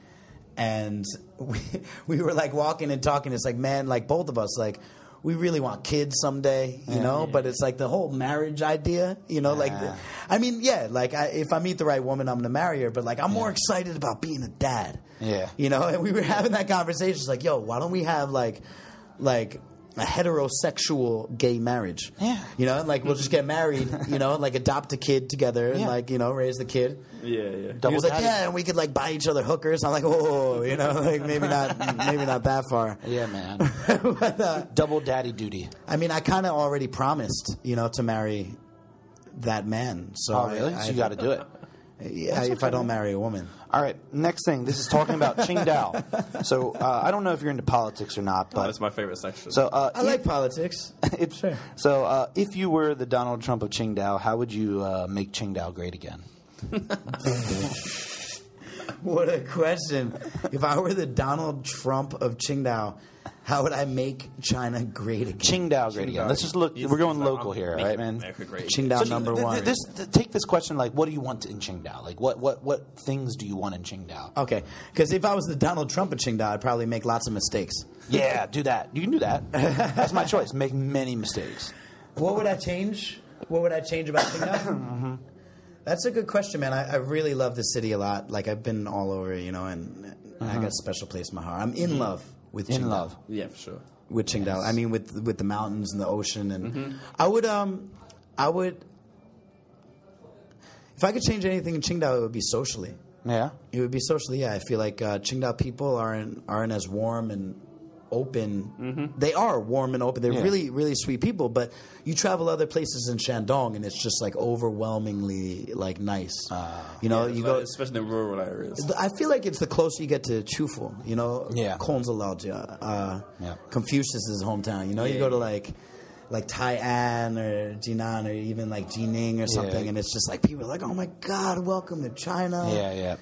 and we we were like walking and talking. It's like man, like both of us like. We really want kids someday, you Yeah. know, but it's like the whole marriage idea, you know, like, Yeah. I mean, yeah, like I, if I meet the right woman, I'm going to marry her, but like I'm more excited about being a dad. Yeah. You know, and we were having that conversation. It's like, yo, why don't we have like, like a heterosexual gay marriage. Yeah. You know, like we'll just get married, you know, like adopt a kid together and Yeah. like, you know, raise the kid. Yeah, yeah. He was like, daddy. yeah, and we could like buy each other hookers. I'm like, whoa, you know, like maybe not, maybe not that far. Yeah, man. But, uh, Double daddy duty. I mean, I kind of already promised, you know, to marry that man. So Oh, really? I, So you got to do it. yeah, if I don't marry a woman. All right, next thing. This is talking about Qingdao. So uh, I don't know if you're into politics or not, Oh, but that's my favorite section. so uh, I like politics. if, Sure. So uh, if you were the Donald Trump of Qingdao, how would you uh, make Qingdao great again? What a question. If I were the Donald Trump of Qingdao, how would I make China great again? Qingdao great again. Let's just look. We're going local here, Make right, man? America great. Qingdao So number th- th- one. This, th- take this question like, what do you want in Qingdao? Like, what, what, what things do you want in Qingdao? Okay, because if I was the Donald Trump of Qingdao, I'd probably make lots of mistakes. Yeah, do that. You can do that. That's my choice. Make many mistakes. What would I change? What would I change about Qingdao? Mm-hmm. That's a good question, man. I, I really love the city a lot. Like I've been all over, you know, and I got a special place in my heart. I'm in love with Qingdao. In love. Yeah, for sure. With Qingdao. I mean, with with the mountains and the ocean, and Mm-hmm. I would um, I would. If I could change anything in Qingdao, it would be socially. Yeah. It would be socially. Yeah, I feel like uh, Qingdao people aren't aren't as warm and open. Mm-hmm. They are warm and open. They're Yeah. really really sweet people. But you travel other places in Shandong, and it's just like overwhelmingly like nice. you know, Yeah, you like, go. especially in rural areas. I feel like it's the closer you get to Chufu, you know, Yeah. Konzalaojia, uh, Yeah. Confucius' hometown. You know, you Yeah, go to yeah. like like Tai'an or Jinan or even like Jining or something, Yeah. and it's just like people are like, "Oh my God, welcome to China." Yeah, yeah.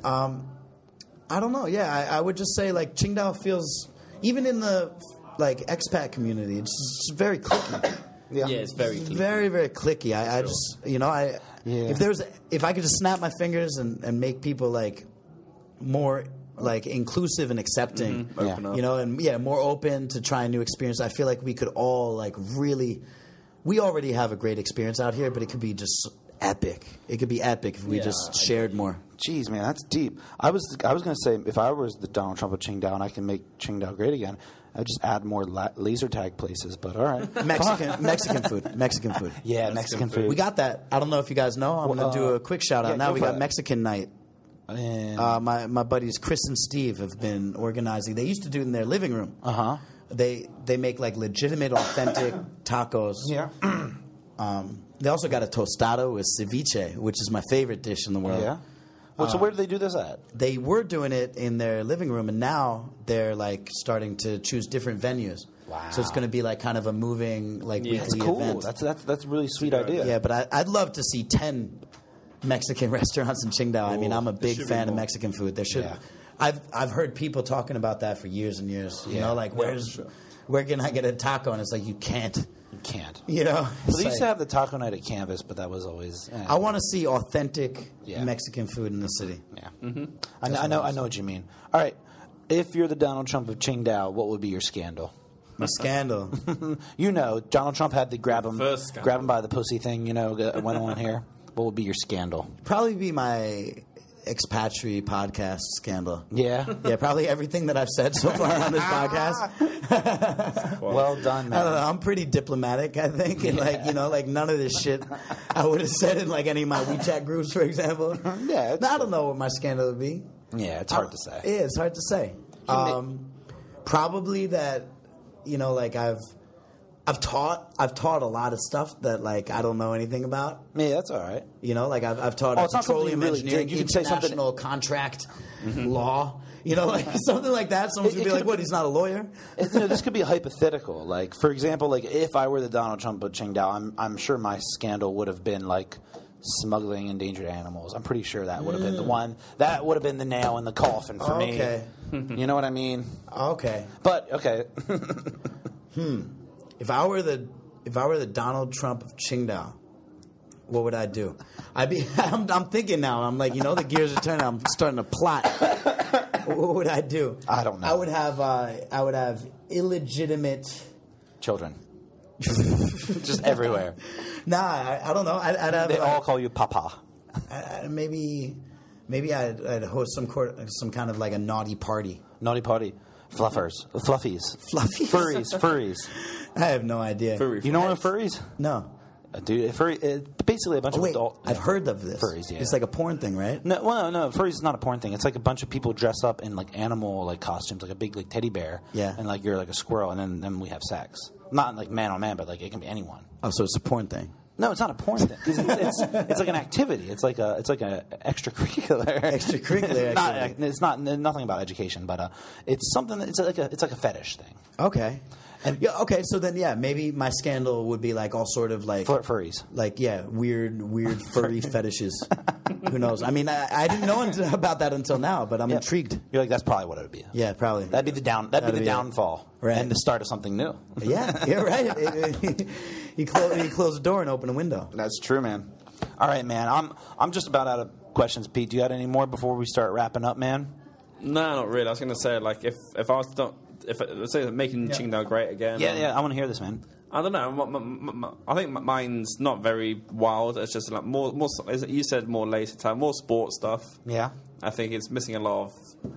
I don't know. Yeah, I, I would just say like Qingdao feels even in the like expat community, it's just very cliquey. Yeah, it's very clean. Very, very cliquey. I, I just, you know, I Yeah. if there's if I could just snap my fingers and, and make people like more like inclusive and accepting, Mm-hmm. Open Yeah. up. you know, and yeah, more open to trying new experience. I feel like we could all like really. We already have a great experience out here, but it could be just epic. It could be epic if we Yeah, just I shared more. Jeez, man, that's deep. I was I was going to say if I was the Donald Trump of Qingdao and I can make Qingdao great again, I'd just add more la- laser tag places. But all right, Mexican Mexican food. Mexican food. yeah, Mexican Mexican food. food. We got that. I don't know if you guys know. I'm Well, going to do uh, a quick shout out. yeah, now go we for got it. Mexican night. And, Uh, my my buddies Chris and Steve have been organizing. They used to do it in their living room. uh huh. They they make like legitimate, authentic tacos. Yeah. Um, they also got a tostado with ceviche, which is my favorite dish in the world. Yeah. Well, so where do they do this at? They were doing it in their living room, and now they're like starting to choose different venues. Wow. So it's going to be like kind of a moving like Yeah. That's weekly cool. event. That's that's that's a really sweet a good idea. Yeah, but I, I'd love to see ten Mexican restaurants in Qingdao. I mean, I'm a big should be fan of more. Mexican food. There should. Yeah. I've I've heard people talking about that for years and years. You Yeah. know, like where's sure. where can I get a taco? And it's like you can't. You can't. You know. So It's they used to like- have the taco night at Canvas, but that was always. eh. I want to see authentic Yeah. Mexican food in the city. Yeah. Mm-hmm. I, know, I know. I know what you mean. All right. If you're the Donald Trump of Qingdao, what would be your scandal? My scandal. You know, Donald Trump had the grab him, First scandal. grab him by the pussy thing. You know, that went on here. What would be your scandal? Probably be my expatriate podcast scandal. Yeah. Yeah, probably everything that I've said so far on this podcast. Well done, I don't know. man. I'm pretty diplomatic, I think, and like you know, like none of this shit I would have said in like any of my WeChat groups, for example. Yeah, it's I don't know what my scandal would be. Yeah, it's hard to say. Yeah, it's hard to say. Um, probably that, you know, like I've, I've taught, I've taught a lot of stuff that like I don't know anything about. Yeah, that's all right. You know, like I've, I've taught Oh, a it's not something petroleum you really engineering, did. You could say something- international contract law. You know, like something like that. Someone's It- gonna it be like, could- "What? He's not a lawyer." You know, this could be hypothetical. Like, for example, like if I were the Donald Trump of Qingdao, I'm I'm sure my scandal would have been like smuggling endangered animals. I'm pretty sure that would have been the one. That would have been the nail in the coffin for me. Okay. You know what I mean? Okay. But okay. If I were the if I were the Donald Trump of Qingdao, what would I do? I'd be. I'm, I'm thinking now. I'm like, you know, the gears are turning. I'm starting to plot. What would I do? I don't know. I would have. Uh, I would have illegitimate. Children. Just everywhere. Nah, I, I don't know. I'd, I'd have. They uh, all call you Papa. I- I- maybe. Maybe I'd, I'd host some court, some kind of like a naughty party. Naughty party. Fluffers. Fluffies. Fluffies? Furries. Furries. I have no idea. Furry You know what a friends. furries? No. Uh, dude, furry, uh, basically a bunch Oh, of wait, adult... I've heard of this. Furries, yeah. It's like a porn thing, right? No, well, no, furries is not a porn thing. It's like a bunch of people dress up in like animal like costumes, like a big like teddy bear. Yeah. And like you're like a squirrel, and then, then we have sex. Not like man on man, but like it can be anyone. Oh, so it's a porn thing. No, it's not a porn thing. 'Cause It's, it's, it's like an activity. It's like a it's like a extracurricular. Extracurricular not, activity. it's not nothing about education, but uh, it's something. That, it's like a it's like a fetish thing. Okay. And- yeah, okay, so then yeah, maybe my scandal would be like all sort of like Fur- furries. like yeah, weird, weird furry fetishes. Who knows? I mean, I, I didn't know until, about that until now, but I'm Yeah. intrigued. You're like that's probably what it would be. Yeah, probably. That'd be the down. That'd, That'd be the be it. downfall, Right. and the start of something new. Yeah, you're right. you close you close the door and open a window. That's true, man. All right, man. I'm I'm just about out of questions, Pete. Do you got any more before we start wrapping up, man? No, not really. I was going to say, like, if if I was to, if let's say making Qingdao great again. Yeah, um, yeah. I want to hear this, man. I don't know. m- m- m- I think m- mine's not very wild. It's just like more, more. as You said more later time, more sports stuff. Yeah. I think it's missing a lot of.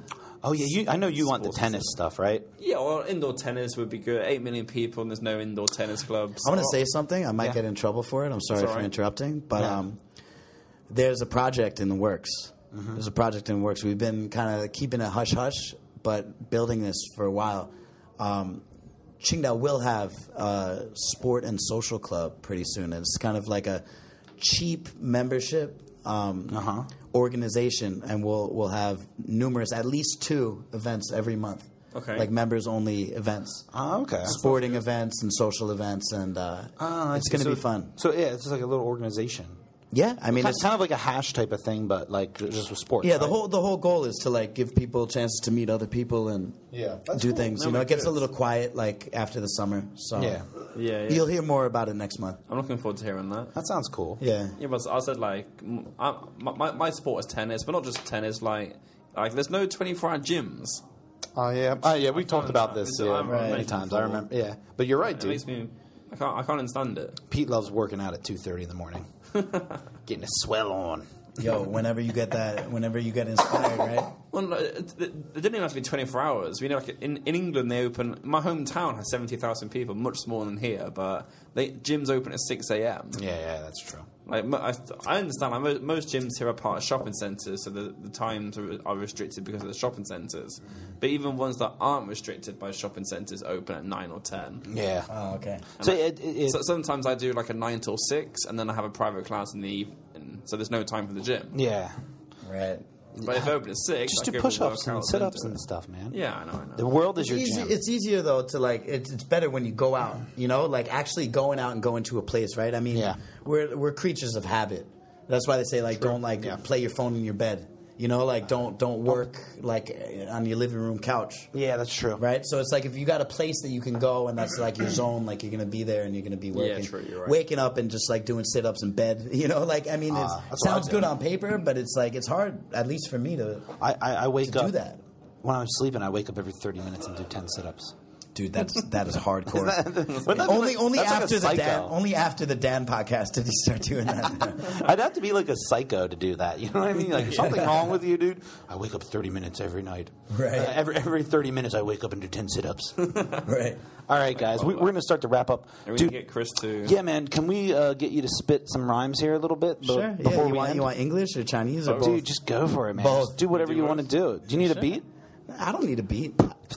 Oh yeah. You, I know you want the Sports tennis stuff, right? Yeah, well, indoor tennis would be good. Eight million people, and there's no indoor tennis clubs. I want to say something. I might Yeah. get in trouble for it. I'm sorry It's all for right. interrupting, but Yeah. um, there's a project in the works. Mm-hmm. There's a project in the works. We've been kind of keeping it hush hush, but building this for a while. Um, Qingdao will have a sport and social club pretty soon. It's kind of like a cheap membership um, Uh-huh. organization, and we'll we'll have numerous, at least two events every month. Okay. Like members only events. Oh, okay. Sporting events and social events, and uh, Oh, I it's see. going to So- be fun. So yeah, it's just like a little organization. Yeah, I mean, Kind, it's kind of like a hash type of thing, but like just with sports. yeah. The right? whole the whole goal is to like give people chances to meet other people and Yeah, that's do cool. things. That You know, would it gets be a good. little quiet like after the summer. So Yeah. Yeah, yeah. you'll hear more about it next month. I'm looking forward to hearing that. That sounds cool. Yeah, Yeah, but I said like m- I, my my sport is tennis, but not just tennis. Like like there's no twenty-four hour gyms. Oh yeah. Oh yeah. We talked about this Yeah, yeah, I've many mentioned times. I before. remember. Yeah. But you're right, It dude. makes me. I can't. I can't understand it. Pete loves working out at two thirty in the morning, getting a swell on. yo, whenever you get that, whenever you get inspired, right? Well, no, it, it, it didn't even have to be twenty-four hours. You know, like in, in England, they open. My hometown has seventy thousand people, much smaller than here, but they gyms open at six a.m. Yeah, yeah, that's true. Like mo- I, I understand. Like, mo- most gyms here are part of shopping centres, so the, the times are, are restricted because of the shopping centres. But even ones that aren't restricted by shopping centres open at nine or ten. Yeah. Oh, okay. So it, it, it, So sometimes I do like a nine till six, and then I have a private class in the evening. So there's no time for the gym. yeah. Right. But if I open at six, Just I do go for a push-ups and workout, sit-ups then and do it. stuff, man. Yeah, I know. I know. The world is It's, your easy, gym. it's easier though to like. It's, it's better when you go out. You know, like actually going out and going to a place, right? I mean, Yeah. we're we're creatures of habit. That's why they say like don't like Yeah. play your phone in your bed. You know, like don't don't work like on your living room couch. yeah, that's true. Right, so it's like if you got a place that you can go and that's like your zone, like you're gonna be there and you're gonna be working, true, you're right. waking up and just like doing sit ups in bed. You know, like I mean, it's, Ah, it that's what I sounds do. good on paper, but it's like it's hard, at least for me to I, I, I wake to up do that. when I'm sleeping. I wake up every thirty minutes and do ten sit-ups. Dude, that's that is hardcore. Wouldn't that be only like- only that's like a after the psycho. Dan only after the Dan podcast did he start doing that. I'd have to be like a psycho to do that. You know what I mean? Like, is something wrong with you, dude? I wake up thirty minutes every night. Right. Uh, every every thirty minutes, I wake up and do ten sit-ups. Right. All right, guys, we, we're going to start to wrap up. And we Dude, can get Chris to. yeah, man, can we uh, get you to spit some rhymes here a little bit? be- Sure. Before yeah, you we want end? you want English or Chinese or both? Dude, just go for it, man. Both. Just do whatever Do you both. want to do. Do you need a beat? I don't need a beat.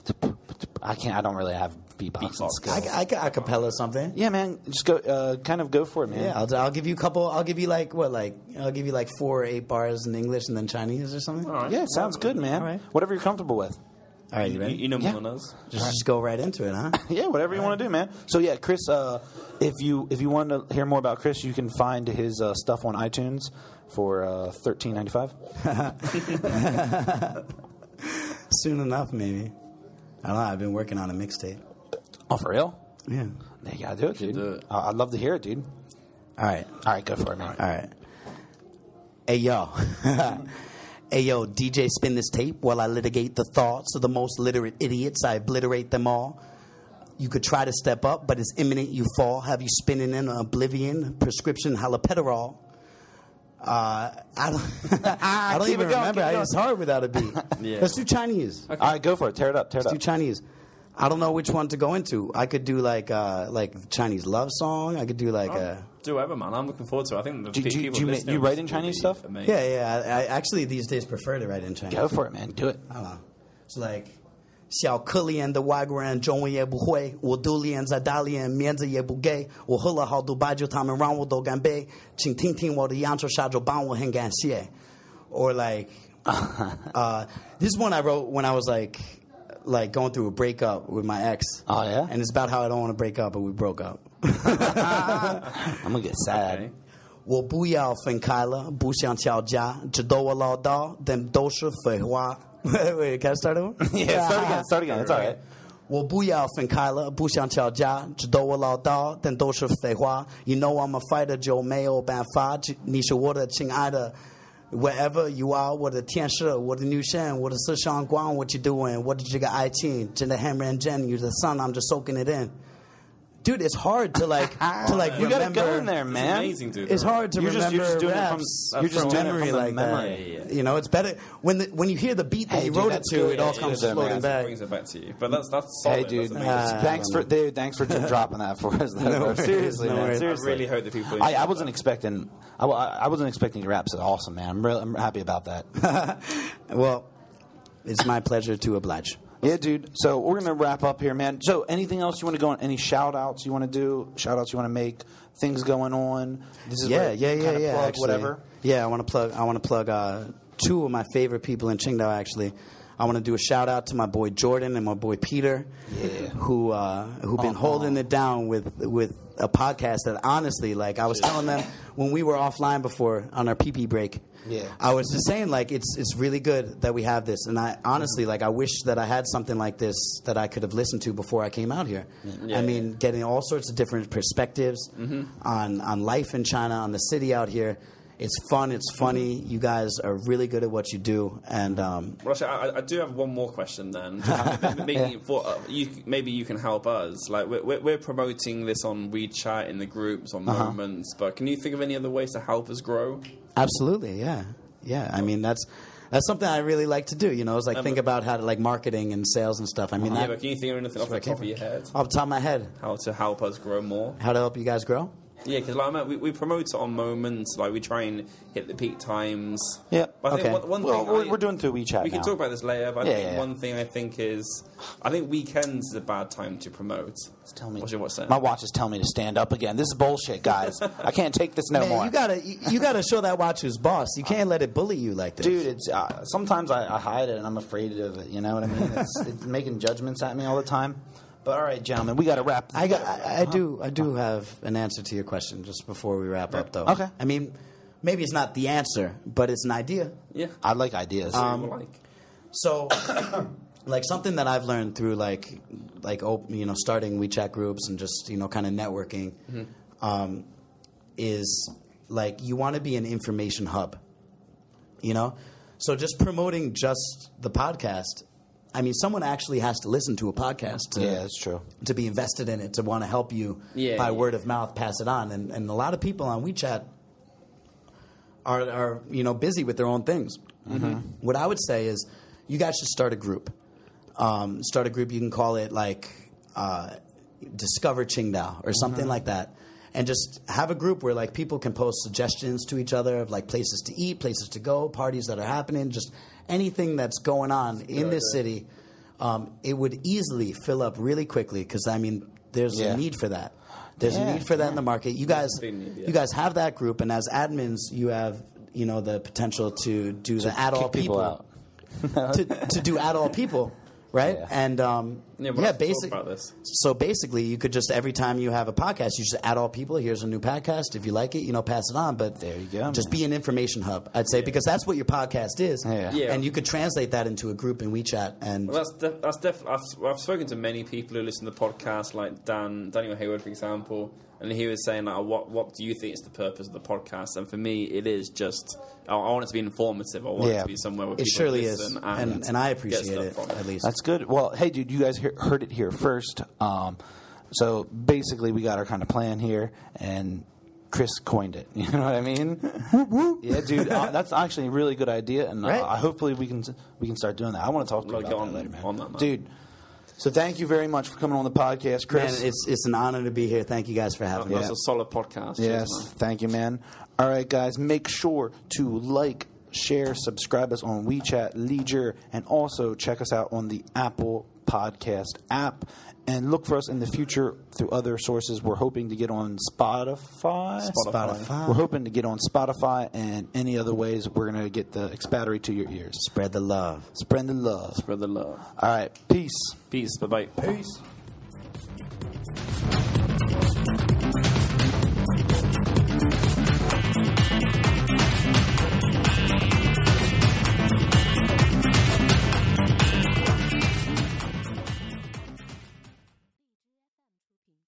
I can't. I don't really have beatboxing Beatbox. skills. I, I, I acapella something. yeah, man, just go. Uh, kind of go for it, man. Yeah, I'll, I'll give you a couple. I'll give you like what, like I'll give you like four or eight bars in English and then Chinese or something. All right. Yeah, sounds good, man. All right. Whatever you're comfortable with. All right, you You, ready? you know Yeah. more than us. just, just go right into it, huh? Yeah, whatever you want to do, man. So yeah, Chris, uh, if you if you want to hear more about Chris, you can find his uh, stuff on iTunes for uh, thirteen ninety five. Soon enough, maybe. I don't know. I've been working on a mixtape. Oh, for real? Yeah. Yeah, you gotta do it, dude. do it. Uh, I'd love to hear it, dude. All right. All right, go for it, man. All right. Hey yo. Hey yo, D J, spin this tape while I litigate the thoughts of the most literate idiots. I obliterate them all. You could try to step up, but it's imminent you fall. Have you spinning in oblivion? Prescription haloperidol. Uh, I don't. I don't Keep even it going, remember. keep it I- It's hard without a beat. Yeah. Let's do Chinese. All right, go for it. Tear it up. Tear it Let's do up. Chinese. I don't know which one to go into. I could do like uh, like Chinese love song. I could do like a. Do whatever, man. I'm looking forward to it. I think the Do- pe- do- people do you ma- listening you write in will Chinese be stuff? amazed. Yeah, yeah. I, I actually these days prefer to write in Chinese. Go for it, man. Do it. I don't know. It's like 小可怜的外国人中文也不会，我都连在大连面子也不给，我喝了好多白酒，他们让我都干杯，请听听我的扬州下酒，帮我很感谢。Or like, uh, this is one I wrote when I was like, like going through a breakup with my ex. Oh, yeah? And it's about how I don't want to break up, but we broke up. I'm gonna get sad. Okay. 我不要分开了，不想吵架，知道我唠叨，但都是废话。Wait, wait, can I start over? Yeah, start again. Start again. It's all right. 我不要分开了，不想吵架，知道我唠叨，但都是废话。You know I'm a fighter，就没有办法。你是我的亲爱的 ，wherever you are，我的天使，我的女神，我的思想光。What you doing？我的这个爱情真的很认真。You're the sun, I'm just soaking it in. Dude, it's hard to like to like You gotta remember. go in there, It's man. amazing, dude. It's hard to You're just- remember you're just doing it from- raps you're just from doing it memory from the like memory. that. Yeah, yeah. You know, it's better when the, when you hear the beat that Hey, you dude, wrote it that's to. good. It all Yeah, comes it is, floating man. back. brings it back to you. But that's that's solid. Hey, dude. That's amazing. Uh, thanks for dude, thanks for dropping that for us. Though, No bro. worries, Seriously, no man. worries. I Seriously. really hope that people. I, I enjoy wasn't that. expecting. I, I wasn't expecting your raps. Awesome, man. I'm real. I'm happy about that. Well, it's my pleasure to oblige. Yeah, dude. So we're gonna wrap up here, man. So anything else you want to go on? Any shout outs you want to do? Shout outs you want to make? Things going on? This is Yeah, where yeah, you yeah, kinda yeah. Plug actually. whatever. Yeah, I want to plug. I want to plug uh, two of my favorite people in Qingdao. Actually, I want to do a shout out to my boy Jordan and my boy Peter, Yeah. who uh, who've been Uh-huh. holding it down with with a podcast that honestly, like I was telling them when we were offline before on our pee pee break. Yeah. I was just saying, like, it's it's really good that we have this, and I honestly, like, I wish that I had something like this that I could have listened to before I came out here. Yeah, I mean, getting all sorts of different perspectives on on life in China, on the city out here. It's fun. It's funny. You guys are really good at what you do, and um, Well, actually, I, I do have one more question then. maybe, for, uh, you, maybe you can help us. Like we're, we're we're promoting this on WeChat in the groups on Uh-huh. Moments, but can you think of any other ways to help us grow? absolutely, yeah, yeah. I mean, that's that's something I really like to do. You know, it's like Um, think about how to like marketing and sales and stuff. I mean, Yeah, that, but can you think of anything off the top of your head? off the top of my head, How to help us grow more? how to help you guys grow. Yeah, because like, I mean, we, we promote it on Moments. Like we try and hit the peak times. Yeah. But I think Okay. one, one Well, thing we're, I- we're doing through WeChat We can now. talk about this later, but I Yeah, think yeah, yeah. one thing I think is, I think weekends is a bad time to promote. Tell me. What's your watch saying? My watch is telling me to stand up again. This is bullshit, guys. I can't take this no Man, more. you gotta you, you gotta show that watch who's boss. You can't let it bully you like this. Dude, it's uh, sometimes I, I hide it and I'm afraid of it. You know what I mean? It's, it's making judgments at me all the time. But all right, gentlemen, we got to wrap. I got I, I do I do have an answer to your question just before we wrap up though. Okay. I mean, maybe it's not the answer, but it's an idea. Yeah. I like ideas. Um, People like. So, like something that I've learned through like like op- you know starting WeChat groups and just you know kind of networking um, is like you want to be an information hub. You know, so just promoting just the podcast. I mean, someone actually has to listen to a podcast to, Yeah, that's true. to be invested in it, to want to help you Yeah, by yeah. word of mouth, pass it on. And, and a lot of people on WeChat are, are you know, busy with their own things. What I would say is you guys should start a group. Um, start a group, you can call it like uh, Discover Qingdao or something like that. And just have a group where like people can post suggestions to each other of like places to eat, places to go, parties that are happening, just anything that's going on in this city. Um, it would easily fill up really quickly because I mean, there's Yeah. a need for that. There's Yeah, a need for that in the market. You guys, a big need, yeah. you guys have that group, and as admins, you have you know the potential to do the add all kick people people, out. to, to do add all people, right? Yeah. And um, Yeah, yeah, we'll have to talk basic. about this. So basically, you could just every time you have a podcast, you just add all people. Here's a new podcast. If you like it, you know, pass it on. But There you go, Just man. be an information hub, I'd say, because that's what your podcast is. Yeah. Yeah. And you could translate that into a group in WeChat. And Well, that's def- that's definitely. I've, I've spoken to many people who listen to the podcast, like Dan Daniel Hayward, for example, and he was saying, like, what what do you think is the purpose of the podcast? And for me, it is just I, I want it to be informative. I want it Yeah. to be somewhere where it people surely listen is, and, and, and I get appreciate stuff it from at least. That's good. Well, hey, dude, you guys hear, heard it here first. Um, so basically, we got our kind of plan here, and Chris coined it. You know what I mean? Yeah, dude. Uh, that's actually a really good idea, and Right. uh, hopefully we can we can start doing that. I want to talk to you We'll about go that on- later, man. on that, man. Dude. So thank you very much for coming on the podcast, Chris. Man, it's it's an honor to be here. Thank you guys for having me. That's a solid podcast. Yes, Cheers, man. thank you, man. All right, guys, make sure to like, share, subscribe us on WeChat, Leisure, and also check us out on the Apple Podcast app. And look for us in the future through other sources. We're hoping to get on Spotify. Spotify. We're hoping to get on Spotify and any other ways. We're going to get the expatriate to your ears. Spread the love. Spread the love. Spread the love. All right, peace. Peace. Bye bye. Peace.